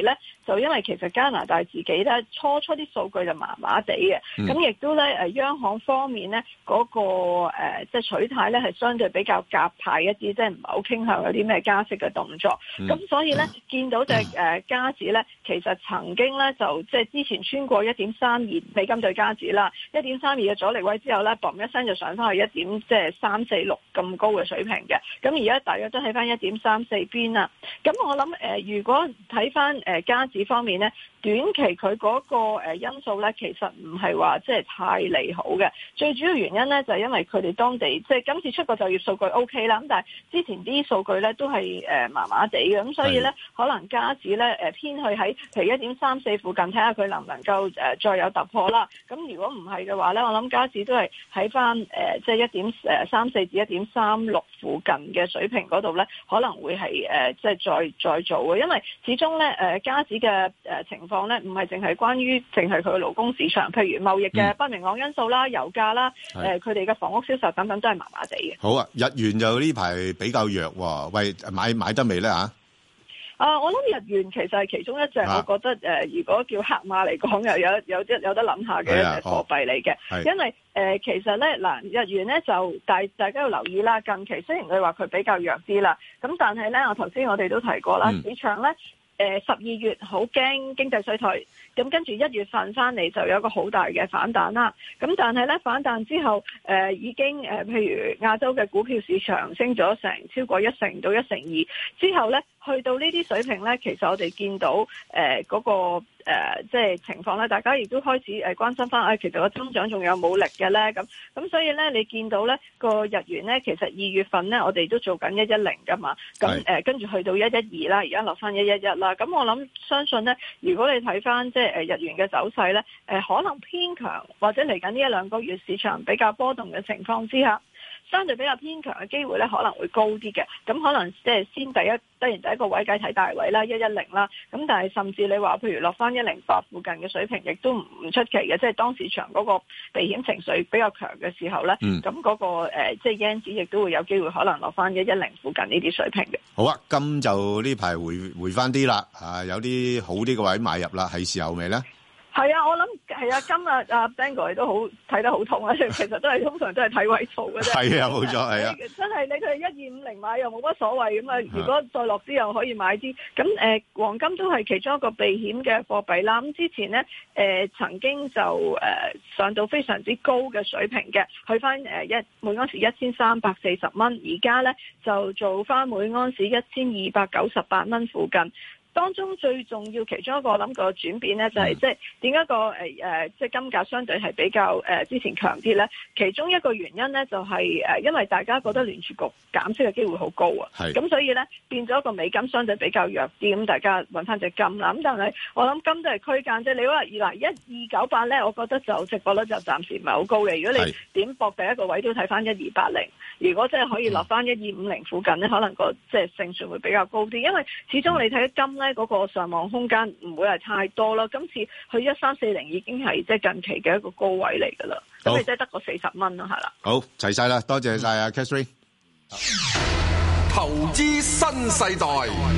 [SPEAKER 25] 就因為其實加拿大自己咧初初啲數據就麻麻地嘅，咁亦、嗯、都咧誒央行方面咧嗰、那個誒即係取態咧係相對比較鴿派一啲，即係唔係好傾向有啲咩加息嘅動作。咁、嗯、所以咧、嗯、見到隻誒加指咧，其實曾經咧就即係之前穿過一點三二美金對加指啦，一點三二嘅阻力位之後咧，嘣一聲就上翻去一點即係三四六咁高嘅水平嘅。咁而家大約都喺翻一點三四邊啦。咁我諗誒、呃，如果睇翻誒加指方面咧，短期佢嗰個誒因素咧，其實唔係話即係太利好嘅。最主要原因咧就係、是、因為佢哋當地即係今次出個就業數據 O K 啦，咁但係之前啲數據咧都係誒麻麻地嘅，咁所以咧可能加指咧誒偏去喺譬如一點三四附近睇下佢能唔能夠誒再有突破啦。咁如果唔係嘅話咧，我諗加指都係喺翻誒即係一點誒三四至一點三六附近嘅水平嗰度咧，可能會係誒即係再再做嘅，因為始終咧誒加指嘅誒情況咧唔係淨係關於淨係佢嘅勞工市場，譬如貿易嘅不明朗因素啦、油價啦、誒佢哋嘅房屋銷售等等都係麻麻地嘅。
[SPEAKER 5] 好啊，日元就呢排比較弱喎，喂，買買得未咧嚇？
[SPEAKER 25] 啊，我諗日元其實係其中一隻，我覺得誒、呃，如果叫黑馬嚟講，又有有啲有得諗下嘅一隻貨幣嚟嘅，哦、因為誒、呃、其實咧嗱，日元咧就大大家要留意啦。近期雖然佢話佢比較弱啲啦，咁但係咧，我頭先我哋都提過啦，嗯、市場咧。誒十二月好驚經濟衰退，咁跟住一月份翻嚟就有一個好大嘅反彈啦。咁但係咧反彈之後，誒、呃、已經誒、呃、譬如亞洲嘅股票市場升咗成超過一成到一成二，之後咧去到呢啲水平咧，其實我哋見到誒嗰、呃那個。誒、呃，即係情況咧，大家亦都開始誒關心翻，誒、哎、其實個增長仲有冇力嘅咧？咁咁所以咧，你見到咧個日元咧，其實二月份咧，我哋都做緊一一零噶嘛，咁誒跟住去到一一二啦，而家落翻一一一啦。咁我諗相信咧，如果你睇翻即係誒日元嘅走勢咧，誒、呃、可能偏強，或者嚟緊呢一兩個月市場比較波動嘅情況之下，相對比較偏強嘅機會咧可能會高啲嘅，咁可能即係先第一，當然第一個位計睇大位啦，一一零啦，咁但係甚至你話譬如落翻一零八附近嘅水平，亦都唔出奇嘅，即係當市場嗰個避險情緒比較強嘅時候咧，咁嗰、嗯那個誒即係 yen 指亦都會有機會可能落翻一一零附近呢啲水平嘅。好啊，金就呢排回回翻啲啦，啊有啲好啲嘅位買入啦，係時候未咧？係啊，我諗係啊，今日阿 Bang 哥都好睇得好痛啊！其實都係通常都係睇位數嘅啫。係啊，冇錯，係啊。真係你佢一二五零買又冇乜所謂咁啊！如果再落啲又可以買啲。咁誒、呃，黃金都係其中一個避險嘅貨幣啦。咁之前咧誒、呃、曾經就誒、呃、上到非常之高嘅水平嘅，去翻誒一每盎司一千三百四十蚊，而家咧就做翻每盎司一千二百九十八蚊附近。當中最重要其中一個我諗個轉變咧，就係即係點解個誒誒即係金價相對係比較誒、呃、之前強啲咧？其中一個原因咧就係、是、誒、呃，因為大家覺得聯儲局減息嘅機會好高啊，咁所以咧變咗個美金相對比較弱啲，咁大家揾翻隻金啦。咁但係我諗金都係區間啫。你話嗱一二九八咧，我覺得就值博率就暫時唔係好高嘅。如果你點搏第一個位都睇翻一二八零，如果真係可以落翻一二五零附近咧，可能個即係勝算會比較高啲，因為始終你睇金咧嗰個上網空間唔會係太多咯。今次去一三四零已經係即係近期嘅一個高位嚟噶啦，咁你即係得個四十蚊咯，係啦。好，齊晒啦，多謝晒啊 Catherine。
[SPEAKER 4] 投資新世代。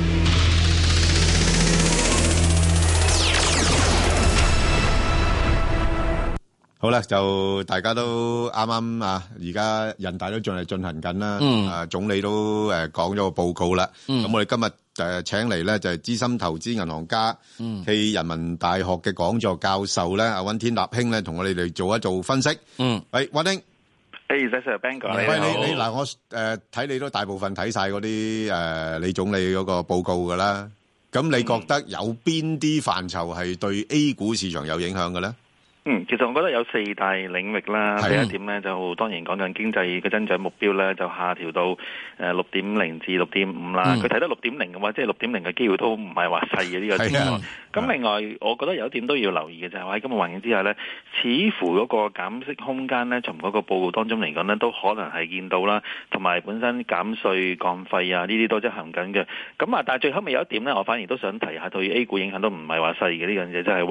[SPEAKER 5] 好啦，就大家都啱啱啊，而家人大都仲係進行緊啦。嗯，啊總理都誒講咗個報告啦。嗯，咁我哋今日誒請嚟咧就係資深投資銀行家，嗯，暨人民大學嘅講座教授咧，阿溫天納兄咧，同我哋嚟做一做分析。嗯，喂，溫兄，誒，Sir Ben 哥，喂，你你嗱，我誒睇你都大部分睇晒嗰啲誒李總理嗰個報告噶啦。咁你覺得有邊啲範疇係對 A 股市場有影響嘅咧？
[SPEAKER 10] 嗯，其實我覺得有四大領域啦。第一點咧就當然講緊經濟嘅增長目標咧，就下調到誒六點零至六點五啦。佢睇得六點零嘅話，即係六點零嘅機會都唔係話細嘅呢個情況。咁另外，我覺得有一點都要留意嘅就係話喺今日環境之下咧，似乎嗰個減息空間咧，從嗰個報告當中嚟講咧，都可能係見到啦。同埋本身減稅降費啊，呢啲都執行緊嘅。咁啊，但係最後尾有一點咧，我反而都想提下對 A 股影響都唔係話細嘅呢樣嘢，就係話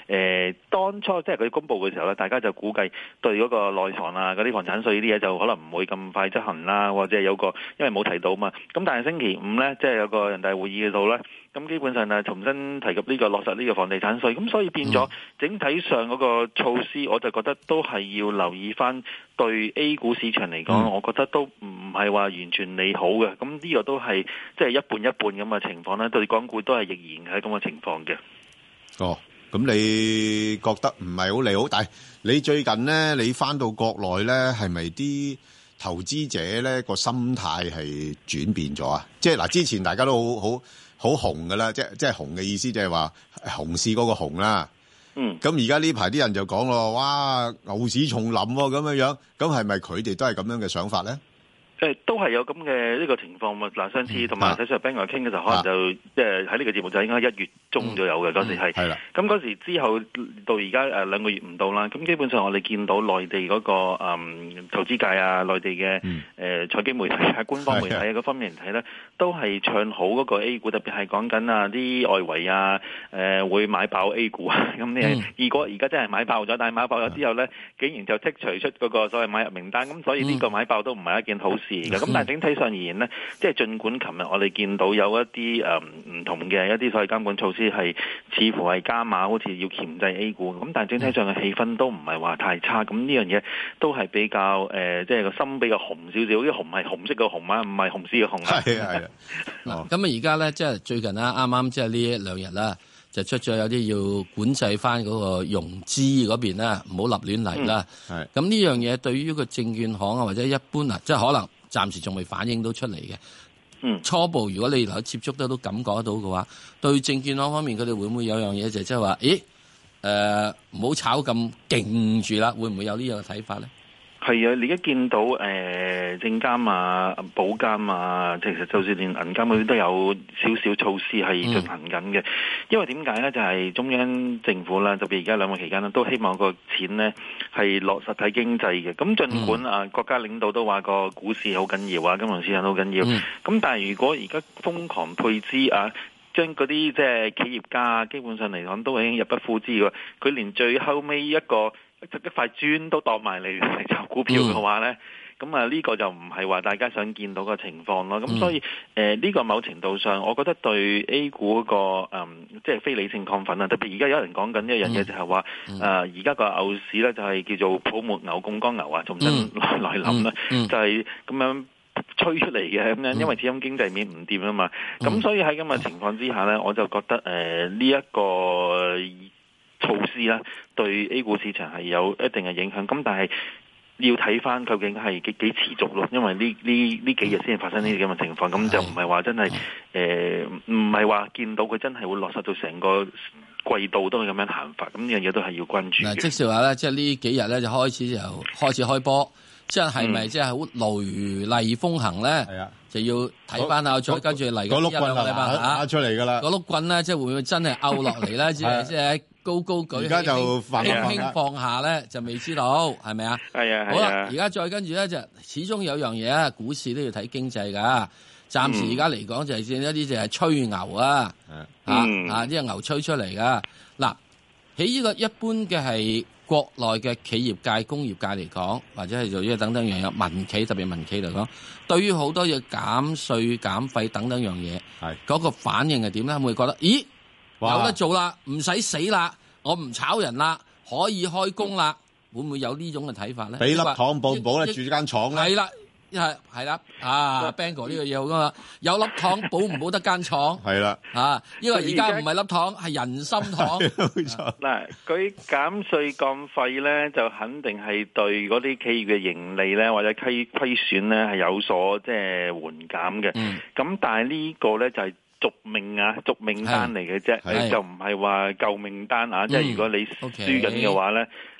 [SPEAKER 10] 誒當初即係佢公佈嘅時候咧，大家就估計對嗰個內房啊、嗰啲房產稅呢啲嘢就可能唔會咁快執行啦，或者有個因為冇提到嘛。咁但係星期五咧，即係有個人大會議嘅度咧，咁基本上啊重新提及呢個落實呢個房地產稅，咁所以變咗整體上嗰個措施，我就覺得都係要留意翻對 A 股市場嚟講，嗯、我覺得都唔係話完全利好嘅。咁呢個都係即係一半一半咁嘅情況咧，對港股都係亦然係咁嘅情況嘅。
[SPEAKER 5] 哦，咁你覺得唔係好利好？但係你最近咧，你翻到國內咧，係咪啲投資者咧個心態係轉變咗啊？即係嗱，之前大家都好好好紅噶啦，即係即係紅嘅意思，即係話熊市嗰個熊啦。嗯。咁而家呢排啲人就講咯，哇，牛市重臨喎，咁樣樣，咁係咪佢哋都係咁樣嘅想法咧？
[SPEAKER 10] 誒都係有咁嘅呢個情況嘛。嗱，上次同埋睇上 Ben 哥傾嘅時候，可能就即係喺呢個節目就應該一月中左右嘅嗰時係。係啦。咁嗰時之後到而家誒兩個月唔到啦。咁基本上我哋見到內地嗰個誒投資界啊、內地嘅誒財經媒體啊、官方媒體啊嗰方面嚟睇咧，都係唱好嗰個 A 股，特別係講緊啊啲外圍啊誒會買爆 A 股啊。咁你如果而家真係買爆咗，但係買爆咗之後咧，竟然就剔除出嗰個所謂買入名單，咁所以呢個買爆都唔係一件好事。咁但係整體上而言呢，即係儘管琴日我哋見到有一啲誒唔同嘅一啲所謂監管措施係似乎係加碼，好似要鉗制 A 股，咁但係整體上嘅氣氛都唔係話太差。咁呢樣嘢都係比較誒，即係個心比較紅少少，啲紅係紅色嘅紅啊，唔係紅絲嘅紅啊。係啊係啊。
[SPEAKER 6] 嗱，咁啊而家咧，即係最近啦，啱啱即係呢一兩日啦，就出咗有啲要管制翻嗰個融資嗰邊啦，唔好立亂嚟啦。係。咁呢樣嘢對於個證券行啊或者一般啊，即係可能。暫時仲未反映到出嚟嘅，嗯，初步如果你能夠接觸得到、感覺得到嘅話，對證券行方面佢哋會唔會有樣嘢就係即係話，咦，誒唔好炒咁勁住啦，會唔會有呢樣嘅睇法咧？係啊，你而家見到誒、呃、證監啊、保監啊，其實就算連銀監嗰啲都有少少措施係進行緊嘅。嗯、因為點解咧？就係、是、中央政府啦，特別而家兩個期間咧，都希望個錢咧係落實體經濟嘅。咁儘管啊，國家領導都話個股市好緊要啊，金融市場好緊要。咁、嗯、但係如果而家瘋狂配資啊，將嗰啲即係企業家基本上嚟講都已經入不敷支喎。佢連最後尾一個一塊磚都當埋嚟嚟炒股票嘅話咧，咁啊呢個就唔係話大家想見到嘅情況咯。咁、嗯、所以誒呢、呃這個某程度上，我覺得對 A 股嗰、那個誒、嗯、即係非理性亢奮啊。特別而家有人講緊一樣嘢，就係話誒而家個牛市咧就係叫做泡沫牛、槓桿牛啊，重新來來臨啦，就係咁樣吹出嚟嘅咁樣，因為始終經濟面唔掂啊嘛。咁、嗯、所以喺咁嘅情況之下咧，我就覺得誒呢一個措施啦，對 A 股市場係有一定嘅影響。咁但係要睇翻究竟係幾幾持續咯，因為呢呢呢幾日先發生呢啲咁嘅情況，咁就唔係話真係誒，唔係話見到佢真係會落實到成個季度都係咁樣行法。咁呢樣嘢都係要關注嘅。即係話咧，即係呢幾日咧就開始就開始開波，即係係咪即係好雷厲風行咧？係啊，就要睇翻下，再跟住嚟嗰碌棍係嘛打出嚟㗎啦。嗰碌棍咧，即係會唔會真係拗落嚟咧？即係即係。高高舉，而家就輕輕放下咧，就未知道係咪啊？係啊，好啦，而家再跟住咧，就始終有樣嘢啊，股市都要睇經濟噶。暫時而家嚟講就係一啲就係吹牛啊，嗯、啊啊啲牛吹出嚟噶。嗱，喺呢個一般嘅係國內嘅企業界、工業界嚟講，或者係做呢個等等樣嘢，民企特別民企嚟講，對於好多嘢減稅減費等等樣嘢，係嗰個反應係點咧？會覺得咦？有得做啦，唔使死啦，我唔炒人啦，可以開工啦，會唔會有呢種嘅睇法咧？俾粒糖保唔保咧？住間廠咧？係啦，係係啦，啊 ，Bang 哥呢個嘢好噶嘛？有粒糖保唔保得間廠？係啦，啊，因為而家唔係粒糖，係人參糖。冇錯。嗱，佢減稅降費咧，就肯定係對嗰啲企業嘅盈利咧，或者虧虧損咧係有所即係緩減嘅。嗯。咁但係呢個咧就係續命啊，續命單嚟嘅啫，就唔係話救命單啊！嗯、即係如果你輸緊嘅話咧，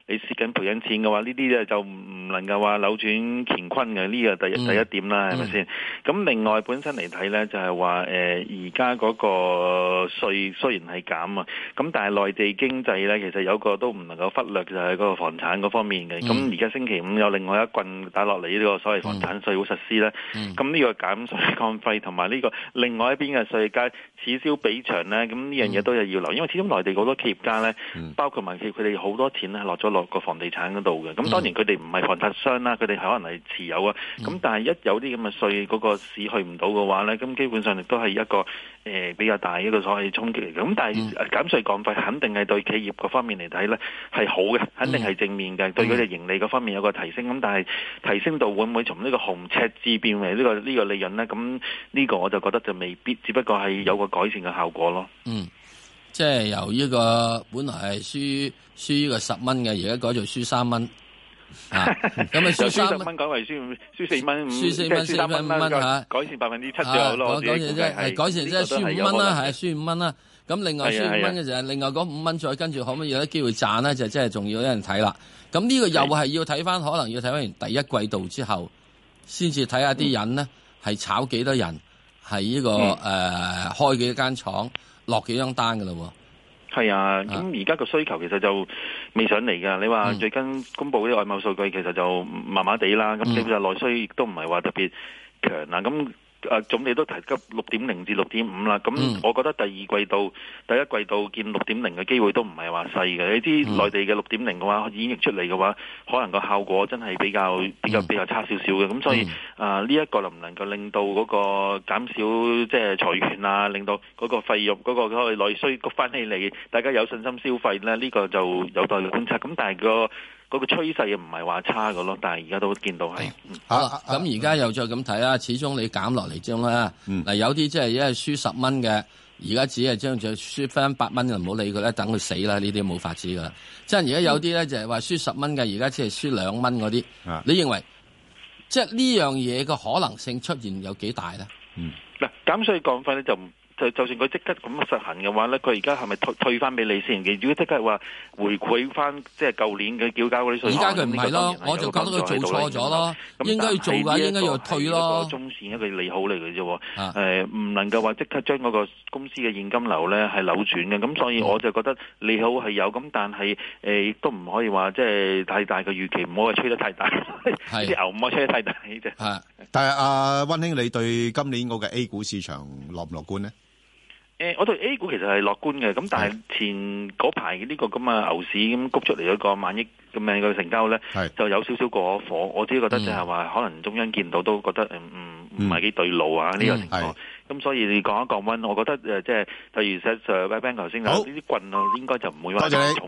[SPEAKER 10] 你蝕緊賠緊錢嘅話，呢啲咧就唔能夠話扭轉乾坤嘅，呢個第一第一點啦，係咪先？咁另外本身嚟睇咧，就係話誒而家嗰個稅雖然係減啊，咁但係內地經濟咧其實有個都唔能夠忽略，就係嗰個房產嗰方面嘅。咁而家星期五有另外一棍打落嚟呢個所謂房產稅會實施咧，咁呢個減稅降費同埋呢個另外一邊嘅稅階此消彼長咧，咁呢樣嘢都係要留，因為始終內地好多企業家咧，包括民企，佢哋好多錢咧落咗落個房地產嗰度嘅。咁當然佢哋唔係房產商啦，佢哋可能係持有啊。咁但係一有啲咁嘅稅嗰個市去唔到嘅話咧，咁基本上亦都係一個誒、呃、比較大一個所謂衝擊嚟嘅。咁但係減稅降費肯定係對企業嗰方面嚟睇咧係好嘅，肯定係正面嘅，對佢哋盈利嗰方面有個提升。咁但係提升到會唔會從呢個紅赤字變為呢、這個呢、這個利潤咧？咁呢個我就覺得就未必，只不過係有個改善嘅效果咯。
[SPEAKER 6] 嗯，即係由呢個本來係輸輸呢個十蚊嘅，而家改做輸三蚊。啊，咁啊輸三蚊
[SPEAKER 10] 改為輸輸四蚊，
[SPEAKER 6] 輸四蚊四蚊五蚊嚇，
[SPEAKER 10] 改善百分之七就好咯。
[SPEAKER 6] 改善啫，係改善即係輸五蚊啦，係輸五蚊啦。咁另外輸五蚊嘅就係另外嗰五蚊再跟住可唔可以有啲機會賺咧？就即係仲要有人睇啦。咁呢個又係要睇翻，可能要睇翻完第一季度之後，先至睇下啲人呢係炒幾多人，係呢個誒開幾間廠，落幾張單噶啦喎。
[SPEAKER 10] 係啊，咁而家個需求其實就未上嚟㗎。你話最近公布啲外貿數據其實就麻麻地啦。咁基本上內需亦都唔係話特別強啦。咁誒總理都提及六點零至六點五啦。咁我覺得第二季度、第一季度見六點零嘅機會都唔係話細嘅。你知內地嘅六點零嘅話演繹出嚟嘅話，可能個效果真係比較比較比較差少少嘅。咁所以啊，呢一個能唔能夠令到嗰個減少即係裁員啊，令到嗰個費用嗰個嗰個內需谷翻起嚟，大家有信心消費咧？呢個就有待觀察。咁但係個嗰個趨勢又唔係話差嘅咯，但係而家都見到係。
[SPEAKER 6] 好啦，咁而家又再咁睇啦，始終你減落嚟之後咧，嗱有啲即係一係輸十蚊嘅，而家只係將佢輸翻八蚊就唔好理佢啦，等佢死啦，呢啲冇法子噶啦。即係而家有啲咧就係話輸十蚊嘅，而家只係輸兩蚊嗰啲。你認為即係呢樣嘢嘅可能性出現有幾大咧？
[SPEAKER 10] 嗯，嗱減稅降費咧就唔。就就算佢即刻咁實行嘅話咧，佢而家係咪退退翻俾你先？如果即刻話回饋翻，即係舊年嘅繳交嗰啲稅，
[SPEAKER 6] 而家佢唔係咯，我就覺得佢做錯咗咯。應該要做嘅，應該要退咯。
[SPEAKER 10] 中線一個利好嚟嘅啫，誒、啊，唔能夠話即刻將嗰個公司嘅現金流咧係扭轉嘅。咁所以我就覺得利好係有，咁但係誒亦都唔可以話即係太大嘅預期，唔好話吹得太大，啲牛唔好吹得太大啫。
[SPEAKER 5] 係，但係阿溫兄，你對今年嗰個 A 股市場樂唔樂觀呢？
[SPEAKER 10] 誒、呃，我對 A 股其實係樂觀嘅，咁但係前嗰排呢個咁嘅牛市咁谷出嚟嗰個萬億咁樣嘅成交咧，就有少少過火。我自己覺得就係話，可能中央見到都覺得誒唔唔係幾對路啊呢、嗯這個情況。咁所以你降一降溫，我覺得誒即係例如 Sir Bank 頭先講呢啲棍啊，應該就唔會話重。